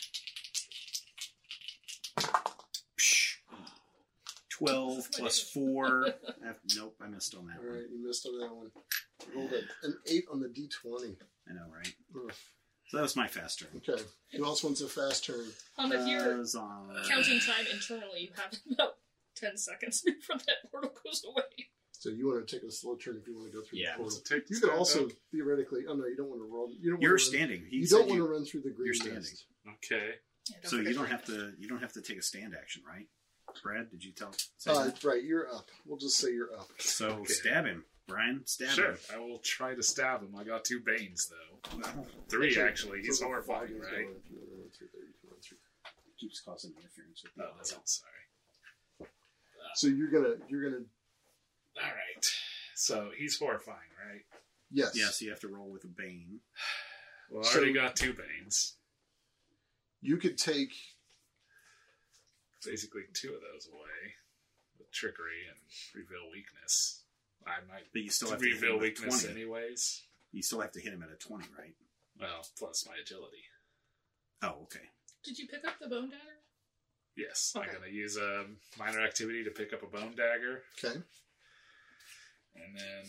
Psh. 12 plus 4. Nope, I missed on that All one. right, you missed on that one. Rolled an 8 on the D20. I know, right? Ugh. So that was my fast turn. Okay. Who else wants a fast turn? If you're Zon. counting time internally, you have about 10 seconds before that portal goes away. So you want to take a slow turn if you want to go through Yeah. the portal. Take the You could stand also up. theoretically. Oh no, you don't want to roll. You don't. You're want to standing. You said don't want to run through the green you're standing. mist. Okay. Yeah, So you forget don't to have bring to. You don't have to take a stand action, right? Brad, did you say that? Right, you're up. We'll just say you're up. So Okay. stab him, Brian. Stab Sure. him. I will try to stab him. I got 2 Banes, though. Well, 3, actually. He's So horrifying, five is right? going through there, through there, you can run through. keeps causing interference with the Oh, that's all. Sorry. So you're gonna. All right. So he's horrifying, right? Yes. Yeah, so you have to roll with a bane. Well, I So- already got 2 Banes. You could take. Basically 2 of those away with trickery and reveal weakness. I might But you still have to hit reveal him at weakness 20. anyways. You still have to hit him at a 20, right? Well, plus my agility. Oh, okay. Did you pick up the bone dagger? Yes, Okay. I'm going to use a minor activity to pick up a bone dagger. Okay. And then,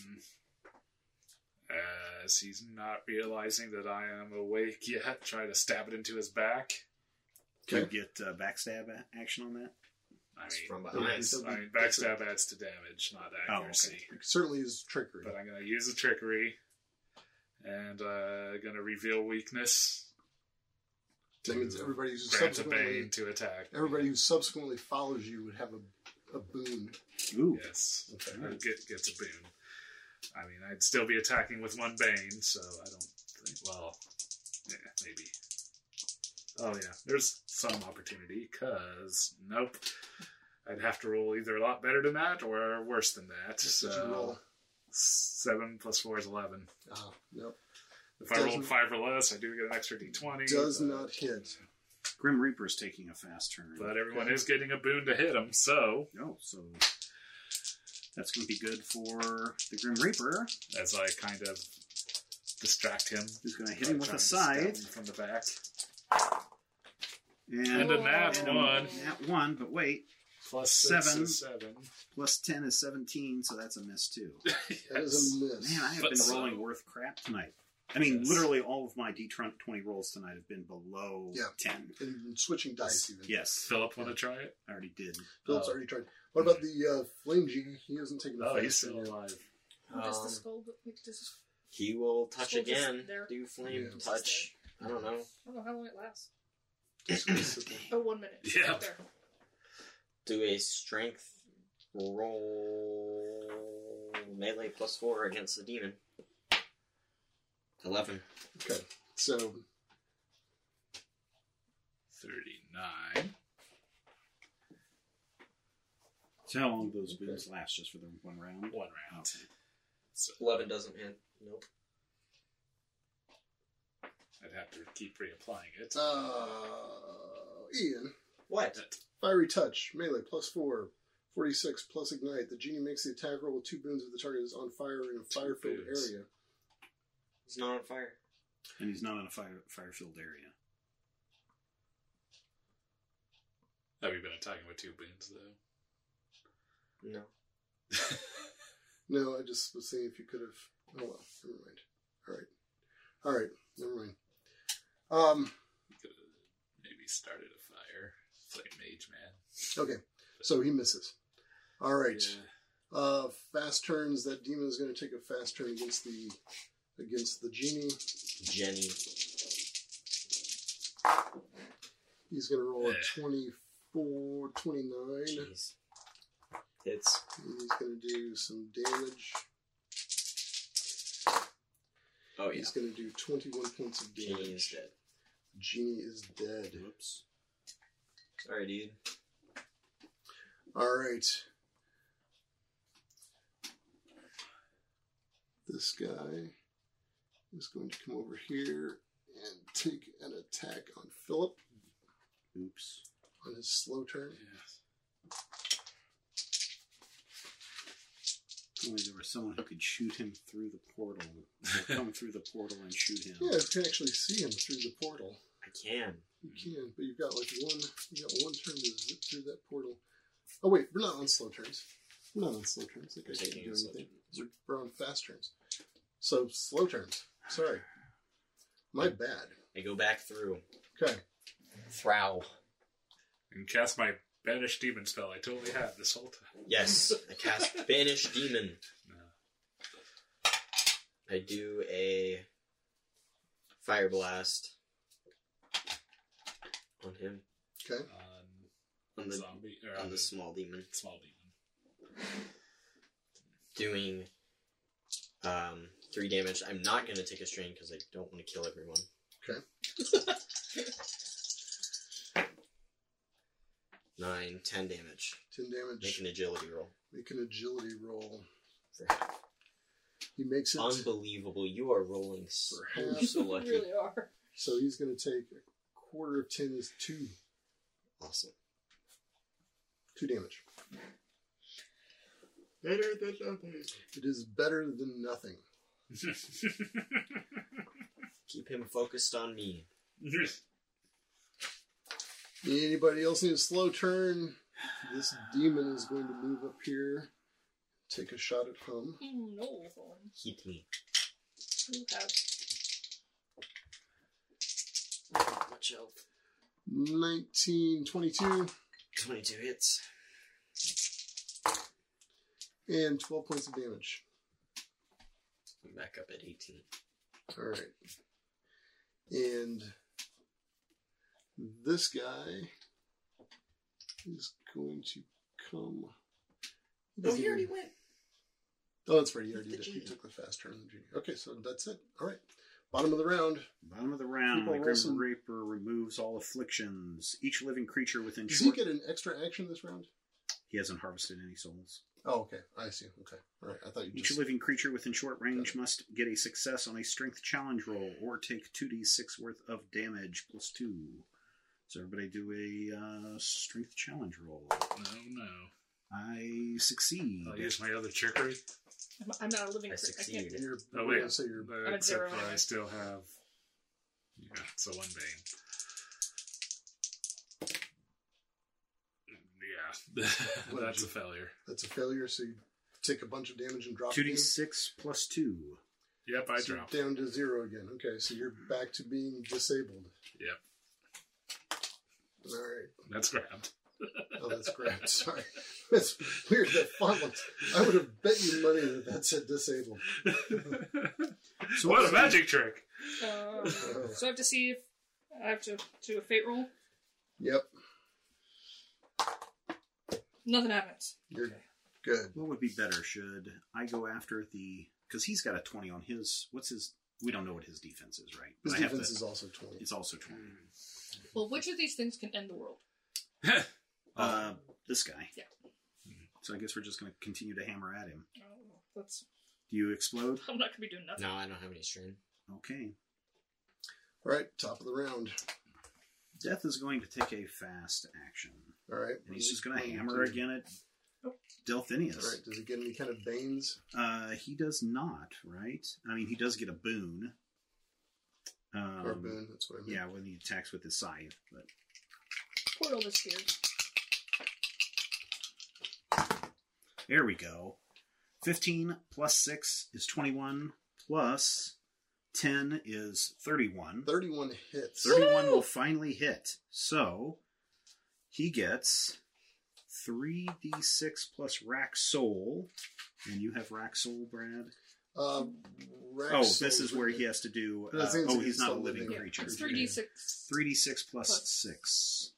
as he's not realizing that I am awake yet, try to stab it into his back. Can Okay. you get backstab action on that? I It's mean, from Yeah, behind. so- I mean, backstab adds to damage, not accuracy. It certainly is trickery. But I'm going to use the trickery and going to reveal weakness. That means everybody who grant a subsequently bane to attack. everybody who subsequently follows you would have a boon. Ooh. Yes, Okay. gets a boon. I mean, I'd still be attacking with 1 bane, so I don't think. Well, yeah, maybe. Oh yeah, there's some opportunity. Cause nope, I'd have to roll either a lot better than that or worse than that. What So did you roll? 7 plus 4 is 11. Nope. If I rolled 5 or less, I do get an extra d20. Does but- not hit. Grim Reaper's taking a fast turn. But everyone Okay. is getting a boon to hit him, so Oh, so that's going to be good for the Grim Reaper, as I kind of distract him, who's going to hit him with trying a to stab scythe. him from the back. And And a nat and a 1 nat 1, but wait, plus 6 7. is 7. plus 10 is 17, so that's a miss too. That is a miss. Man, I have But been so- rolling worth crap tonight. I mean, Yes. literally all of my D20 rolls tonight have been below Yeah. 10. And switching dice even. Yes, Philip, want to try it? I already did. Philip's Oh. already tried. What about the flame genie? He hasn't taken a Oh, fast he's turn still yet. alive. Does the skull go? Wait, does He will touch Skull just again. there. Do flame Yeah. touch. I don't know. I don't know how long it lasts. He's gonna sit there. Oh, 1 minute. Yeah. Right there. Do a strength roll melee plus 4 against the demon. 11. Okay. So 39. So how long do those boons last? Just for the one round? 1 round. Okay. So 11 doesn't hit. Nope. I'd have to keep reapplying it. Ian, What? fiery touch, melee plus 4, 46 plus ignite. The genie makes the attack roll with 2 boons if the target is on fire in a fire-filled boons. area. He's not on fire. And he's not in a fire-filled area. Have you been attacking with 2 boons, though? No. No, I just was saying if you could have. Oh well, never mind. All right, never mind. You could have maybe started a fire. Flame mage, man. Okay, so he misses. All right. Yeah. Fast turns. That demon is going to take a fast turn against the genie. Jenny. He's going to roll a Yeah. 24, 29. Jeez. Hits. And he's going to do some damage. Oh, yeah. He's going to do 21 points of damage. Jenny is dead. Genie is dead. Whoops. Sorry, dude. All right. This guy is going to come over here and take an attack on Philip Oops. on his slow turn. Yes. If only there was someone who could shoot him through the portal. Or come through the portal and shoot him. Yeah, you can actually see him through the portal. I can. You can, but you've got one turn to zip through that portal. Oh wait, we're not on slow turns. We're not on slow turns. That guy can't Taking do a slow anything. We're on fast turns. So slow turns. Sorry. My bad. I go back through. Okay. Throw. And cast my Banish Demon spell I totally had this whole time. Yes, I cast Banish Demon. No. I do a Fire Blast on him. Okay. On the zombie, or on the small demon. small demon. Doing 3 damage. I'm not going to take a strain because I don't want to kill everyone. Okay. 9, 10 damage. 10 damage. Make an agility roll. Make an agility roll. For half. He makes it. Unbelievable. You are rolling so, half. so You lucky. really are. So he's going to take a quarter of 10 is 2. Awesome. 2 damage. Better than nothing. It is better than nothing. Keep him focused on me. Anybody else need a slow turn? This demon is going to move up here. Take a shot at Hum. No. Hit me. You have 19, 22, 22 hits. and 12 points of damage. I'm back up at 18. Alright. And this guy is going to come. Oh, he already went. Oh, that's right. He already The did. He genie. took the fast turn. The genie. Okay, so that's it. All right. Bottom of the round. Bottom of the round, People the roll Grim some- Reaper removes all afflictions. Each living creature within Does he short... get an extra action this round? He hasn't harvested any souls. Oh, okay. I see. Okay. All right. I thought you Each just. living creature within short range must get a success on a strength challenge roll or take 2d6 worth of damage plus 2. So everybody do a strength challenge roll. No. I succeed. I'll use my other trickery. I'm not a living I creature. I can't succeed. do it. You're, Oh, we're wait. gonna say you're. But I'm at except 0 for anyway. I still have... Yeah, so 1 bane. Yeah. That's a failure. That's a failure. So you take a bunch of damage and drop again. 2d6 plus 2. Yep, I So dropped. down to 0 again. Okay, so you're back to being disabled. Yep, All right. that's grabbed. Oh, that's great. Sorry. That's weird. That font looks. I would have bet you money that said disabled. So What a magic trick! So I have to see if I have to do a fate roll. Yep. Nothing happens. You're good. What would be better? Should I go after the... Because he's got a 20 on his... What's his... We don't know what his defense is, right? His But I have defense to- is also 20. It's also 20. Well, which of these things can end the world? This guy. Yeah. So I guess we're just going to continue to hammer at him. Oh, that's. Do you explode? I'm not gonna be doing nothing. No, I don't have any strain. Okay. All right, top of the round. Death is going to take a fast action. All right. And he's just going to hammer again at Delphinius. All right. Does he get any kind of banes? He does not, right? I mean, he does get a boon. Or boon? That's what I mean. Yeah, when he attacks with his scythe. But Portal is scared. there we go. 15 plus 6 is 21. Plus 10 is 31. 31 hits. 31 will finally hit. So he gets 3d6 plus rack soul. And you have rack soul, Brad? Rex This is Soul's where with he it. has to do... But that seems like he's not a still living living. creature. It's 3d6. 3d6 plus Plus. 6.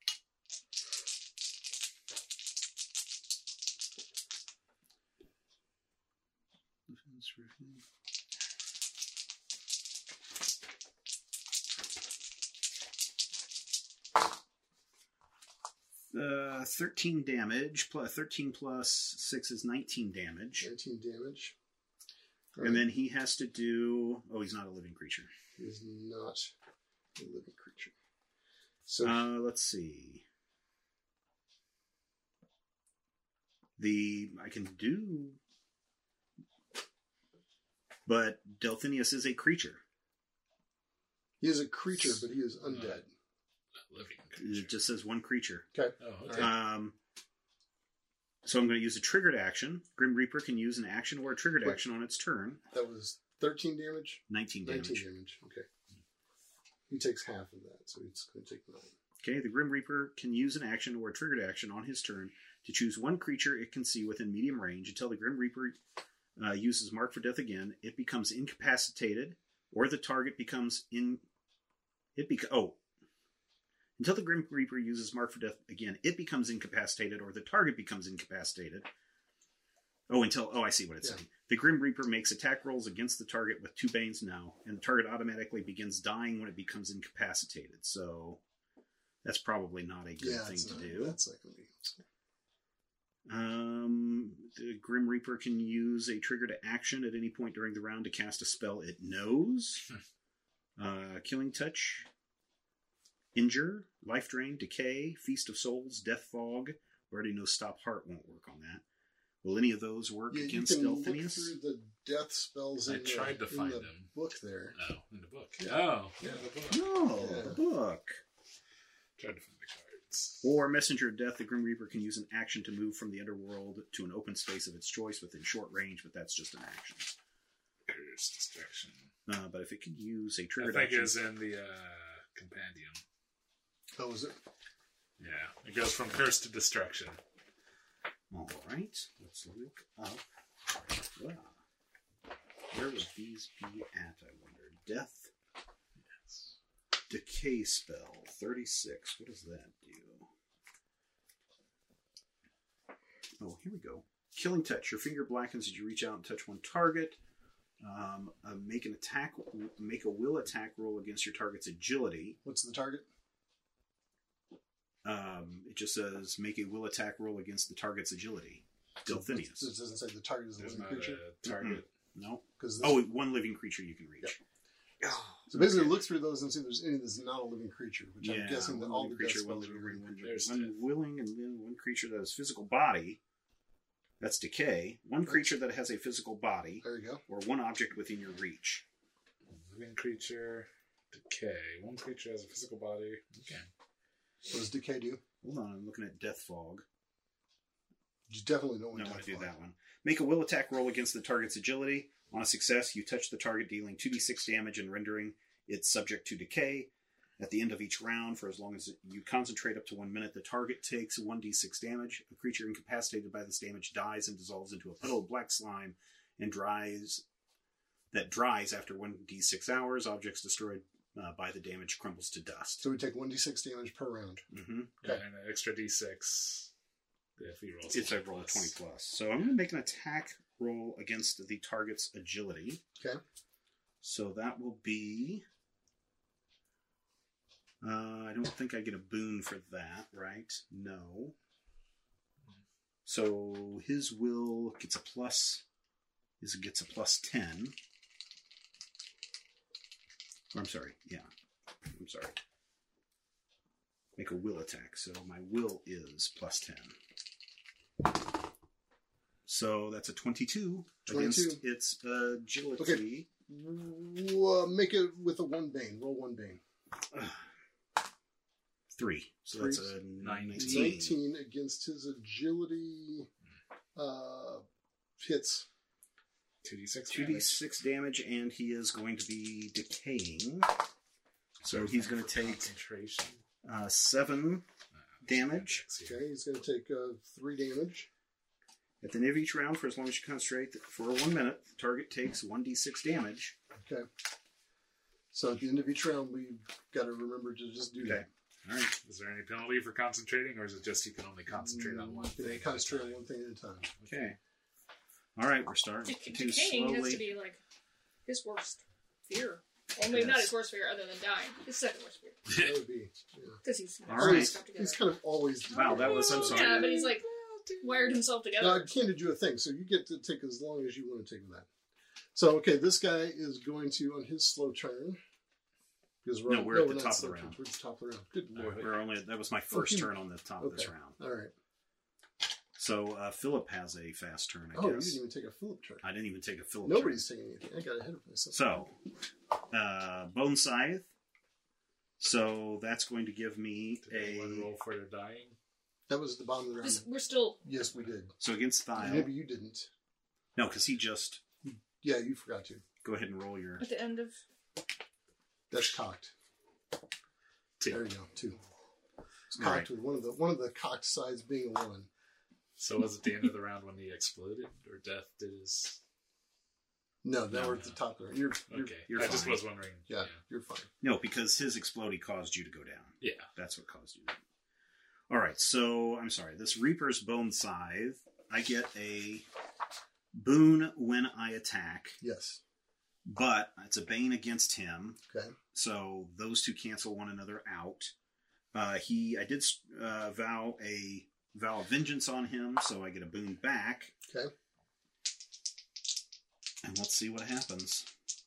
Uh, 13 damage. 13 plus 6 is 19 damage. 19 damage. And then he has to do... Oh, he's not a living creature. He's not a living creature. So Let's see. I can do... But Delphinius is a creature. he is a creature, but he is undead. Living creature. It just says one creature. Okay. Oh, okay. So I'm going to use a triggered action. Grim Reaper can use an action or a triggered Wait. action on its turn. That was 13 damage? 19 damage. 19 damage. Okay. He takes half of that, so he's going to take 9. Okay, the Grim Reaper can use an action or a triggered action on his turn to choose one creature it can see within medium range. Until the Grim Reaper uses Mark for Death again, it becomes incapacitated, or the target becomes Until the Grim Reaper uses Mark for Death again, it becomes incapacitated, or the target becomes incapacitated. I see what it's saying. The Grim Reaper makes attack rolls against the target with 2 Banes now, and the target automatically begins dying when it becomes incapacitated. So that's probably not a good thing to do. That's not going to be useful. The Grim Reaper can use a triggered action at any point during the round to cast a spell it knows. Killing Touch, Injure, Life Drain, Decay, Feast of Souls, Death Fog. We already know Stop Heart won't work on that. Will any of those work against Delphinius? You can look Delphinius? through the death spells in tried to find the them. book there. Oh, in the book. Yeah. Oh, yeah, the book. No, Yeah. the book. Tried to find the cards. Or Messenger of Death, the Grim Reaper can use an action to move from the underworld to an open space of its choice within short range, but that's just an action. There's distraction. But if it can use a I triggered think action... it's in the compendium. Oh, is it? Yeah, it goes from curse to destruction. All right, let's look up. Wow. Where would these be at, I wonder? Death. Yes. Decay spell. 36. What does that do? Oh, here we go. Killing Touch. Your finger blackens as you reach out and touch one target. Make a will attack roll against your target's agility. What's the target? It just says make a will attack roll against the target's agility. Delphinius. It doesn't say the target is a There's living not creature. a target. No. Because One living creature you can reach. So basically, look through those and see if there's any that's not a living creature. Which I'm guessing that one all living the death creature, one spells are living, living one, creatures. one willing, and then one creature that has physical body. That's decay. One creature that has a physical body, There you go. or one object within your reach. Living creature, decay. One creature has a physical body. Okay. What does decay do? Hold on, I'm looking at Death Fog. You definitely don't want No, I to want to do that one. Make a will attack roll against the target's agility. On a success, you touch the target, dealing 2d6 damage and rendering it subject to decay. At the end of each round, for as long as you concentrate up to 1 minute, the target takes 1d6 damage. A creature incapacitated by this damage dies and dissolves into a puddle of black slime and dries after 1d6 hours. Objects destroyed by the damage crumbles to dust. So we take 1d6 damage per round. Mm-hmm. Yeah, and an extra d6 if he rolls. It's a roll of 20 plus. So I'm going to make an attack roll against the target's agility. Okay. So that will be... I don't think I get a boon for that, right? No. So his will gets a plus... gets a plus 10. Or I'm sorry, yeah. I'm sorry. Make a will attack. So my will is plus 10. So that's a 22 against its agility. Okay. Make it with a 1 bane. Roll 1 bane. 3. So that's a 19. 19 against his agility. Hits. 2d6 2d6 damage, and he is going to be decaying. So he's going to take concentration. 7 damage. Okay, he's going to take 3 damage. At the end of each round, for as long as you concentrate for 1 minute, the target takes 1d6 damage. Okay. So at the end of each round, we've got to remember to just do that. All right. Is there any penalty for concentrating, or is it just you can only concentrate on one You thing? can concentrate on one thing at a time. Okay. All right, we're starting to Decaying has slowly... to be like his worst fear. Well, maybe not his worst fear, other than dying. His second worst fear, That would be. because he's All all right. stuff together. He's kind of always. Wow, that was... I'm sorry. Yeah, but he's like wired himself No, together. I handed you a thing, so you get to take as long as you want to take with that. So, okay, this guy is going to, on his slow turn, because No, we're at the not top of the slow round. turns, we're at the top of the round. Good lord. That was my first Okay. turn on the top of this Okay. round. All right. So Philip has a fast turn, I Oh, you guess. didn't even take a Philip turn. I didn't even take a Philip Nobody's taking anything. I got ahead of myself. So, Bone Scythe. So that's going to give me Did anyone roll for their dying? That was at the bottom of the round. We're still. Yes, we did. So against Thile. Maybe you didn't. No, because he just... Yeah, you forgot to. Go ahead and roll your... At the end of. That's cocked. 2. There you go. 2. It's All cocked with one of the cocked sides being a 1. So was it the end of the round when he exploded, or Death did his? No, now No. we're at the top there. You're Okay, you're I just fine. was wondering. yeah, you're fine. No, because his explodey caused you to go down. Yeah. That's what caused you. All right, so I'm sorry. This Reaper's Bone Scythe, I get a boon when I attack, Yes. but it's a bane against him. Okay. So those two cancel one another out. I did vow of vengeance on him, so I get a boon back. Okay. And let's see what happens.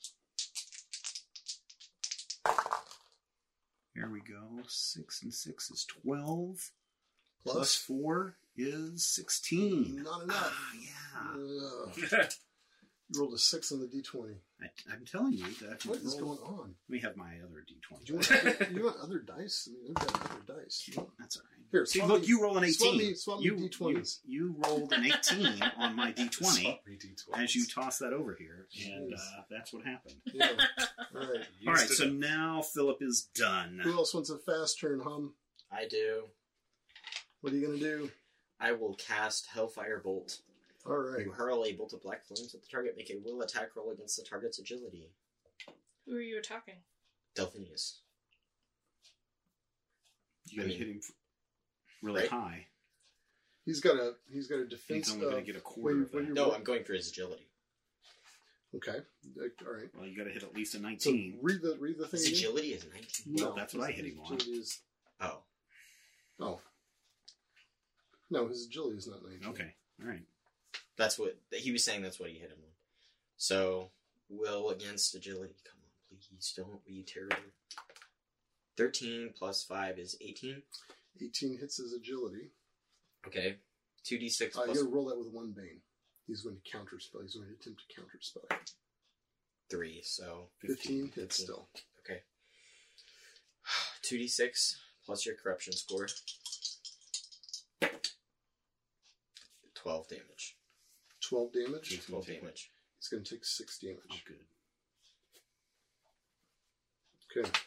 Here we go. 6 and 6 is 12. Plus 4 is 16. Not enough. Yeah. Ugh. You rolled a 6 on the d20. I'm telling you that. What is going on? Let me have my other d20. Do you want other dice? I mean, I've got other dice. That's all right. Here, See, swap look, me- you roll an 18. swap me you, D20s. You rolled an 18 on my d20 Swap me D20s. as you toss that over here, and Jeez. that's what happened. Yeah. All right. All right, Used so it. now Philip is done. Who else wants a fast turn, Hum? I do. What are you going to do? I will cast Hellfire Bolt. All right. You hurl a bolt of black flames at the target. Make a will attack roll against the target's agility. Who are you attacking? Delphinius. You got to I mean, hit him really right? high. He's got a defense. He's only going of- to get a quarter of what that. you No, roll? I'm going for his agility. Okay. All right. Well, you got to hit at least a So 19. read the thing. His again. agility is 19. Well, that's what I hit him on. His agility is- Oh. Oh. No, his agility is not 19. Okay, all right. That's what he was saying. That's what he hit him on. So, will against agility. Come on, please don't be terrible. 13 plus 5 is 18. 18 hits his agility. Okay. 2d6 You plus got to roll that with 1 bane. He's going to counterspell. He's going to attempt to counterspell. 3. So 15 hits 15. still. okay. 2d6 plus your corruption score. 12 damage. 12 damage. 12 damage. He's going to take 6 Oh, damage. good. Okay.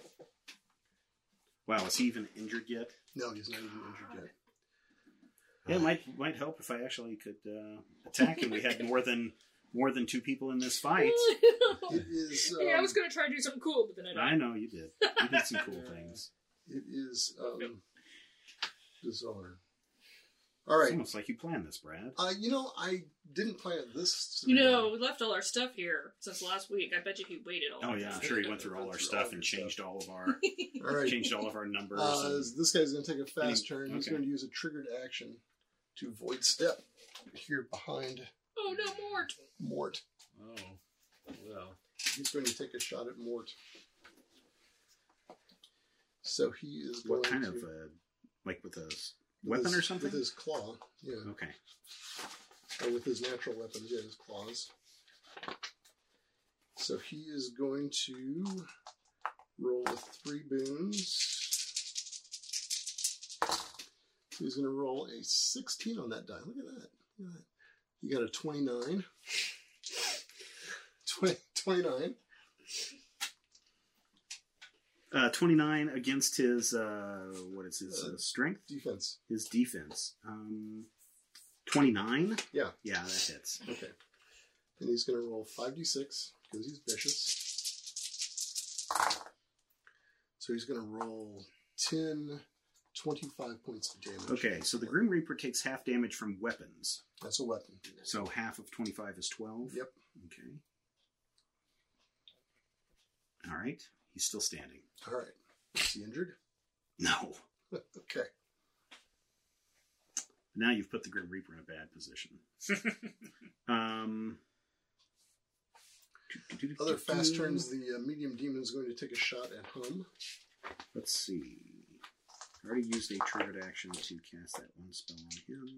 Wow, is he even injured yet? No, he's not even injured yet. Yeah, it might help if I actually could attack, and we had more than 2 people in this fight. It is. Hey, I was going to try to do something cool, but then I died. I know you did. You did some cool things. It is bizarre. All It's right. almost like you planned this, Brad. I didn't plan this. You know, we left all our stuff here since last week. I bet you he waited all Oh the yeah, time. I'm sure he went through all our stuff and changed all of our All right. changed all of our numbers. and- This guy's going to take a fast Any- turn. He's okay. going to use a triggered action to void step here behind Oh no, Mort! Mort. Oh, well. He's going to take a shot at Mort. So he is what going kind to, of like with a with weapon his- or something? With his claw, yeah. Okay. Or with his natural weapons, yeah, his claws. So he is going to roll with 3 boons. He's going to roll a 16 on that die. Look at that. Look at that. You got a 29. 29. 29 against his what is his strength? Defense. His defense. 29. Yeah. Yeah, that hits. Okay. And he's going to roll 5d6 because he's vicious. So he's going to roll 10, 25 points of damage. Okay, so the Grim Reaper takes half damage from weapons. That's a weapon. So half of 25 is 12. Yep. Okay. All right. He's still standing. All right. Is he injured? No. Okay. Now you've put the Grim Reaper in a bad position. Other fast turns, the medium demon is going to take a shot at Hum. Let's see. I already used a triggered action to cast that one spell on him.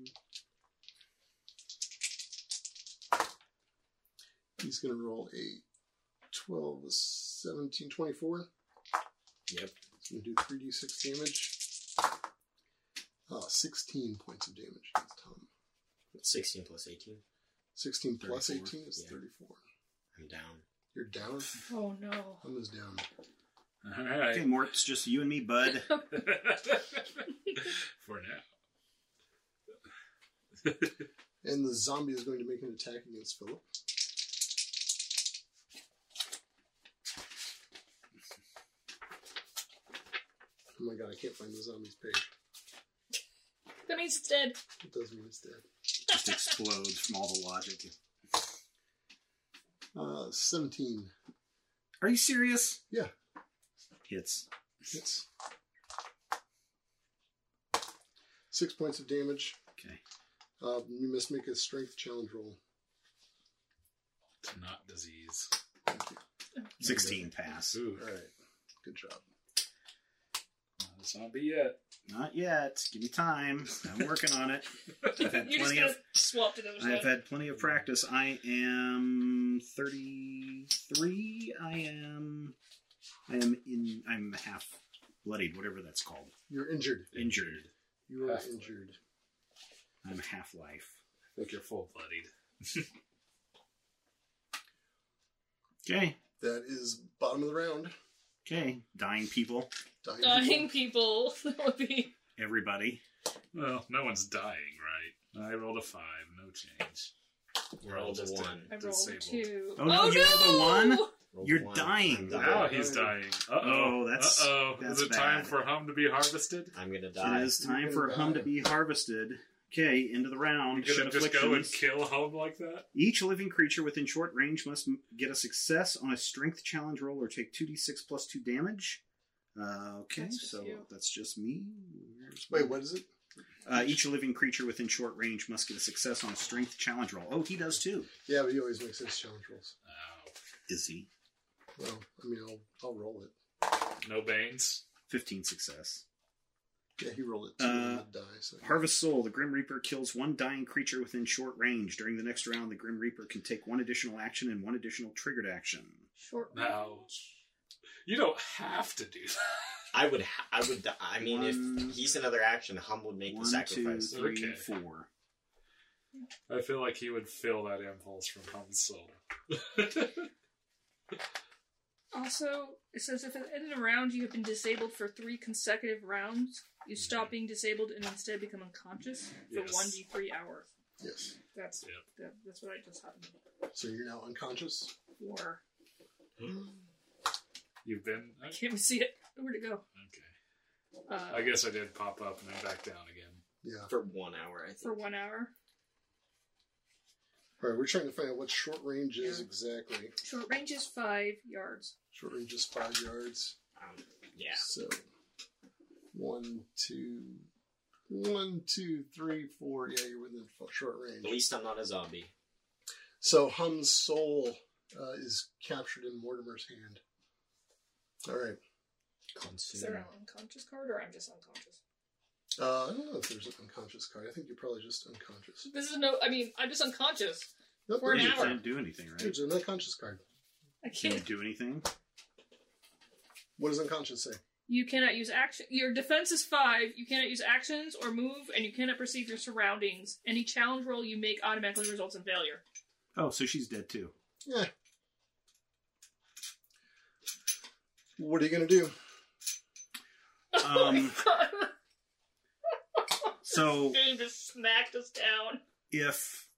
He's going to roll a 12, 17, 24. Yep. He's going to do 3d6 damage. 16 points of damage against Hum. 16 plus 18. 16 plus 34. 18 is Yeah. 34. I'm down. You're down? Oh no. Hum is down. All right. Okay, Mort, it's just you and me, bud. For now. And the zombie is going to make an attack against Philip. Oh my god, I can't find the zombie's page. That means it's dead. It does mean it's dead. Just explodes from all the logic. 17. Are you serious? Yeah. Hits. Hits. 6 points of damage. Okay. You must make a strength challenge roll. It's not disease. Thank you. 16 pass. Ooh. Alright. Good job. Not a zombie yet. Not yet. Give me time. I'm working on it. I've had You're just plenty gonna of. swap to those. I've had plenty of practice. I am 33. I'm half bloodied, whatever that's called. You're injured. Injured. You are Half injured. I'm half life. I think you're full bloodied. Okay. That is bottom of the round. Okay. Dying people. Dying people. That would be. Everybody. Well, no one's dying, right? I rolled a 5, no change. We're all Rolled a just 1. I rolled disabled. 2. Oh, no, you rolled a 1? Rolled You're one. dying. I'm Now dying. he's dying. Uh-oh. Oh, that's- Uh-oh. that's Is it time bad. for Hum to be harvested? I'm gonna die. It is time You're for gonna Hum die. to be harvested. Okay, into the round. You're Shed gonna just go and afflictions. kill Hum like that? Each living creature within short range must get a success on a strength challenge roll or take 2d6 plus 2 damage. Okay, That's just so you. that's just me. Wait, what is it? Each living creature within short range must get a success on a strength challenge roll. Oh, he does too. Yeah, but he always makes his challenge rolls. Oh. Is he? Well, I mean, I'll roll it. No Banes? 15 success. Yeah, he rolled it 2 on the die. So. Harvest Soul. The Grim Reaper kills one dying creature within short range. During the next round, the Grim Reaper can take one additional action and one additional triggered action. Short Now, you don't have to do that. I would. I mean, One- if he's another action, Hum would make the 1, 2, sacrifice. 3, Okay. 4. I feel like he would feel that impulse from Hum's soul. Also, it says if at the end of the round you have been disabled for 3 consecutive rounds, you stop being disabled and instead become unconscious for Yes. 1d3 hours. Yes. That's Yep. that's what I just happened So you're now unconscious? for. You've been... I can't even see it. Where'd it go? Okay. I guess I did pop up and then back down again. Yeah. For 1 hour, I think. For 1 hour. Alright, we're trying to find out what short range is Yeah. exactly. Short range is 5 yards. Short range is 5 yards. Yeah. So 1, 2, 3, 4. Yeah, you're within short range. At least I'm not a zombie. So Hum's soul is captured in Mortimer's hand. Alright. Is there an unconscious card, or I'm just unconscious? I don't know if there's an unconscious card. I think you're probably just unconscious. This is no. I mean, I'm just unconscious. Nope, For an You hour. can't do anything, right? there's an unconscious card. I Can you can't. do anything? What does unconscious say? You cannot use action. Your defense is 5. You cannot use actions or move, and you cannot perceive your surroundings. Any challenge roll you make automatically results in failure. Oh, so she's dead too. Yeah. What are you going to do? So Game just smacked us down. if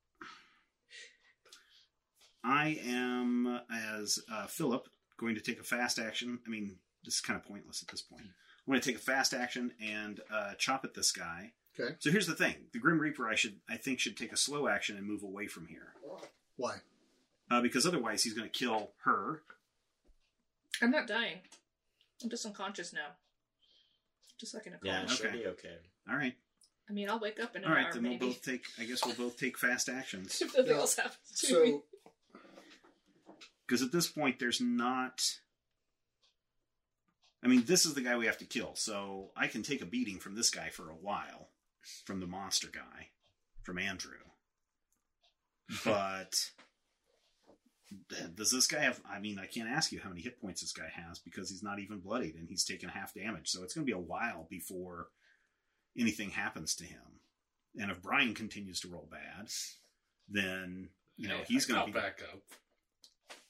I am, as Philip, going to take a fast action, I mean, this is kind of pointless at this point. I'm going to take a fast action and chop at this guy. Okay. So here's the thing: the Grim Reaper, I think, should take a slow action and move away from here, Why? because otherwise he's going to kill her. I'm not dying. I'm just unconscious now. Just like in a coma. Yeah, it should Okay. be okay. All right, I mean, I'll wake up in an all right. hour, Then maybe. we'll both take. I guess we'll both take fast actions. If nothing Yeah. else happens to me. So, Because at this point, there's not. I mean, this is the guy we have to kill, so I can take a beating from this guy for a while, from the monster guy, from Andrew. But does this guy have? I mean, I can't ask you how many hit points this guy has because he's not even bloodied and he's taken half damage. So it's going to be a while before anything happens to him. And if Brian continues to roll bad, then he's going I'll to be back up.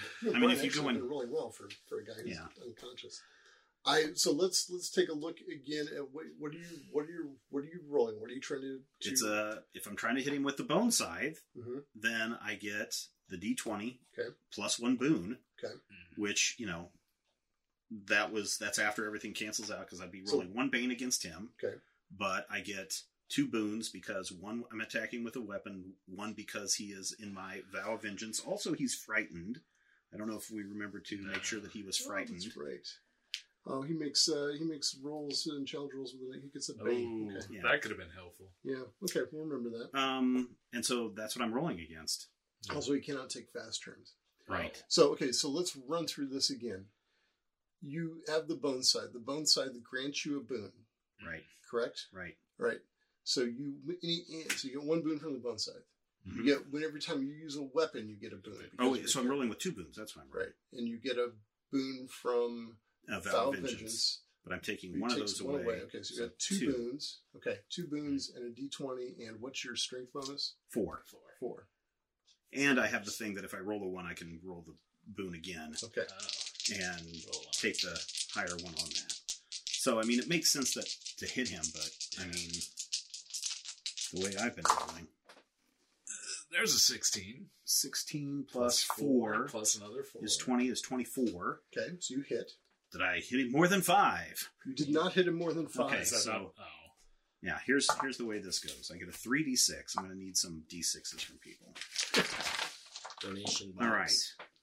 No, I mean, Brian if you actually go in- been rolling well for a guy who's Yeah. unconscious. So let's take a look again at what are you rolling? What are you trying to? It's if I'm trying to hit him with the bone scythe, hmm then I get the D20 Okay. plus 1 boon. Okay. Which, that's after everything cancels out because I'd be rolling 1 bane against him. Okay. But I get 2 boons because 1 I'm attacking with a weapon, 1 because he is in my Vow of Vengeance. Also, he's frightened. I don't know if we remember to make sure that he was frightened. That's right. Oh, he makes rolls and challenge rolls with it. He gets a Oh, bane. Okay. Yeah. that could have been helpful. Yeah. Okay. We'll remember that. And so that's what I'm rolling against. Also, he cannot take fast turns. Right. So let's run through this again. You have the bone side. The bone side that grants you a boon. Right. Correct. Right. Right. So you get 1 boon from the bone side. Mhm. You get every time you use a weapon, you get a boon. Oh, because so I'm rolling with 2 boons. That's what I'm rolling. right, and you get a boon from Vow of Vengeance. But I'm taking one of takes those one away. Okay, so you got 2 boons. Okay, 2 boons and a D20. And what's your strength bonus? 4. 4. And I have the thing that if I roll a 1, I can roll the boon again Okay. and take the higher one on that. So, I mean, it makes sense to hit him, but, I mean, the way I've been rolling. There's a 16. 16 plus 4 plus another 4 is 24. Okay, so you hit. Did I hit him more than 5? You did not hit him more than 5. Okay, Is that so- not- Yeah, here's the way this goes. I get a 3d6. I'm going to need some d6s from people. Donation box. All right.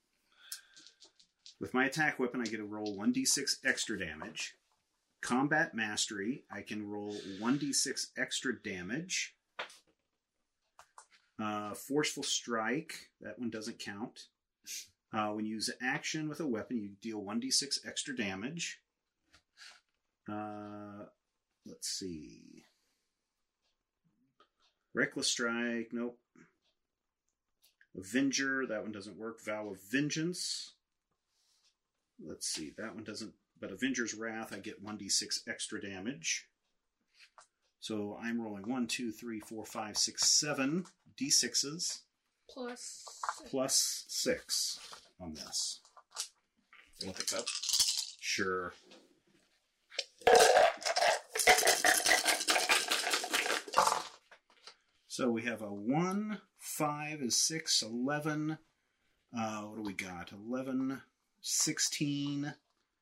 With my attack weapon, I get to roll 1d6 extra damage. Combat mastery, I can roll 1d6 extra damage. Forceful strike, that one doesn't count. When you use action with a weapon, you deal 1d6 extra damage. Let's see. Reckless strike, nope. Avenger, that one doesn't work. Vow of Vengeance. Let's see, that one doesn't. But Avenger's Wrath, I get 1d6 extra damage. So I'm rolling 1, 2, 3, 4, 5, 6, 7 d6s plus 6 on this. You want the cup? Sure. So we have a 1, 5 is 6, 11. What do we got? 11, 16,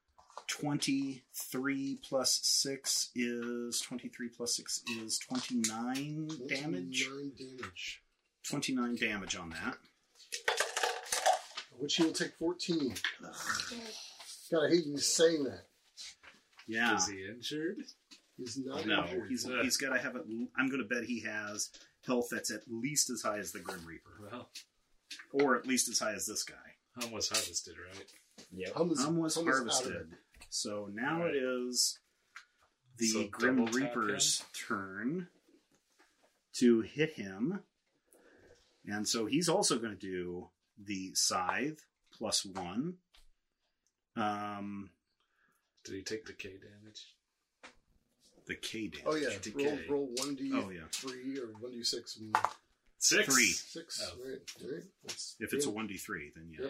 23 plus 6 is 23 plus 6 is 29 damage. 29 damage. 29 damage on that. Which he will take 14. God, I hate you saying that. Yeah. Is he injured? He's not No, injured. he's got to have it. I'm going to bet he has health that's at least as high as the Grim Reaper, Well, or at least as high as this guy. Hum was harvested, right? Yep. Hum was was out of it. harvested, so now Right. it is the So Grim double tap Reaper's turn to hit him, and so he's also going to do the scythe plus 1. Did he take the K damage? The K damage. Oh yeah, Decay. roll 1d3 Oh, yeah. or 1d6 and 6. 3. 6. Oh. Right. That's If it's a good. 1d3, then yeah. Yep.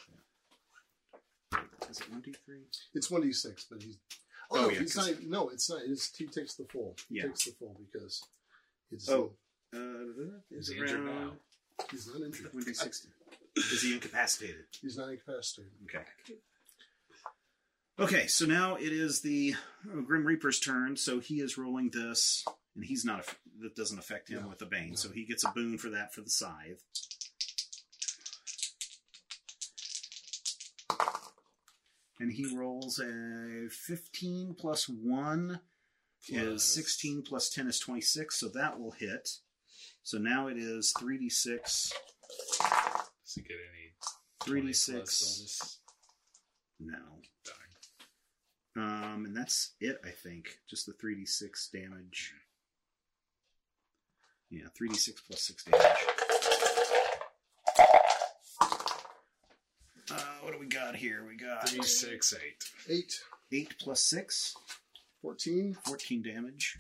Is it 1d3? It's 1d6, but he's. Oh, no, yeah, he's 'cause- not. No, it's not. He takes the full. Yeah. He takes the full because it's. Oh. Is Is he injured now? He's not injured. 1d60. Is he incapacitated? He's not incapacitated. Okay. Okay, so now it is the Grim Reaper's turn. So he is rolling this, and he's not. That doesn't affect him No, with the Bane, no. so he gets a boon for that for the scythe. And he rolls a 15 plus 1 is 16 plus 10 is 26, so that will hit. So now it is 3d6. Does he get any 20 plus 3d6. bonus? No. Darn. And that's it, I think. Just the 3d6 damage. Yeah, 3d6 plus 6 damage. What do we got here? We got 3, 6, 8. 8, 8 plus 6, 14. 14 damage.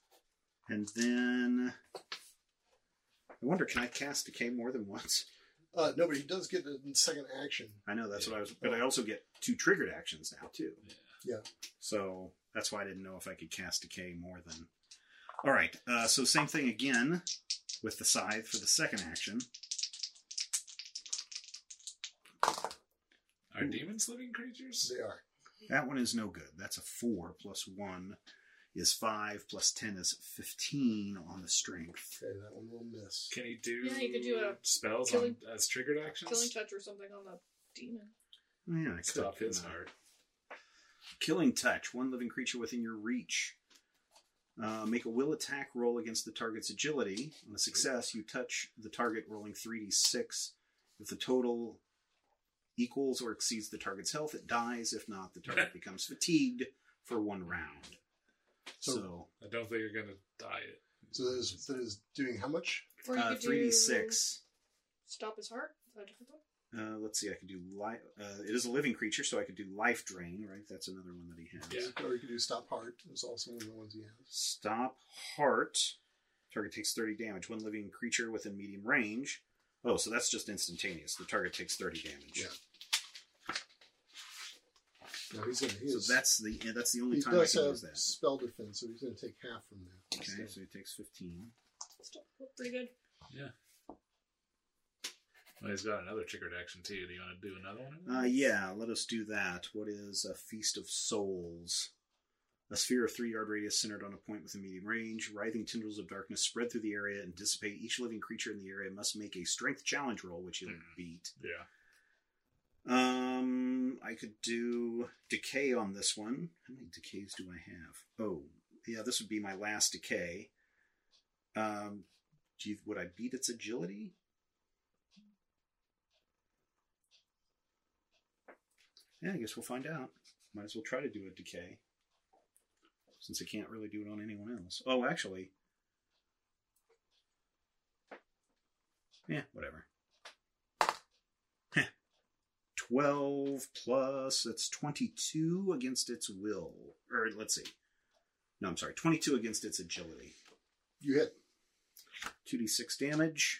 And then... I wonder, can I cast Decay more than once? No, but he does get a second action. I know, that's what I was... But I also get 2 triggered actions now, too. Yeah. So that's why I didn't know if I could cast Decay more than... All right, so same thing again with the Scythe for the second action. Are demons living creatures? They are. That one is no good. That's a 4 plus 1 is 5 plus 10 is 15 on the strength. Okay, that one will miss. Can he do, Yeah, you could do a spells killing- as triggered actions? killing touch or something on the demon. Oh, yeah, I could. Stop his heart. Killing Touch. 1 living creature within your reach. Make a will attack roll against the target's agility. On a success, you touch the target rolling 3d6. If the total equals or exceeds the target's health, it dies. If not, the target becomes fatigued for 1 round. So I don't think you're going to die it. So that is doing how much? Or you could 3d6. Stop his heart. Is that a different one? Let's see, I could do life. It is a living creature, so I could do life drain, right? That's another one that he has. Yeah. Or you could do stop heart. It's also one of the ones he has. Stop heart. Target takes 30 damage. 1 living creature within medium range. Oh, so that's just instantaneous. The target takes 30 damage. Yeah. No, he's gonna. So that's the only He time I does can have use that. spell defense, so he's going to take half from that. Okay, so he takes 15. Still pretty good. Yeah. Well, he's got another triggered action too. Do you want to do another one? Yeah, let us do that. What is a Feast of Souls? A sphere of 3-yard radius centered on a point within medium range. Writhing tendrils of darkness spread through the area and dissipate. Each living creature in the area must make a strength challenge roll, which he'll beat. Yeah. I could do Decay on this one. How many decays do I have? Oh, yeah, this would be my last decay. Would I beat its agility? Yeah, I guess we'll find out. Might as well try to do a decay, since I can't really do it on anyone else. Oh, actually. Yeah, whatever. 12 plus, that's 22 against its will. Or, let's see. No, I'm sorry. 22 against its agility. You hit. 2d6 damage.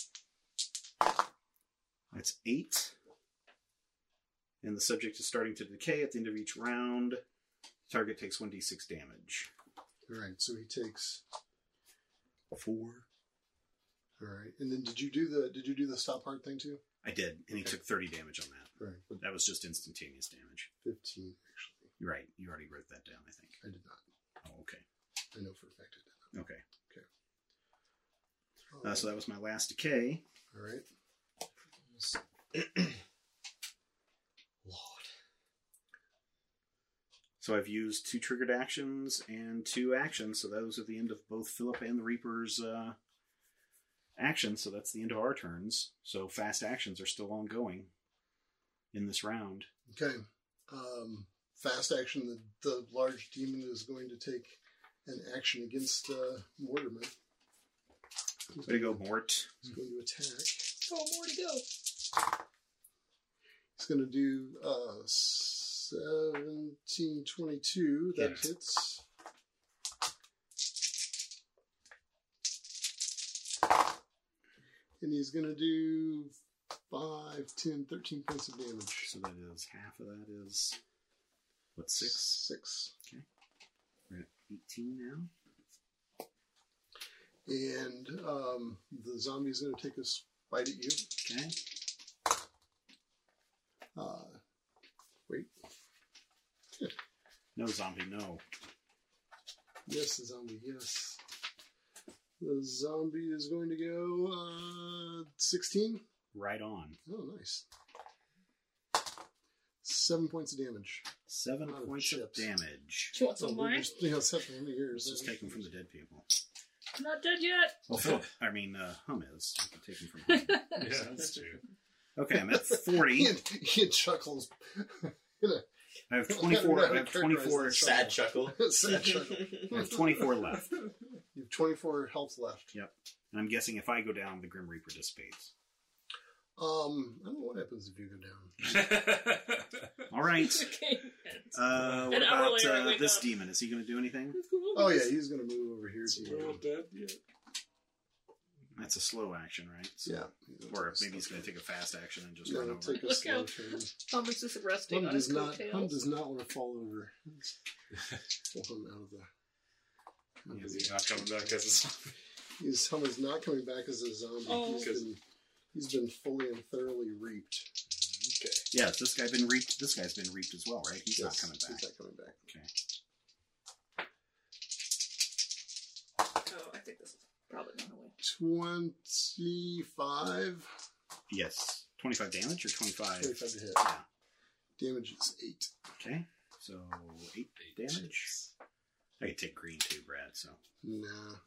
That's 8. And the subject is starting to decay at the end of each round. Target takes 1d6 damage. All right, so he takes 4. All right, and then did you do the stop heart thing too? I did, and he took 30 damage on that. All right, but That was just instantaneous damage. 15 actually. You're right. You already wrote that down, I think. I did not. Oh, okay. I know for a fact I did Okay. not. So that was my last decay. All right. Lord. So I've used 2 triggered actions and 2 actions. So those are the end of both Philip and the Reaper's actions. So that's the end of our turns. So fast actions are still ongoing in this round. Okay. Fast action. The large demon is going to take an action against Mortimer. Way to go, Mort. He's going to attack. Oh, more to go. He's going to do 1722. That Yeah. hits. And he's going to do 5, 10, 13 points of damage. So that is half of that is, what, 6? 6. We're at 18 now. And the zombie is going to take a bite at you. Okay. Wait. No, zombie, no. Yes, the zombie, yes. The zombie is going to go 16. Right on. Oh, nice. 7 points of damage. 7 Oh, points of chips. damage. Do you want some of mine? That's happened for years. Let's just take them from the dead people. I'm not dead yet. Well, Philip, Hum is. We can take him from Hum. Yeah, that's true. Okay, I'm at 40. He chuckles. I have 24. I have 24. Sad chuckle. Sad chuckle. I have 24 left. You have 24 health left. Yep. And I'm guessing if I go down, the Grim Reaper dissipates. I don't know what happens if you go down. All right. Okay. What An hour about later, I wake this up. demon? Is he going to do anything? Oh yeah, he's going to move over here to We're all you. dead yet? That's a slow action, right? So, Yeah. Or maybe he's going to take a fast action and just No, run over. take a Look slow how- turn. Thomas is resting Hum on his does not coattails. want to fall over. Pull him out of the. He's not coming back as a zombie. Hum is not coming back as a zombie. Oh. He's been fully and thoroughly reaped. Okay. Yeah, this guy's been reaped. This guy's been reaped as well, right? He's not Yes, coming back. He's not coming back. Okay. Oh, I think this is probably not a way. 25. Yes. 25 damage or 25? 25 to hit. Yeah. Damage is 8. Okay. So 8 damage. I could take green too, Brad. So Nah.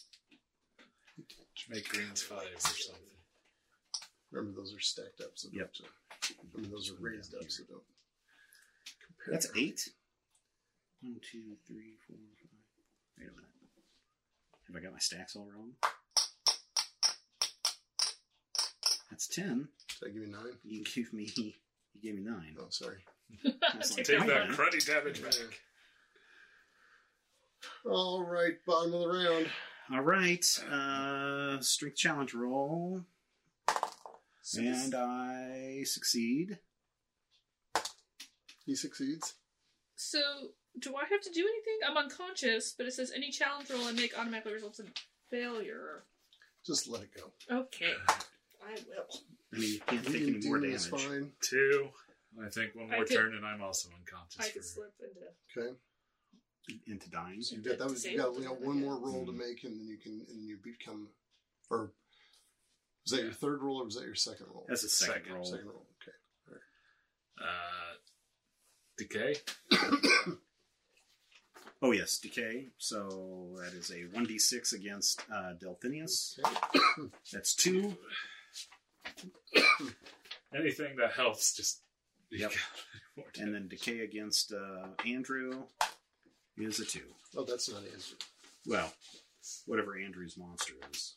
Make greens 5 or something. Remember, those are stacked up, so Yep. don't. I mean, those are raised up, so don't compare. that's 8. 1, 2, 3, 4, 5. Wait a minute. Have I got my stacks all wrong? That's 10. Did I give you 9? You gave me 9. Oh, sorry. That's like, Take wait a that minute. cruddy damage back. All right, bottom of the round. All right. Strength challenge roll. And I succeed. He succeeds. So, do I have to do anything? I'm unconscious, but it says any challenge roll I make automatically results in failure. Just let it go. Okay. I will. I mean, you can't take Medium any more demon damage. is fine. 2. I think one I more could- turn and I'm also unconscious. I could for- slip into... Okay. Into dying. So you got that. You got one more roll to make, and then you become. Or was that your third roll, or was that your second roll? That's a second Second. roll. Second roll. Okay. Decay. Oh, yes, decay. So that is a 1d6 against Delphinius. Okay. That's 2. Anything that helps, just. Yep. And then decay against Andrew is a 2. Oh, that's not answered. Well, whatever Andrew's monster is.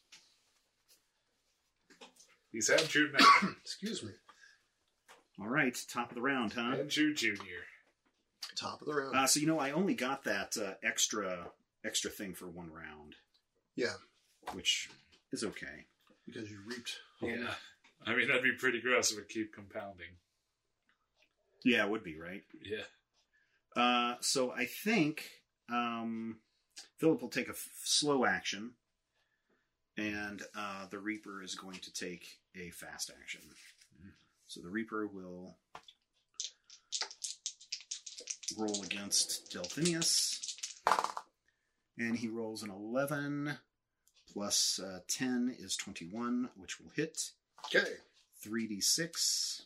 He's Andrew now. Excuse me. All right, top of the round, huh? Andrew Jr. Top of the round. So I only got that extra thing for 1 round, Yeah, which is okay. because you reaped. Yeah. I mean, that'd be pretty gross if it keep compounding. Yeah, it would be, right? Yeah. So I think Philip will take a slow action, and the Reaper is going to take a fast action. So the Reaper will roll against Delphinius, and he rolls an 11 plus 10 is 21, which will hit. Okay. 3d6.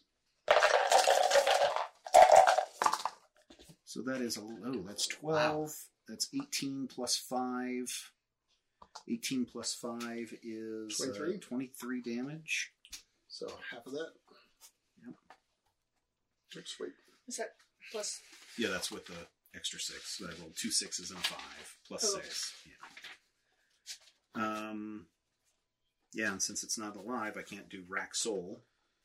So that is that's 12. Wow. That's 18 plus 5. 18 plus 5 is 23? 23 damage. So half of that. Yep. Just wait. Is that plus... Yeah, that's with the extra 6. So I rolled 2 6s and a 5 plus 6. Yeah. Yeah, and since it's not alive, I can't do rack soul.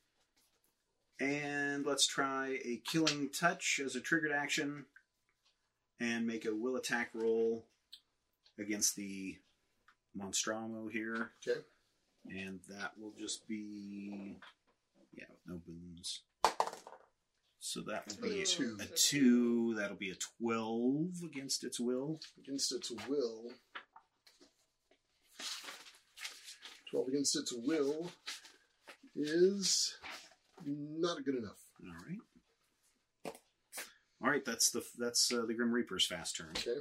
And let's try a killing touch as a triggered action, and make a will attack roll against the Monstramo here. Okay. And that will just be, with no boons. So that will be A 2. a 2. That'll be a 12 against its will. Against its will. 12 against its will is not good enough. All right. That's the Grim Reaper's fast turn. Okay.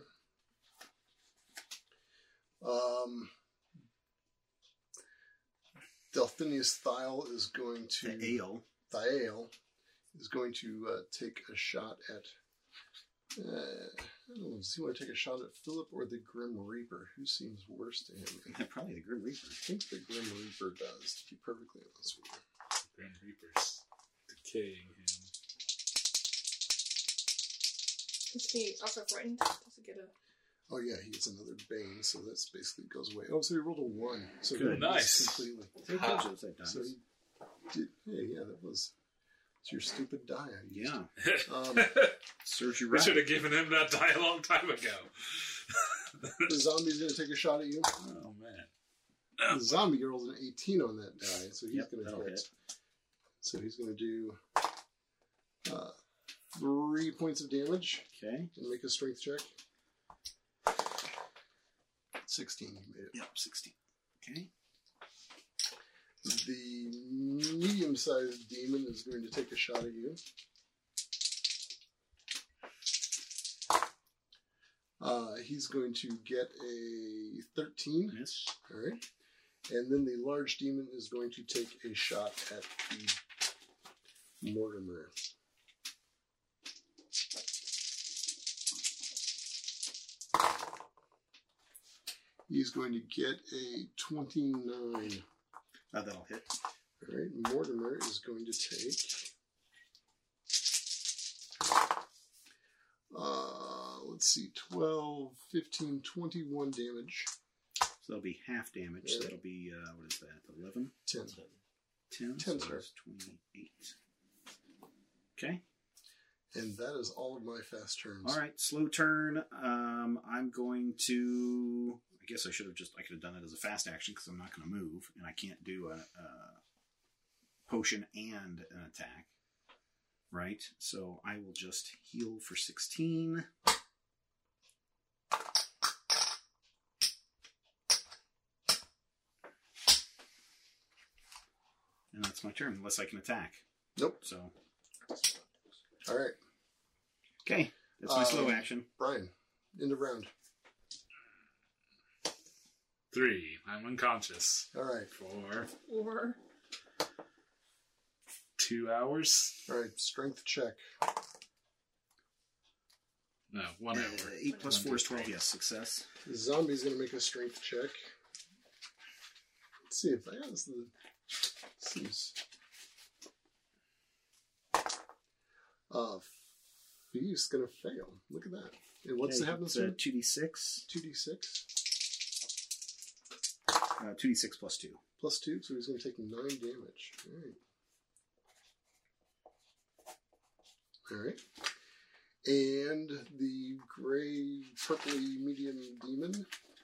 Delphinius Thiel is going to... The Thiel is going to take a shot at... I don't know, does he want to take a shot at Philip or the Grim Reaper? Who seems worse to him? Probably the Grim Reaper. I think the Grim Reaper does, to be perfectly honest with you. Grim Reaper's decaying him. Is he also frightened? Does he get a... Oh yeah, he gets another Bane, so that's basically goes away. Oh, so he rolled a 1. So Good. he Nice. Completely. So he did, yeah, that was... It's your stupid die I used. Yeah. Serves you We right. should have given him that die a long time ago. The zombie's going to take a shot at you. Oh, man. The zombie rolls an 18 on that die, so he's Yep, going to that'll hit. hit. So he's going to do 3 points of damage Okay. and make a strength check. 16, he made it. Yep, 16. Okay. The medium-sized demon is going to take a shot at you. He's going to get a 13. Miss. All right. And then the large demon is going to take a shot at the Mortimer. He's going to get a 29. That'll hit. All right. Mortimer is going to take... let's see, 12, 15, 21 damage. So that'll be half damage. Yeah. So that'll be, what is that, 11? 10. 10? 10, so sir. that's 28. Okay. And that is all of my fast turns. All right, slow turn. I'm going to... I guess I could have done it as a fast action because I'm not going to move, and I can't do a potion and an attack. Right? So I will just heal for 16. And that's my turn, unless I can attack. Nope. So, All right. okay. That's my slow action. Brian, end of round. 3. I'm unconscious All right. for Or 2 hours. All right. Strength check. No, 1 hour. 8 plus 4 is 12, 1, 2, 3. Uh, yes, success. The zombie's going to make a strength check. Let's see if that is the... Seems... He's going to fail. Look at that. And what's the happiness? 2d6. 2d6 2d6 plus 2. plus 2, so he's going to take 9 damage. All right. And the gray, purpley medium demon,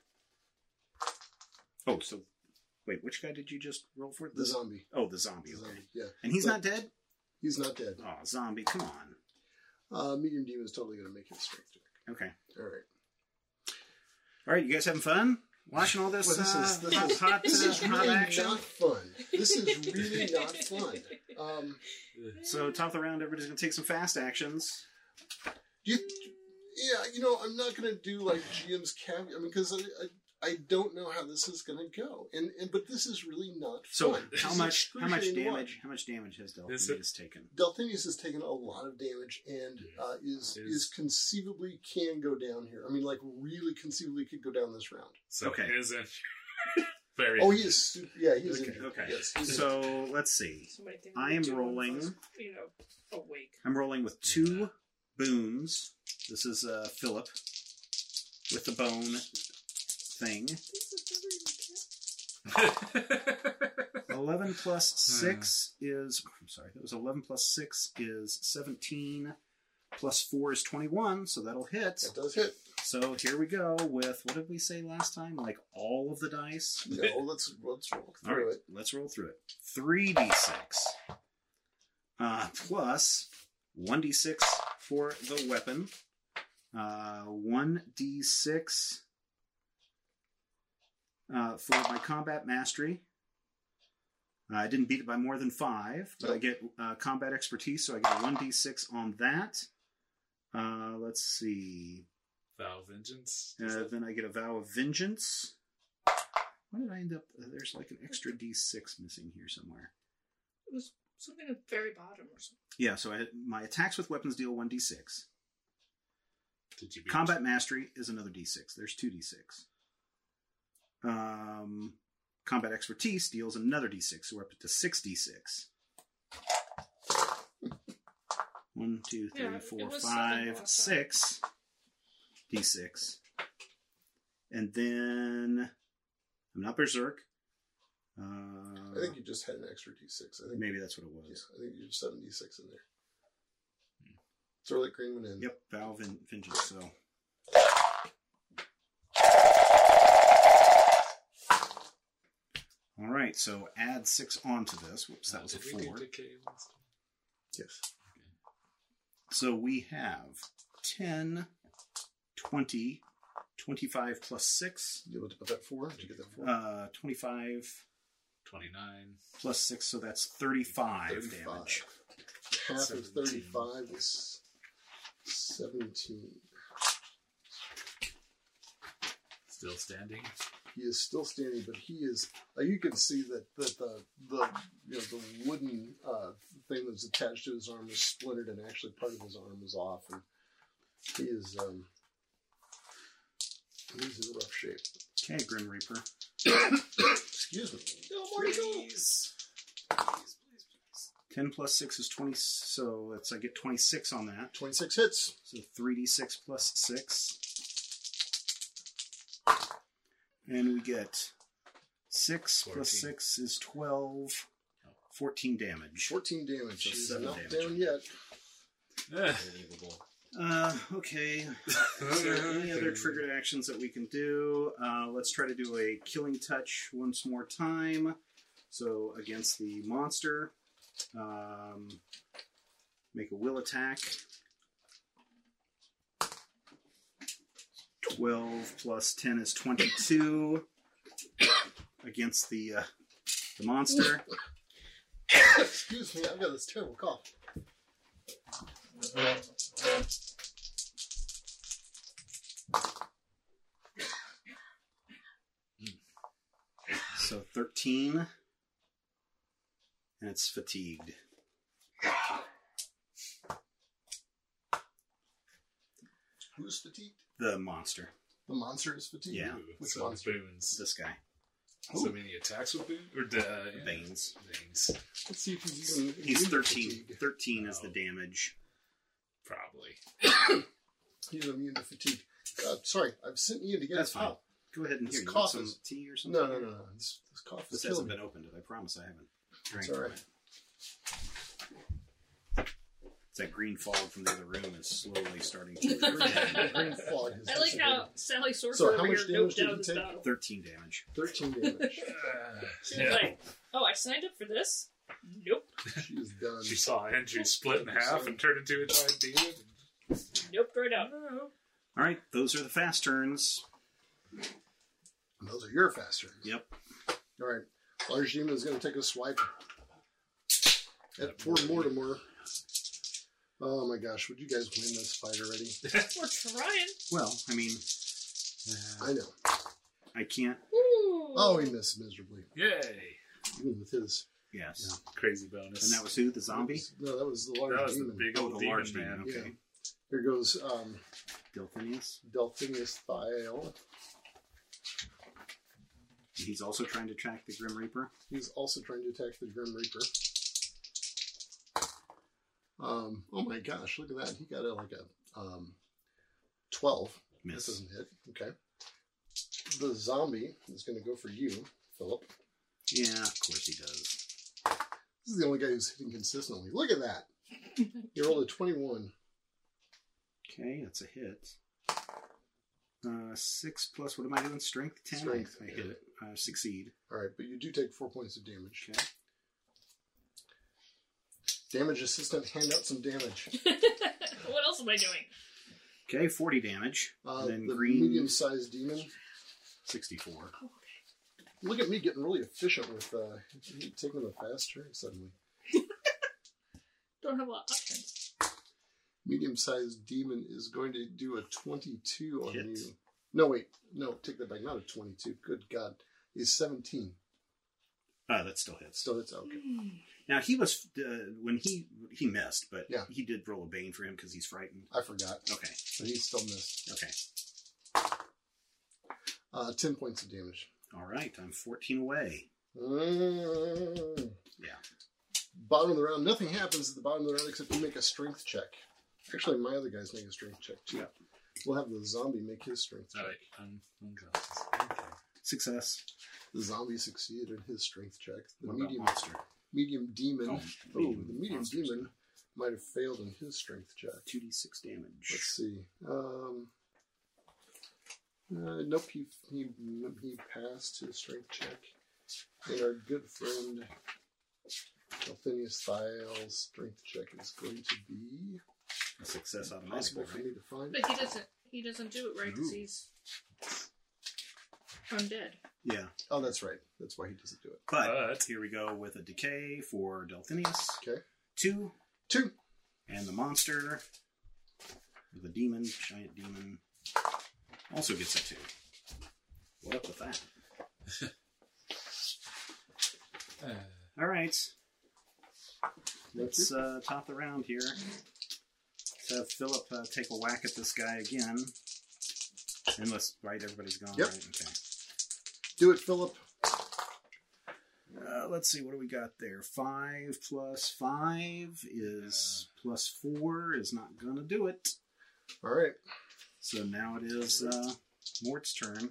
Oh, so... Wait, which guy did you just roll for? the zombie. Oh, the zombie, The okay. zombie, yeah. And he's But- not dead? He's not dead. Oh, zombie, come on. Medium demon is totally going to make his strength check. Okay. All right. All right, you guys having fun? Watching all this, Well, this is hot really action? not fun. This is really not fun. So, top of the round, everybody's going to take some fast actions. Yeah, I'm not going to do like GM's caveat. I mean, because I don't know how this is going to go, but this is really not So, fun. This how is much excruciating damage? one. How much damage has Is it- Delphinius taken? Delphinius has taken a lot of damage and is conceivably can go down here. I mean, like really conceivably could go down this round. So Okay. he is in very. Oh, he is. He is. Okay. injured. Okay. Yes. he's injured. So, let's see. somebody think I am two rolling- of us, awake. I'm rolling with 2 boons. This is Philip with the bone thing. 11 plus 6 is... I'm sorry, that was 11 plus 6 is 17. Plus 4 is 21, so that'll hit. That does hit. So here we go with, what did we say last time? Like all of the dice? No, let's roll All through right, it. let's roll through it. 3d6 plus 1d6 for the weapon. 1d6 for my combat mastery. I didn't beat it by more than 5, but I get combat expertise, so I get a 1d6 on that. Let's see. Vow of Vengeance. Then I get a Vow of Vengeance. Why did I end up... there's like an extra d6 missing here somewhere. It was something at the very bottom or something. Yeah, so my attacks with weapons deal 1d6. Did you beat Combat mastery is another d6. There's 2d6. Combat expertise deals another d6, so we're up to 6d6. 1, 2, 3, Yeah, 4, it was 5, something 6 d6. And then I'm not berserk. I think you just had an extra d6. I think Maybe that's what it Yeah, was. I think you have 7d6 in there. Throw that green one in. Yep, Vow of Vengeance. So right, so add 6 onto this. Whoops, that was a Did we do 4. decay last time? Yes. So we have 10, 20, 25 plus 6. You looked at that 4? Did you get that 4? 25 29. plus 6, so that's 35, 35. damage. Half of 17. 35 is 17. Still standing. He is still standing, but he is. You can see that the the wooden thing that was attached to his arm was splintered, and actually part of his arm was off, and he is he's in rough shape. Okay, Grim Reaper. Excuse me. No more Please. Please, please, please. 10 plus 6 is 20, so I get 26 on that. 26 hits. So 3d6 plus 6. And we get 6 plus 14. 6 is 12. 14 damage. 14 damage. So He's 7 not damage. down yet. Unbelievable. Okay. Is there any other triggered actions that we can do? Let's try to do a killing touch once more time. So against the monster, make a will attack. 12 plus 10 is 22 against the monster. Excuse me, I've got this terrible cough. So 13. And it's fatigued. Who's fatigued? The monster. The monster is fatigued. Yeah. Which So monster? boons. This guy. So many attacks with boons? Or Banes. Banes. Let's see if he's even. He's immune to 13. fatigue. 13 is the damage. Probably. He's immune to fatigue. Sorry, I've sent Ian to get That's his fine. pop. Go ahead and This here. You cough want some is- tea or something? No. This cough This is killing hasn't me. been opened. I promise I haven't drank It's all from right. it. It's that green fog from the other room is slowly starting to The green fog has I like how dissipated. Sally So Sorcerer how over much here damage noped did out you this take? battle. 13 damage. 13 damage. She was like, oh, I signed up for this? Nope. She is done. She saw Andrew split in half and turn into a giant demon. Nope, right out. All right, those are the fast turns. And those are your fast turns. Yep. All right. Large Demon is going to take a swipe at poor Mortimer. Oh my gosh, would you guys win this fight already? We're trying. Well, I mean, I know. I can't. Ooh. Oh, he missed miserably. Yay! Even with his. Yes. Crazy bonus. And that was who? The zombie? No, that was the large That was the demon. big Oh, old the demon large man. demon. Okay. Here goes Delphinius. Delphinius Thiel. He's also trying to track the Grim Reaper. He's also trying to attack the Grim Reaper. Oh my gosh, look at that. He got a 12. Miss. That doesn't hit. Okay. The zombie is going to go for you, Philip. Yeah, of course he does. This is the only guy who's hitting consistently. Look at that. You rolled a 21. Okay, that's a hit. 6 plus, what am I doing? Strength? 10? Strength, I yeah. hit it. Succeed. All right, but you do take 4 points of damage. Okay. Damage assistant, hand out some damage. What else am I doing? Okay, 40 damage. And then The green, medium-sized demon. 64. Look at me getting really efficient with taking the fast turn suddenly. Don't have a lot of options. Medium-sized demon is going to do a 22 on Hit. you. No, wait. No, take that back. Not a 22. Good God. He's 17. That still hits. Still, it's okay. Now, he was, when he missed, but Yeah. he did roll a bane for him because he's frightened. I forgot. Okay, But he still missed. okay. 10 points of damage. All right, I'm 14 away. Yeah. Bottom of the round. Nothing happens at the bottom of the round except you make a strength check. Actually, my other guys make a strength check too. Yeah. We'll have the zombie make his strength check. Alright, I'm unconscious. Okay. Success. The zombie succeeded in his strength check. The What about medium monster? medium demon. Oh, Oh, medium the medium monsters. demon might have failed in his strength check. 2d6 damage. Let's see. Nope, he passed his strength check. And our good friend Delphinius Thial's strength check is going to be A success automatically, impossible for right? me to find. But he doesn't do it right because Ooh. he's undead. Yeah. Oh, that's right. That's why he doesn't do it. But here we go with a decay for Delphinius. Okay. 2. 2. And the monster, the demon, giant demon, also gets a 2. What up with that? All right. Let's top the round here. Let's have Philip take a whack at this guy again. And let's, right, everybody's gone, Yep. right? Okay. Do it, Philip. Let's see, what do we got there? 5 plus 5 is plus 4 is not going to do it. All right. So now it is Mort's turn.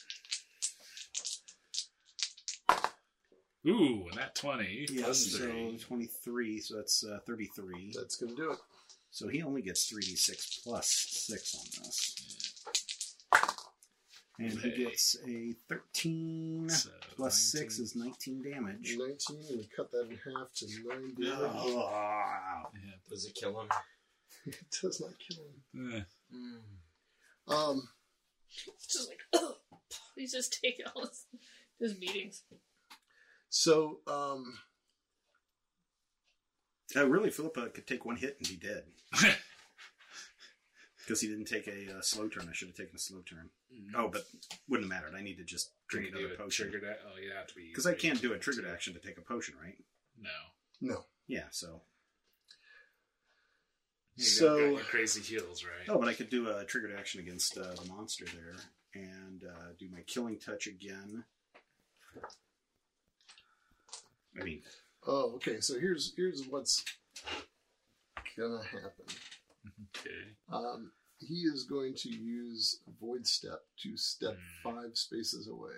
Ooh, and that 20 Yeah, plus so 3. 23, so that's 33. That's going to do it. So he only gets 3d6 plus 6 on this. And he Okay. gets a 13 So plus 19. 6 is 19 damage. 19, and we cut that in half to 9 damage. Oh. Yeah. Does it kill him? It does not kill him. It's just like, ugh. He's just taking all his meetings. So, Really, Philippa could take one hit and be dead. Because he didn't take a slow turn. I should have taken a slow turn. Oh, but wouldn't have mattered. I need to just drink Can you another do a potion. triggered act? Oh, you have to be. Because I can't do a triggered action to take a potion, right? No. no. Yeah, so... You So- got your crazy heals, right? Oh, but I could do a triggered action against the monster there. And do my killing touch again. I mean... Oh, okay. So here's what's gonna happen. Okay. He is going to use Void Step to step 5 spaces away.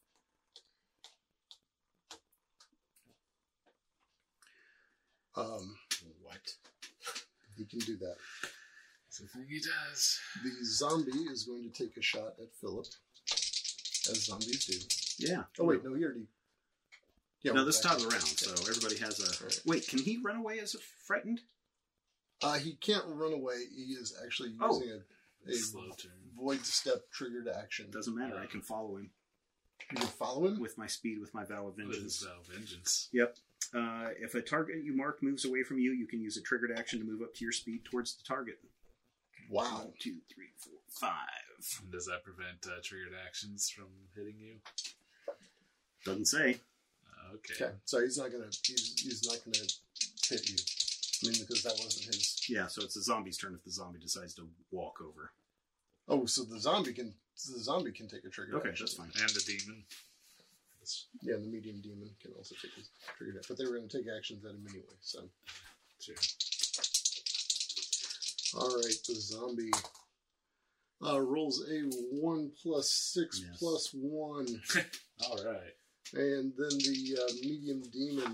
What? He can do that. That's the thing he does. The zombie is going to take a shot at Philip, as zombies do. Yeah. Oh wait, no, he already. Yeah, No, we're this back. top of the round, so everybody has a... Right. Wait, can he run away as a frightened? He can't run away. He is actually Oh. using a Slow turn. Void Step triggered action. Doesn't matter, I can follow him. You can follow him. With my speed, with my Vow of With his Vengeance. Vow of Vengeance. Yep. If a target you mark moves away from you, you can use a triggered action to move up to your speed towards the target. Wow. 1, 2, 3, 4, 5. And does that prevent triggered actions from hitting you? Doesn't say. Okay. Okay, so he's not gonna hit you. I mean, because that wasn't his. Yeah, so it's the zombie's turn if the zombie decides to walk over. Oh, so the zombie can take a trigger. Okay, action. that's fine. And the demon. Yeah, the medium demon can also take his trigger action, but they were going to take actions at him anyway. So, Sure. all right, the zombie rolls a 1 plus 6 Yes. plus 1, All right. and then the medium demon.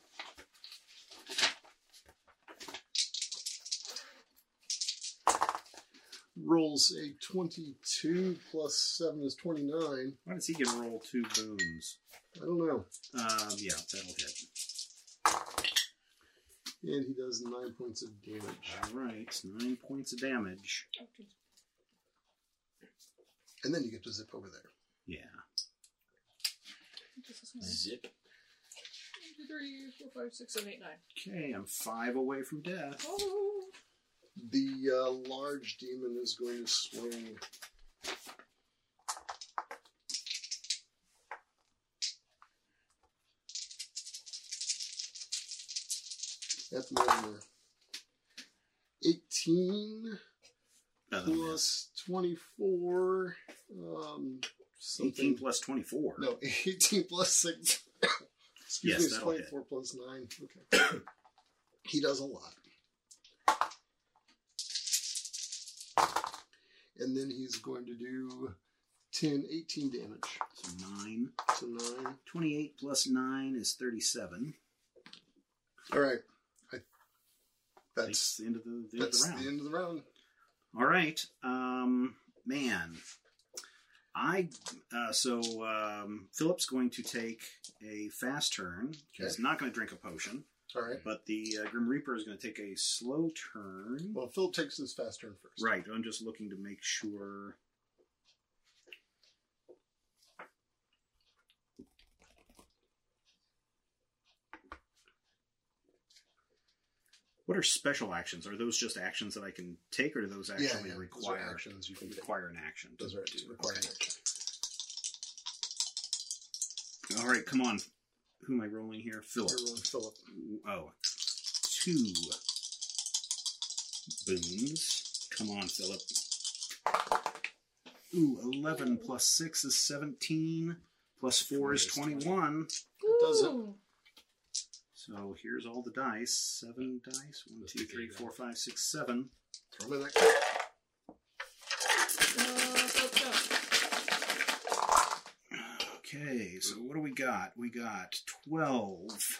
Rolls a 22 plus 7 is 29. Why does he get to roll 2 boons? I don't know. Yeah, that'll hit. And he does 9 points of damage. Alright, 9 points of damage. And then you get to zip over there. Yeah. Zip. 1, 2, 3, 4, 5, 6, 7, 8, 9. Okay, I'm 5 away from death. Oh! The large demon is going to swing. At Mortimer. 18 Another miss. plus 24. 18 Something. plus 24. No, 18 plus 6. Excuse Yes, me, it's that'll hit. 24 plus 9. Okay. He does a lot. And then he's going to do 10, 18 damage. So 9. So 9. 28 plus 9 is 37. All right. That's the end of the round. the end of the round. All right. Man. Philip's going to take a fast turn. He's Okay. not going to drink a potion, All right. but the Grim Reaper is going to take a slow turn. Well, Phil takes his fast turn first. Right, I'm just looking to make sure. What are special actions? Are those just actions that I can take, or do those actually Those are require actions you can take. require an action? Those are required Okay. action. All right, come on. Who am I rolling here? Philip. You're rolling Philip. Oh, 2 boons. Come on, Philip. Ooh, 11 plus 6 is 17. Plus 4 is 21. does it. Ooh. So here's all the dice. 7 dice. 1, 2, 3, 4, 5, 6, 7. Throw him in that cup. Okay, so what do we got? We got 12.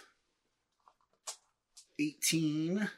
18.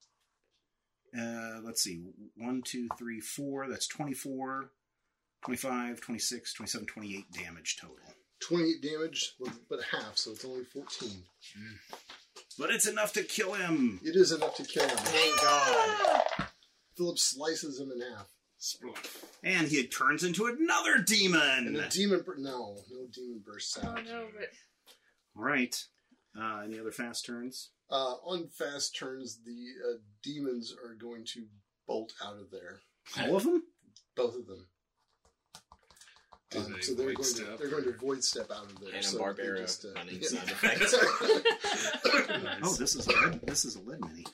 Let's see. 1, 2, 3, 4. That's 24. 25, 26, 27, 28 damage total. 28 damage, but half, so it's only 14. But it's enough to kill him. It is enough to kill him. Thank God. Philip slices him in half. And he turns into another demon. And a demon... No demon bursts Oh out. no, but All right. Any other fast turns? On fast turns, the demons are going to bolt out of there. All of them? Both of them. Do they So they're void going to step, they're going to or- void step out of there. And a so Barbara they just, running yeah. sound effect. Oh, this is a lead. This is a lead mini.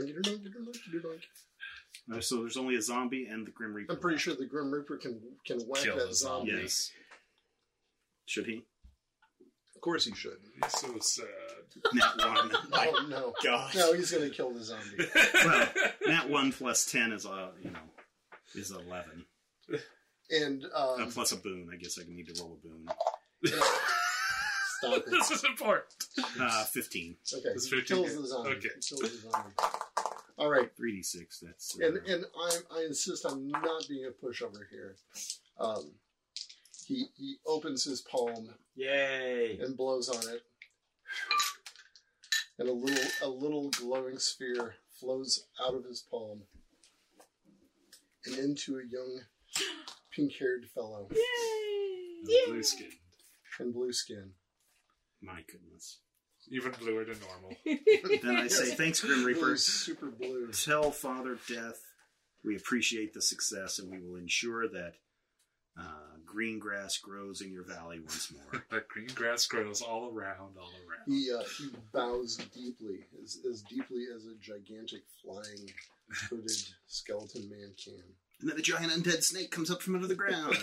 So there's only a zombie and the Grim Reaper. I'm pretty left. sure the Grim Reaper can whack Kill that the zombie. zombie. Yes. Should he? Of course he should. He's so sad. Nat 1. Oh no. God. No, he's going to kill the zombie. Well, Nat 1 plus 10 is is 11. And Plus a boon. I guess I need to roll a boon. stop it. This is important. Okay, 15. It's he 15. kills the zombie. Okay. He kills the zombie. All right, 3d6. That's and I insist on not being a pushover here. He opens his palm Yay. and blows on it, and a little glowing sphere flows out of his palm and into a young pink-haired fellow Blue skin. in blue skin. my goodness. Even bluer than normal. Then I say, thanks, Grim Reaper. Really super blue. Tell Father Death we appreciate the success and we will ensure that green grass grows in your valley once more. That green grass grows all around. He bows deeply, as deeply as a gigantic flying hooded skeleton man can. And then a giant undead snake comes up from under the ground.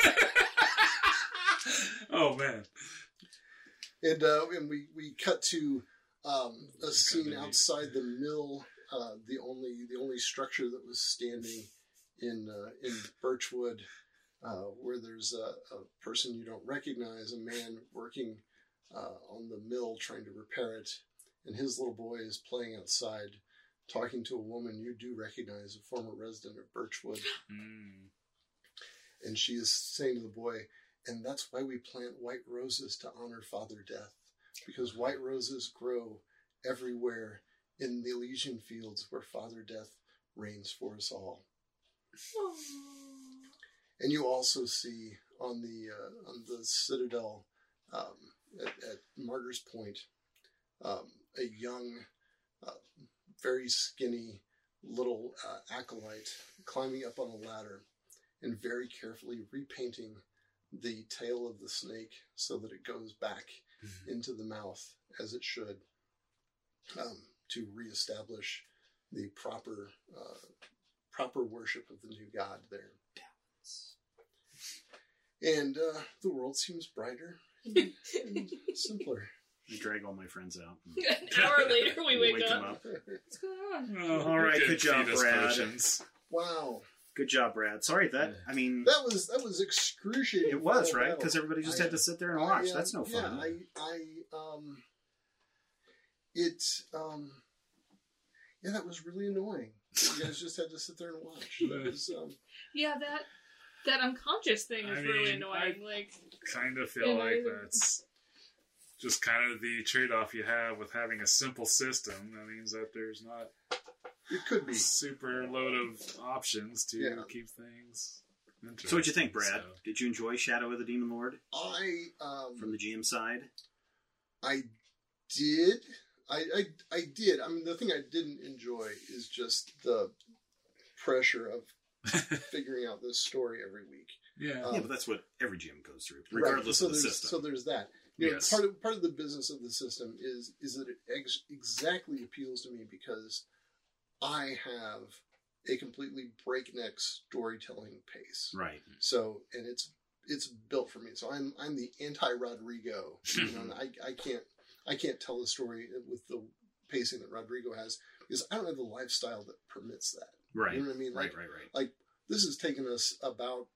Oh man. And we cut to a scene outside the mill, the only structure that was standing in Birchwood, where there's a person you don't recognize, a man working on the mill trying to repair it, and his little boy is playing outside, talking to a woman you do recognize, a former resident of Birchwood, and she is saying to the boy, "And that's why we plant white roses to honor Father Death, because white roses grow everywhere in the Elysian fields where Father Death reigns for us all." And you also see on the citadel at Martyr's Point a young, very skinny little acolyte climbing up on a ladder and very carefully repainting the tail of the snake so that it goes back into the mouth as it should, to reestablish the proper worship of the new god there. And the world seems brighter and simpler. I drag all my friends out. An hour later, we wake them up. What's going on? Oh, All right, we good can job, feed us Brad. potions. Wow, Good job, Brad. Sorry that. I mean, that was excruciating. it was final right battle. because everybody just had to sit there and watch. That's no fun. That was really annoying. You guys just had to sit there and watch. That was, Yeah, that that unconscious thing is I really mean, annoying. Like, kind of feel Yeah, like either. that's just kind of the trade-off you have with having a simple system. That means that there's not It could be. a super load of options to Yeah. keep things interesting. So what'd you think, Brad? So, Did you enjoy Shadow of the Demon Lord from the I GM side? did. I did. I mean, the thing I didn't enjoy is just the pressure of figuring out this story every week. yeah. Yeah, but that's what every GM goes through, regardless so of the there's, system. So there's that. You know, Yes. part of the business of the system is that it exactly appeals to me because I have a completely breakneck storytelling pace. Right. So, and it's built for me. So I'm the anti Rodrigo. You know, and I can't tell the story with the pacing that Rodrigo has because I don't have the lifestyle that permits that. Right. You know what I mean? Right. Like this has taken us about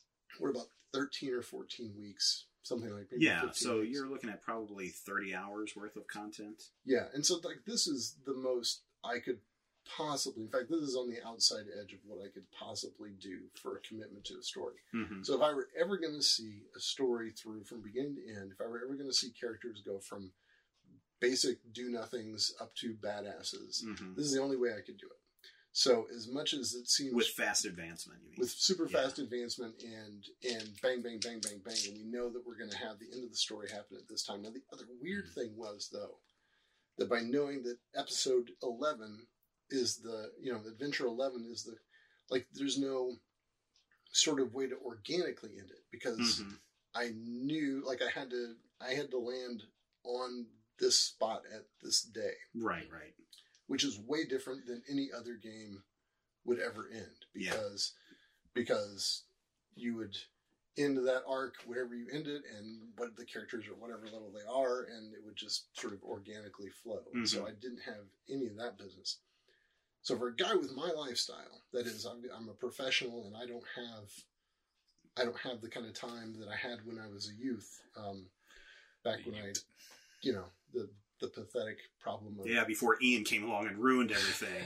13 or 14 weeks, something like maybe Yeah, 15 so weeks. you're looking at probably 30 hours worth of content. Yeah, and so like this is the most I could possibly. In fact, this is on the outside edge of what I could possibly do for a commitment to a story. Mm-hmm. So if I were ever going to see a story through from beginning to end, if I were ever going to see characters go from basic do-nothings up to badasses, Mm-hmm. this is the only way I could do it. So as much as it seems With fast advancement, you mean? with super Yeah. fast advancement and bang, bang, bang, bang, bang, and we know that we're going to have the end of the story happen at this time. Now, the other weird thing was, though, that by knowing that episode 11 is Adventure 11 is the, like, there's no sort of way to organically end it because Mhm. I knew, like, I had to land on this spot at this day, Right. which is way different than any other game would ever end Yeah. because you would end that arc wherever you end it and what the characters or whatever level they are, and it would just sort of organically flow. Mhm. So I didn't have any of that business. So for a guy with my lifestyle, that is, I'm a professional and I don't have the kind of time that I had when I was a youth. Back when the pathetic problem of Yeah, before Ian came along and ruined everything.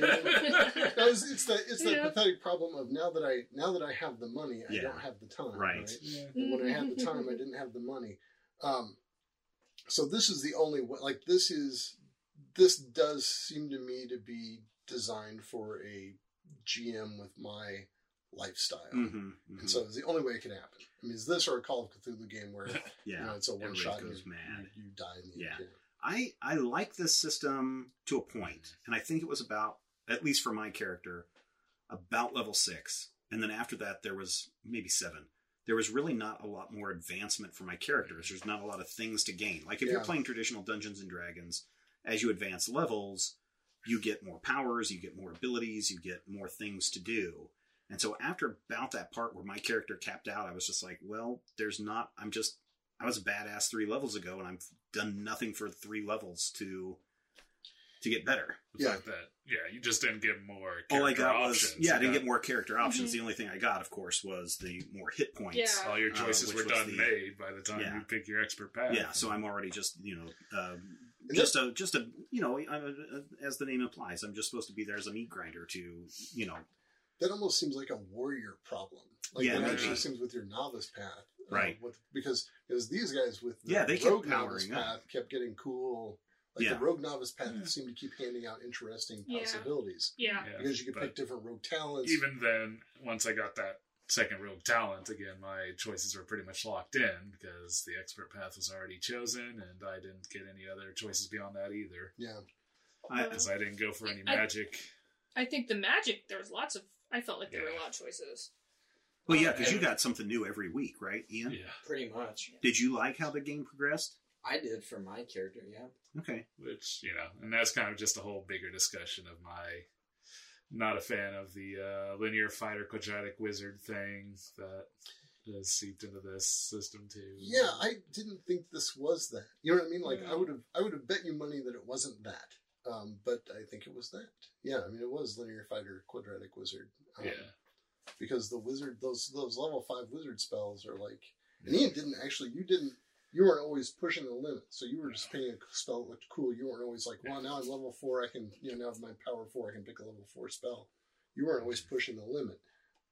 it's that Yeah. pathetic problem of now that I have the money, I Yeah. don't have the time. Right. And when I had the time, I didn't have the money. So this is the only way. Like this does seem to me to be designed for a GM with my lifestyle, Mm-hmm. and so it's the only way it can happen. I mean, is this or a Call of Cthulhu game where Yeah, it's a one everybody shot goes and mad. you die in the Yeah. end. I like this system to a point, and I think it was about, at least for my character, about level 6, and then after that there was maybe 7. There was really not a lot more advancement for my characters. There's not a lot of things to gain. Like if you're Yeah. playing traditional Dungeons and Dragons, as you advance levels, you get more powers, you get more abilities, you get more things to do. And so after about that part where my character capped out, I was just like, well, I was a badass 3 levels ago, and I've done nothing for 3 levels to get better. The Yeah. fact that, you just didn't get more All I character got options. was, I You didn't got- get more character options. The only thing I got, of course, was the more hit points. Yeah. All your choices which were was done made by the time Yeah. you pick your expert path. Yeah, so I'm already just, And just a as the name implies, I'm just supposed to be there as a meat grinder to, That almost seems like a warrior problem. Like Yeah, it maybe. actually seems with your novice path. Right. Because these guys with the Yeah, they kept rogue novice powering up. path kept getting cool. Like Yeah. the rogue novice path Yeah. seemed to keep handing out interesting Yeah. possibilities. Yeah. Yeah, Because you could but pick different rogue talents. even then, once I got that second rogue talent, again, my choices were pretty much locked in because the expert path was already chosen, and I didn't get any other choices beyond that either. Yeah. Because I didn't go for any magic. I think the magic, there was lots of, I felt like there were a lot of choices. well, yeah, because you got something new every week, right, Ian? Yeah. Pretty much. Did you like how the game progressed? I did for my character, yeah. Okay. Which, and that's kind of just a whole bigger discussion of my not a fan of the linear fighter quadratic wizard thing that has seeped into this system too. Yeah, I didn't think this was that. You know what I mean? Like Yeah. I would have bet you money that it wasn't that. But I think it was that. Yeah, I mean it was linear fighter quadratic wizard. Yeah. Because the wizard those level 5 wizard spells are like, and Ian you weren't always pushing the limit. So you were just picking a spell that looked cool. You weren't always like, well, now I'm level 4, I can, now with my power 4, I can pick a level 4 spell. You weren't always pushing the limit.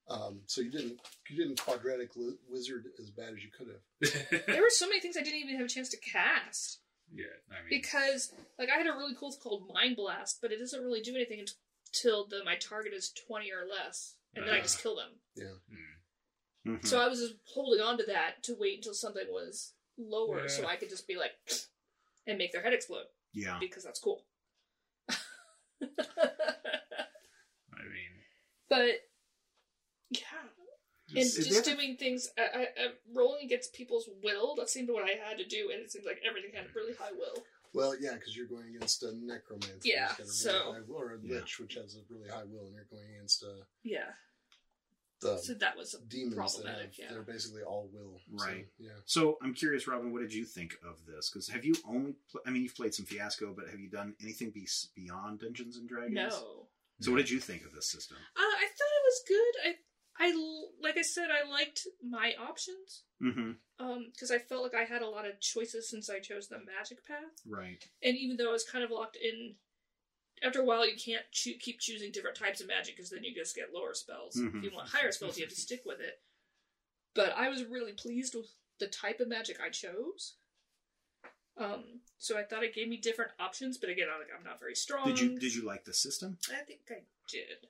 So you didn't quadratic wizard as bad as you could have. There were so many things I didn't even have a chance to cast. Yeah, I mean, Because, like, I had a really cool thing called Mind Blast, but it doesn't really do anything until my target is 20 or less, and then I just kill them. Yeah. Mhm. So I was just holding on to that to wait until something was lower, Yeah. so I could just be like, and make their head explode, Yeah. because that's cool. I mean, But, yeah. And Is just there- doing things, rolling against people's will, that seemed what I had to do, and it seemed like everything had really high will. Well, yeah, because you're going against a necromancer. Yeah, who's got a really so- high will, or a Yeah. lich, which has a really high will, and you're going against Yeah. the So that was demons that have, problematic, yeah. they're basically all will. Right. So, yeah. So I'm curious, Robin, what did you think of this? Because have you only, you've played some Fiasco, but have you done anything beyond Dungeons and Dragons? No. So what did you think of this system? I thought it was good. Like I said, I liked my options. Mm-hmm. Because I felt like I had a lot of choices since I chose the magic path. Right. And even though I was kind of locked in, after a while you can't keep choosing different types of magic because then you just get lower spells. Mhm. If you want higher spells, you have to stick with it. But I was really pleased with the type of magic I chose. So I thought it gave me different options, but again, I'm not very strong. Did you like the system? I think I did.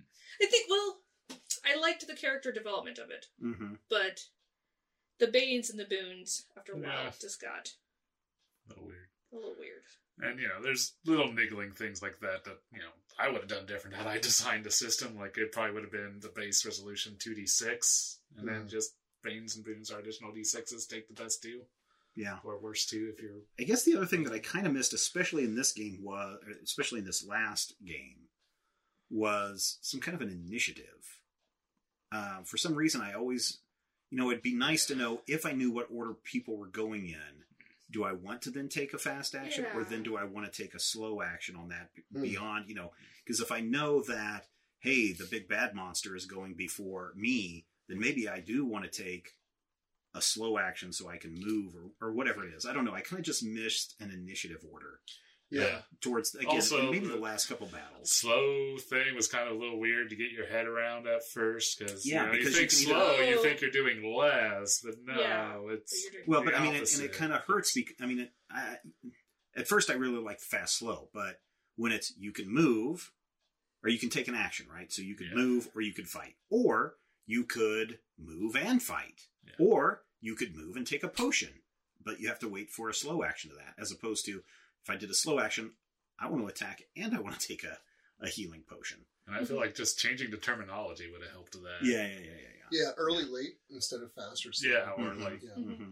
I liked the character development of it, Mm-hmm. but the Banes and the Boons, after a while, Yeah. just got a little weird. a little weird. And, there's little niggling things like that, I would have done different had I designed a system. Like, it probably would have been the base resolution 2d6, and then just Banes and Boons are additional d6s, take the best two. Yeah. Or worst two if you're... I guess the other thing that I kind of missed, especially in this last game, was some kind of an initiative. For some reason, I always, it'd be nice to know if I knew what order people were going in. Do I want to then take a fast action, or Yeah. then do I want to take a slow action on that Hmm. beyond, because if I know that, hey, the big bad monster is going before me, then maybe I do want to take a slow action so I can move or whatever it is. I don't know. I kind of just missed an initiative order Yeah. towards, again, Also, maybe the last couple battles. Slow thing was kind of a little weird to get your head around at first, because Yeah, you because think you can slow, either- you think you're doing less, but no, Yeah. So it's... you're doing- Well, the but and opposite. it kind of hurts because at first I really liked fast slow, but when it's you can move or you can take an action, right? So you could Yeah. move or you could fight, or you could move and fight, Yeah. or you could move and take a potion, but you have to wait for a slow action to that. As opposed to if I did a slow action, I want to attack and I want to take a healing potion. And I feel like just changing the terminology would have helped with that. Yeah. Yeah, early, late instead of fast or slow. Yeah, or Mhm. like Yeah. Mm-hmm.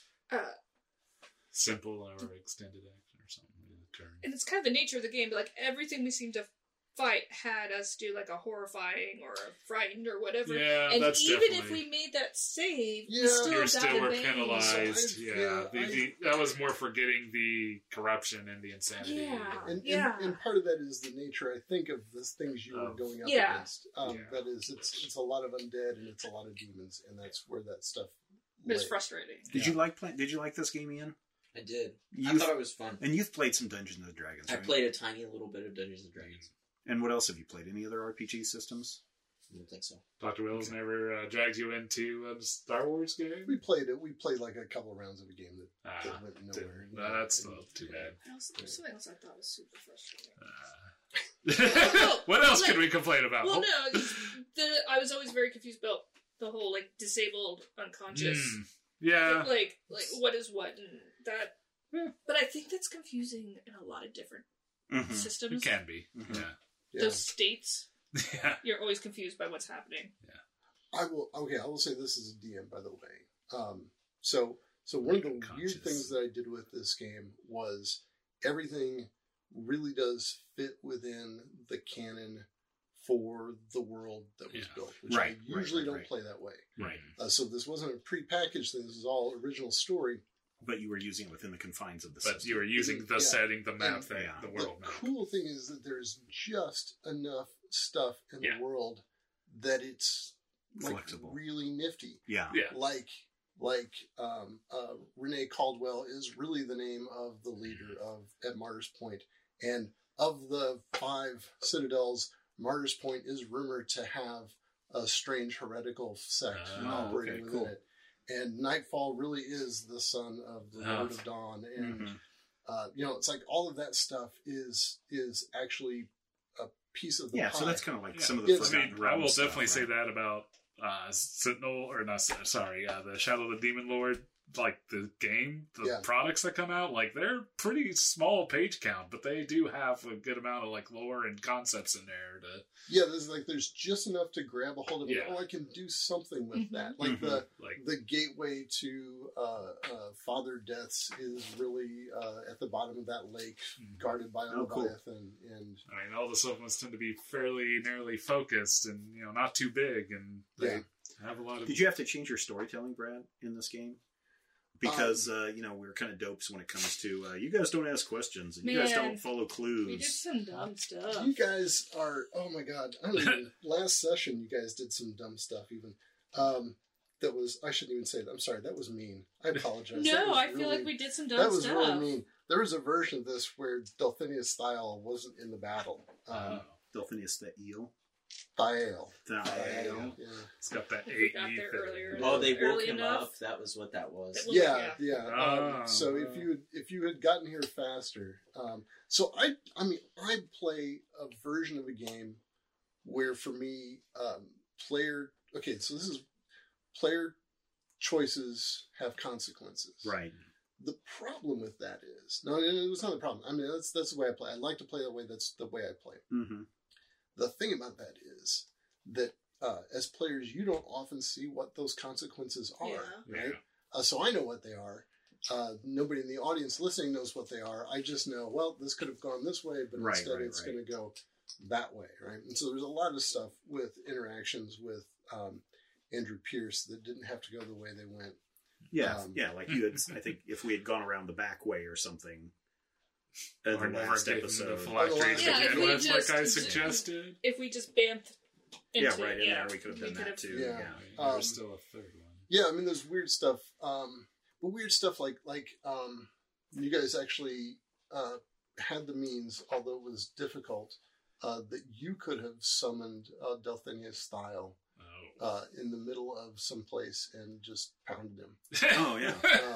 simple or extended action or something. In the turn. And it's kind of the nature of the game, but like everything we seem to fight had us do like a horrifying or a frightened or whatever. Yeah, and that's even definitely... if we made that save, Yeah. we still you got still were a bang. penalized. So yeah, I- that was more for getting the corruption and the insanity. Yeah. And, Yeah. and part of that is the nature, I think, of the things you were Of- going up Yeah. against. Yeah. That is, it's a lot of undead and it's a lot of demons, and that's where that stuff. But it's lay. frustrating. Did you like this game, Ian? I did. I You've- thought it was fun. And you've played some Dungeons and Dragons, I right? played a tiny little bit of Dungeons and Dragons. And what else have you played? Any other RPG systems? I don't think so. Dr. Wills never dragged you into a Star Wars game? We played it. We played like a couple rounds of a game that Ah, went nowhere. didn't- that's too bad. There's something else I thought was super frustrating. What else like- could we complain about? Well, no, I was always very confused about the whole like disabled, unconscious, Yeah. like what is what, and that. Yeah. But I think that's confusing in a lot of different Mm-hmm. It systems. can be. Mhm. Yeah. Yeah. Those states, Yeah. you're always confused by what's happening. I will say this is a DM, by the way. So one of the weird Unconscious. things that I did with this game was everything really does fit within the canon for the world that was Yeah. built, which Right, I usually right. don't play that way. Right. So this wasn't a pre-packaged thing. This is all original story. But you were using it within the confines of the But system. you were using the Yeah. setting, the map And- thing, Yeah. the The world map. cool thing is that there's just enough stuff in Yeah. the world that it's like Flexible. really nifty. Yeah. Yeah. Like Renee Caldwell is really the name of the leader at Martyr's Point, and of the 5 citadels, Martyr's Point is rumored to have a strange heretical sect Oh, operating okay, within cool. it. And Nightfall really is the son of the Lord of Dawn, and Mhm. it's like all of that stuff is actually a piece of the Yeah, pie. so that's kind of like Yeah. some of the Yeah, Forgotten I will Realms stuff, definitely say right? that about Sentinel, or not, sorry, the Shadow of the Demon Lord, like the game, the Yeah. products that come out, like they're pretty small page count, but they do have a good amount of like lore and concepts in there to there's just enough to grab a hold of. Yeah. Oh, I can do something with Mhm. that. Like Mhm. like. the gateway to Father Death's is really at the bottom of that lake, guarded by a Oh, cool. Leviathan, and I mean, all the supplements tend to be fairly narrowly focused and not too big, and they Yeah. have a lot of. Did you have to change your storytelling, Brad, in this game? Because we're kind of dopes when it comes to you guys don't ask questions and you guys Man, don't follow We did clues. some dumb stuff. you guys are, oh my god, I don't even, last session you guys did some dumb stuff even. That was, I shouldn't even say that. I'm sorry, that was mean. I apologize. That No, was I feel really- like we did some dumb That was stuff. really mean. There was a version of this where Delphinius Thiel wasn't in the battle. Delphinius the eel. Thiel. Thiel. Yeah. It's got that We 8 got there earlier. Oh, they woke Early him enough. up. That was what that was. That Yeah, Yeah. yeah. Oh. So if you had gotten here faster, so I play a version of a game where for me, so this is player choices have consequences. Right. The problem with that is it's not the problem. I mean that's the way I play. I like to play that way. That's the way I play. Mm-hmm. The thing about that is that as players, you don't often see what those consequences are. Yeah. Right? So I know what they are. Nobody in the audience listening knows what they are. I just know, well, this could have gone this way, but Right, instead right, it's right. going to go that way, right? And so there's a lot of stuff with interactions with Andrew Pierce that didn't have to go the way they went. Yeah, Um, like you had. I think if we had gone around the back way or something, in Or the never last getting the episode. phylacteries Yeah, if again, we that's like just- I suggested. If we just bamfed into Yeah, right it, in there we could have done that too. Yeah. Yeah. There's still a third one. Yeah, I mean, there's weird stuff. But weird stuff like you guys actually had the means, although it was difficult, that you could have summoned Delphinius Style Oh. in the middle of some place and just pounded him. Oh yeah.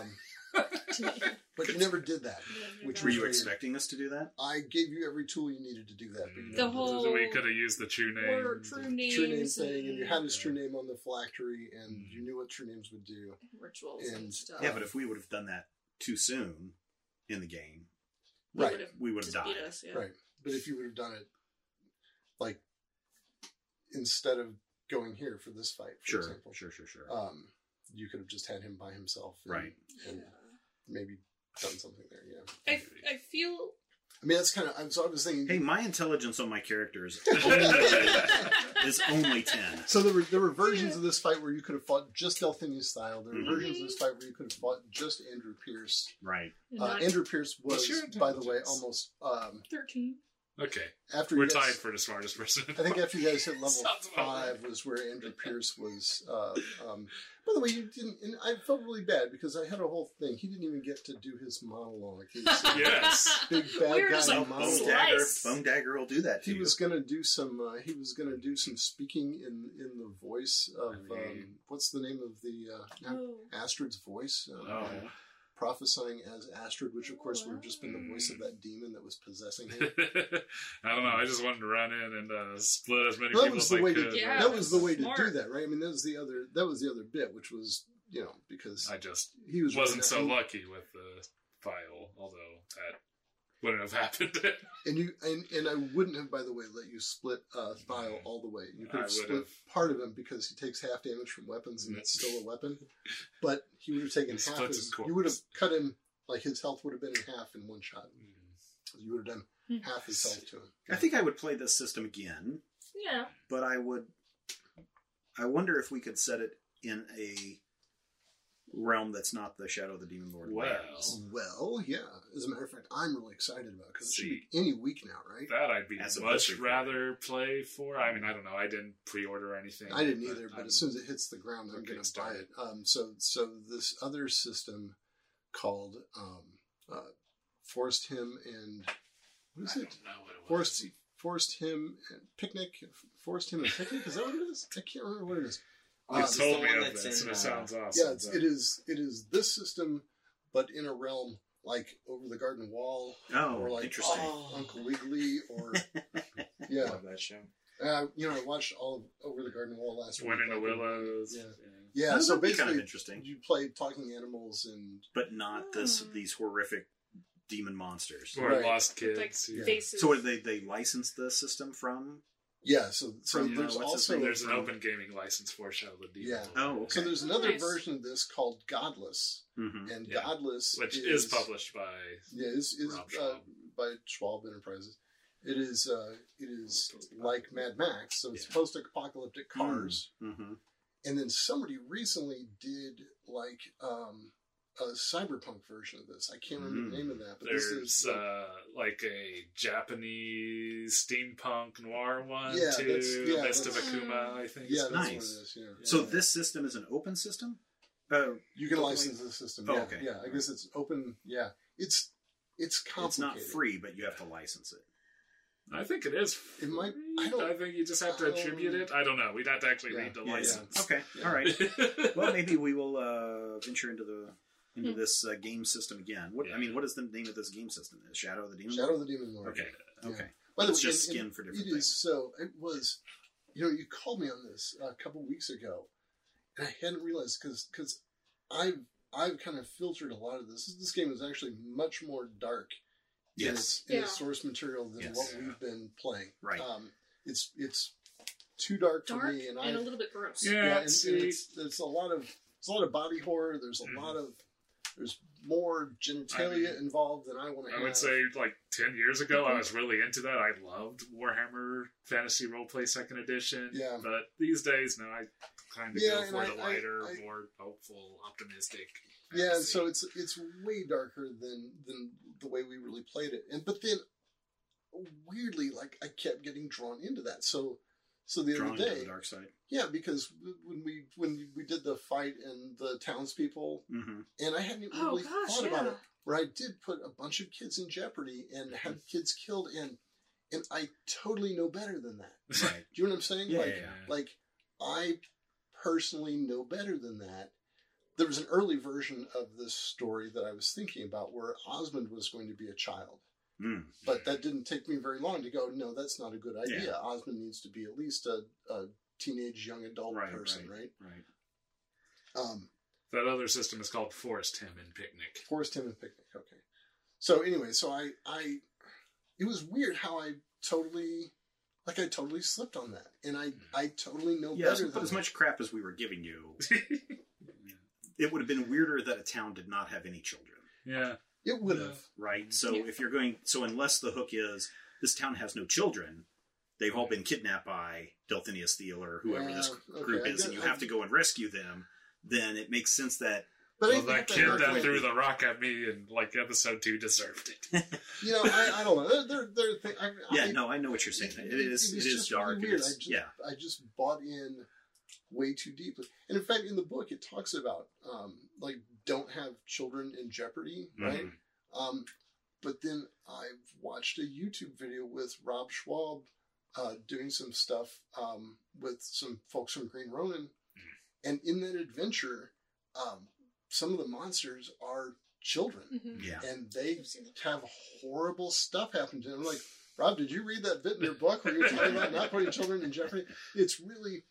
But you never did that. Which Were you Weird. expecting us to do that? I gave you every tool you needed to do that. But you The never did. whole- we could have used the true name. Or true names. True name thing, and you had his Yeah. true name on the phylactery, and you knew what true names would do. rituals and, And- stuff. Yeah, but if we would have done that too soon in the game, They Right. would've we would have just beat died. us, yeah. Right. But if you would have done it, like, instead of going here for this fight, for Sure, example, sure. you could have just had him by himself. And, Right. And maybe done something there, yeah. I feel I mean, that's kind of, so I was thinking. Hey, my intelligence on my characters Only- is only 10. So there were versions of this fight where you could have fought just Delphinius Style. There were Mhm. versions of this fight where you could have fought just Andrew Pierce. Right. not Andrew Pierce What's was, your by the way, intelligence? almost 13. Okay, after we're you guys, tied for the smartest person. I think after you guys hit level Sounds about 5 was where Andrew Pierce was. By the way, you didn't, and I felt really bad because I had a whole thing. He didn't even get to do his monologue. His Yes. big bad We're guy just like, monologue. Slice. Bone Dagger will do that to He you. was gonna do some. He was gonna do some speaking in the voice of what's the name of the Oh. Astrid's voice? Oh. Prophesying as Astrid, which of course would have just been the voice of that demon that was possessing him. I don't know. I just wanted to run in and split as many That people was as the I way could. to. Yeah, that was the way to smart. do that, right? I mean, that was the other bit, which was because I just he was wasn't really so not- lucky with the file, although that wouldn't have happened. And you and I wouldn't have, by the way, let you split Thile all the way. You could I have split would've. part of him because he takes half damage from weapons and it's still a weapon. But he would have taken He half splits his. his corpse. You would have cut him like his health would have been in half in one shot. You would have done Hmm. half his health to him. I think I would play this system again, Yeah. but I wonder if we could set it in a realm that's not the Shadow of the Demon Lord lands. Well, yeah. As a matter of fact, I'm really excited about it because it should See. be any week now, right? That I'd be As a much Blizzard rather play for. I mean, I don't know. I didn't pre-order anything. I didn't either, but I'm- as soon as it hits the ground, I'm Okay, going to buy start it. So this other system called Forest Hymn and what is I it? don't know what it was. Forest Hymn and Picnic. Forest Hymn and Picnic. Is that what it is? I can't remember what it is. You This is the told me one of that's this, in, and it sounds awesome. Yeah, it is this system, but in a realm like Over the Garden Wall, Oh, or like interesting. Uncle Wiggily, or yeah. Love that show. I watched all of Over the Garden Wall last week. Wind in the Willows. Yeah. Yeah. Yeah, so That'd be basically, kind of interesting, you play talking animals and but not these horrific demon monsters. Or Right. Lost With, like, Kids. yeah. faces. So what, they licensed the system from? yeah. So From, there's what's his also name? There's an open gaming license for Shadow of the Demon. Yeah. Oh, okay. so there's another Nice. version of this called Godless, Mm-hmm. and Yeah. Godless Which is published by Yeah, is Rob Schwab. by Schwab Enterprises. It is like Mad Max, so it's post-apocalyptic cars. Mm-hmm. And then somebody recently did like a cyberpunk version of this. I can't remember the name of that, but this there's is like a Japanese steampunk noir one Yeah, too. Mist of that's- Akuma, I think. yeah, it's that's what Nice. it is. Yeah. So Yeah. this system is an open system? You can license the system. Oh, Yeah, okay. yeah. I guess it's open. Yeah, it's complicated. It's not free, but you have to license it. I think it is. It might- free. I don't- I think you just have to attribute it. I don't know. We'd have to actually Yeah. read the Yeah, license. Okay, Yeah. all right. Well, maybe we will venture into Hmm. this game system again. What I mean, what is the name of this game system? Shadow of the Demon? Shadow of the Demon Lord. Okay, Yeah. okay. By the It's way, just and- skin for different It is things. so. It was, you called me on this a couple weeks ago, and I hadn't realized because I've kind of filtered a lot of this. This game is actually much more dark Yes. in Yeah. its source material than Yes. what we've been playing. Right. It's too dark for dark me, and and a little bit gross. Yeah, and see, it's a lot of body horror. There's a lot of there's more genitalia involved than I want to have. I would say like 10 years ago, I was really into that. I loved Warhammer Fantasy Roleplay 2nd Edition. Yeah. But these days, no, I kind of Yeah, go and for the lighter, I- more hopeful, optimistic. Yeah, fantasy. so it's way darker than the way we really played it, but then weirdly, like I kept getting drawn into that. So the Drawn other into day, the dark side. yeah, because when we did the fight and the townspeople, Mm-hmm. and I hadn't even Oh, really gosh, thought about yeah. it, where I did put a bunch of kids in jeopardy and had kids killed, and I totally know better than that. Right. Do you know what I'm saying? Yeah, like, yeah, yeah. like I personally know better than that. There was an early version of this story that I was thinking about where Osmond was going to be a child. Mm. But that didn't take me very long to go, no, that's not a good idea. Yeah. Osmond needs to be at least a teenage young adult Right, person, right? Right. Um, That other system is called Forest Hymn and Picnic. Forest Hymn and Picnic, okay. So anyway, so I it was weird how I totally slipped on that. And I totally know Yes, better but than as that. much crap as we were giving you, it would have been weirder that a town did not have any children. Yeah. It would have. Right? So Yeah. if you're going, so unless the hook is this town has no children, they've all been kidnapped by Delphinius Thiel or whoever this Okay, group I is, and get- you have to go and rescue them, then it makes sense that But Well, I that think kid they're that going- threw the rock at me in like episode 2 deserved it. I don't know. They're I know what you're saying. It is just dark. really and weird. it's- yeah. I just bought in way too deeply. And in fact, in the book, it talks about like don't have children in jeopardy, right? But then I've watched a YouTube video with Rob Schwab doing some stuff with some folks from Green Ronin, and in that adventure, some of the monsters are children. Mhm. Yeah. And they I've seen it. have horrible stuff happen to them. I'm like, Rob, did you read that bit in your book where you're talking about not putting children in jeopardy? It's really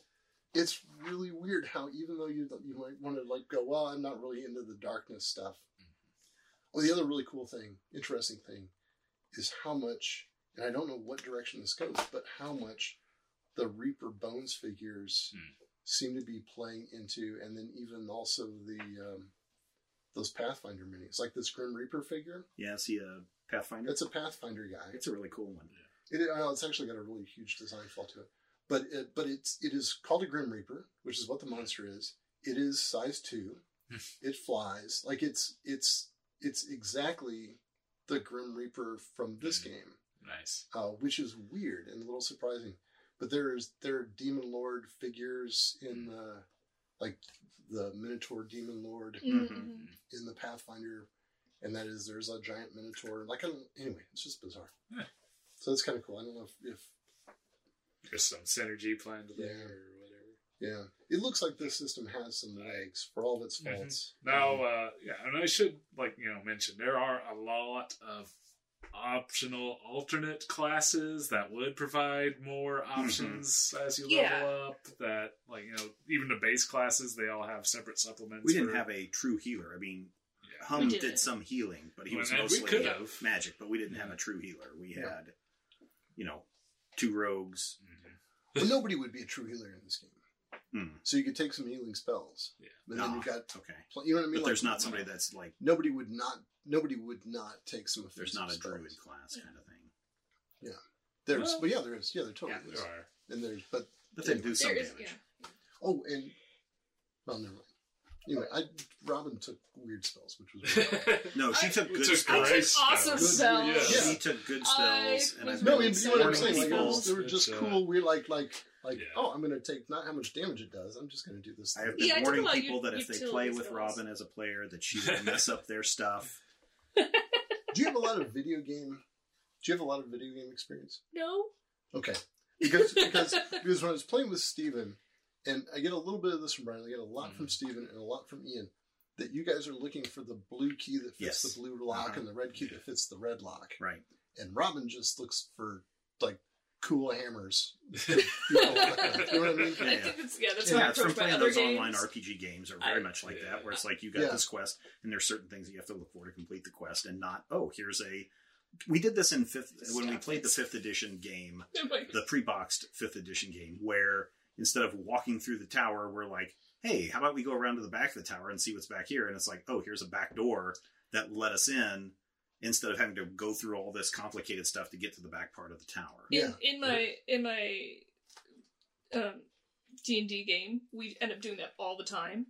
weird how even though you might want to like go, well, I'm not really into the darkness stuff. Well, the other really cool thing, interesting thing, is how much, and I don't know what direction this goes, but how much the Reaper Bones figures seem to be playing into, and then even also the those Pathfinder minis, like this Grim Reaper figure. Yeah, see a Pathfinder? It's a Pathfinder guy. It's a really cool one. It's actually got a really huge design flaw to it, but it is called a Grim Reaper, which is what the monster is. It is size 2. It flies like it's exactly the Grim Reaper from this game, Nice. which is weird and a little surprising. But there are Demon Lord figures in the Minotaur Demon Lord Mhm. in the Pathfinder, and there's a giant Minotaur. Anyway, it's just bizarre. So that's kind of cool. I don't know if There's some synergy planned there Yeah. or whatever. yeah, it looks like this system has some legs for all of its faults. Now, and I should mention there are a lot of optional alternate classes that would provide more options as you level up. That even the base classes, they all have separate supplements. We didn't have a true healer. I mean, Hum We did didn't. some healing, but he was Well, we mostly could have. magic. But we didn't have a true healer. We had, 2 rogues. But nobody would be a true healer in this game. Hmm. So you could take some healing spells. Yeah. And then you've got, Okay, you know what I mean? but there's not somebody that's like Nobody would not take some offensive there's not a spells. druid class kind of thing. There's, Well, but yeah, there is. Yeah, there totally There is. are. And there's, but But they do some There is, damage. oh, and well, never mind. Anyway, Robin took weird spells, which was really No, she I- took good took spells. great awesome spells. spells. Yeah. She took good I spells, and was I've no. I been mean, you know what I'm warning saying? Like, people. they were just It's, cool. We're like, Yeah. oh, I'm going to take not how much damage it does. I'm just going to do this. I have thing. been Yeah, I took warning a lot of people that if they utility play with spells. Robin as a player, that she will mess up their stuff. Do you have a lot of video game? Do you have a lot of video game experience? No. Okay, because when I was playing with Steven, and I get a little bit of this from Brian, I get a lot from Steven and a lot from Ian, that you guys are looking for the blue key that fits Yes. the blue lock Uh-huh. and the red key that fits the red lock. Right. And Robin just looks for like cool hammers. You know what I mean? Yeah. I think that's that's Yeah, how I it's from approach my playing other those games. online RPG games are very much like that, where it's like you got Yeah. this quest, and there's certain things that you have to look for to complete the quest, and not, oh, here's a... We did this in when we played the 5th edition game, the pre-boxed 5th edition game, where instead of walking through the tower, we're like, hey, how about we go around to the back of the tower and see what's back here? And it's like, oh, here's a back door that let us in, instead of having to go through all this complicated stuff to get to the back part of the tower. Yeah. In my D&D game, we end up doing that all the time.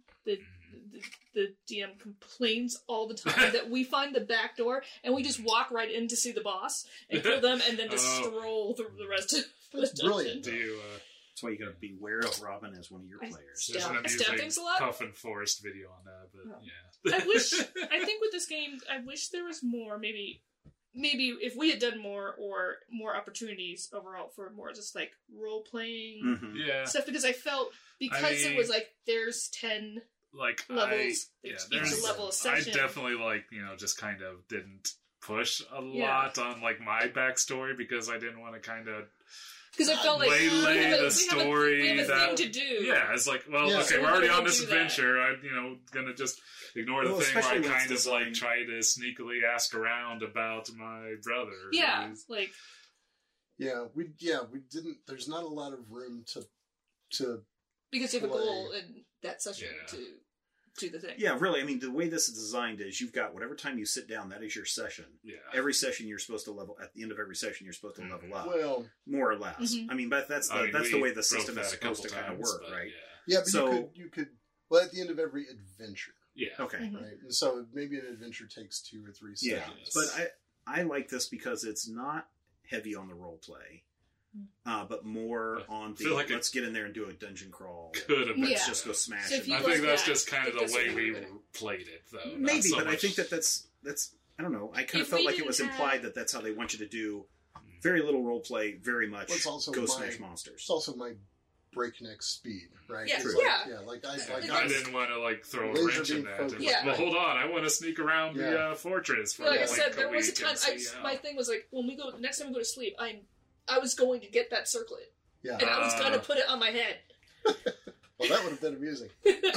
The DM complains all the time that we find the back door and we just walk right in to see the boss and kill them and then just stroll through the rest of the That's brilliant. Do you? That's why you got to beware of Robin as one of your I- players. There's an I stab amusing things a lot. Puff and Forest video on that, but Oh. yeah. I think with this game, I wish there was more, maybe if we had done more opportunities overall for more just like role playing Mhm. yeah. stuff, because I felt it was like there's 10 Like levels, there's each level of section. I definitely just kind of didn't push a Yeah. lot on like my backstory because I didn't want to kind of Because I felt like waylay the story. we have a that, thing to do. Yeah, it's like, well, Yeah. okay, So we're already we're on gonna this do that. adventure. I'm gonna just ignore the Well, thing where I especially when kind it's of like designed- try to sneakily ask around about my brother. Yeah, who's- like Yeah, we didn't. There's not a lot of room to because you have a Play. goal in that session Yeah. to do the thing. Yeah, really. I mean, the way this is designed is you've got whatever time you sit down, that is your session. yeah. Every session you're supposed to level. At the end of every session, you're supposed to level up, well. more or less. Mhm. I mean, but that's I mean, the we way the broke system is that a supposed to couple kind of times, work, but right? Yeah, but So- you could. Well, at the end of every adventure, Yeah. Okay. Mhm. right? And so maybe an adventure takes 2 or 3 Yeah, sessions. but I like this because it's not heavy on the role play, but more on the feel like let's get in there and do a dungeon crawl. Could have been. Yeah. Just go smash So if it. you I go think that's back, just kind of it the just way wouldn't we have been- played it, though. not Maybe, so but I much- think that's I don't know. I kind of If felt we like it was didn't implied have- that that's how they want you to do very little role play, very much Well, it's also go my- smash monsters. it's also my breakneck speed, right? Yeah, It's True. like, yeah. like I I didn't want to throw a Laser wrench in beam that. focus. It's Yeah. like, well, hold on, I want to sneak around the Yeah. fortress for Like I like said, there was a week time. and see how- My thing was like when we go next time we go to sleep, I was going to get that circlet Yeah. and I was gonna put it on my head, Well, that would have been amusing.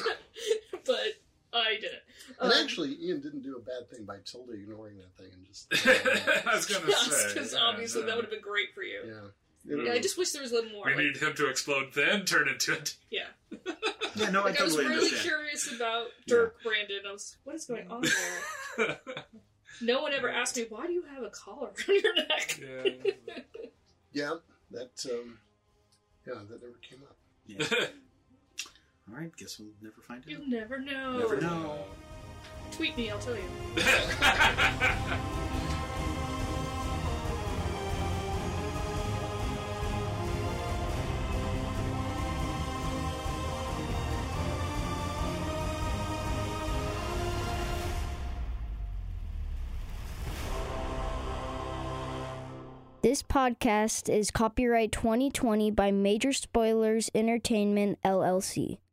but I didn't. And actually, Ian didn't do a bad thing by totally ignoring that thing and just. I was gonna say, because yeah, obviously no. that would have been great for you. Yeah. Yeah, I just wish there was a little more. We like, need him to explode, then turn into a. yeah, Yeah, no, like I I was totally really understand. curious about Dirk Brandon. I was, what is going on there? No one ever asked me, why do you have a collar around your neck? Yeah. Yeah. That. That never came up. Yeah. All right, guess we'll never find out. You'll never know. Never know. Tweet me, I'll tell you. This podcast is copyright 2020 by Major Spoilers Entertainment, LLC.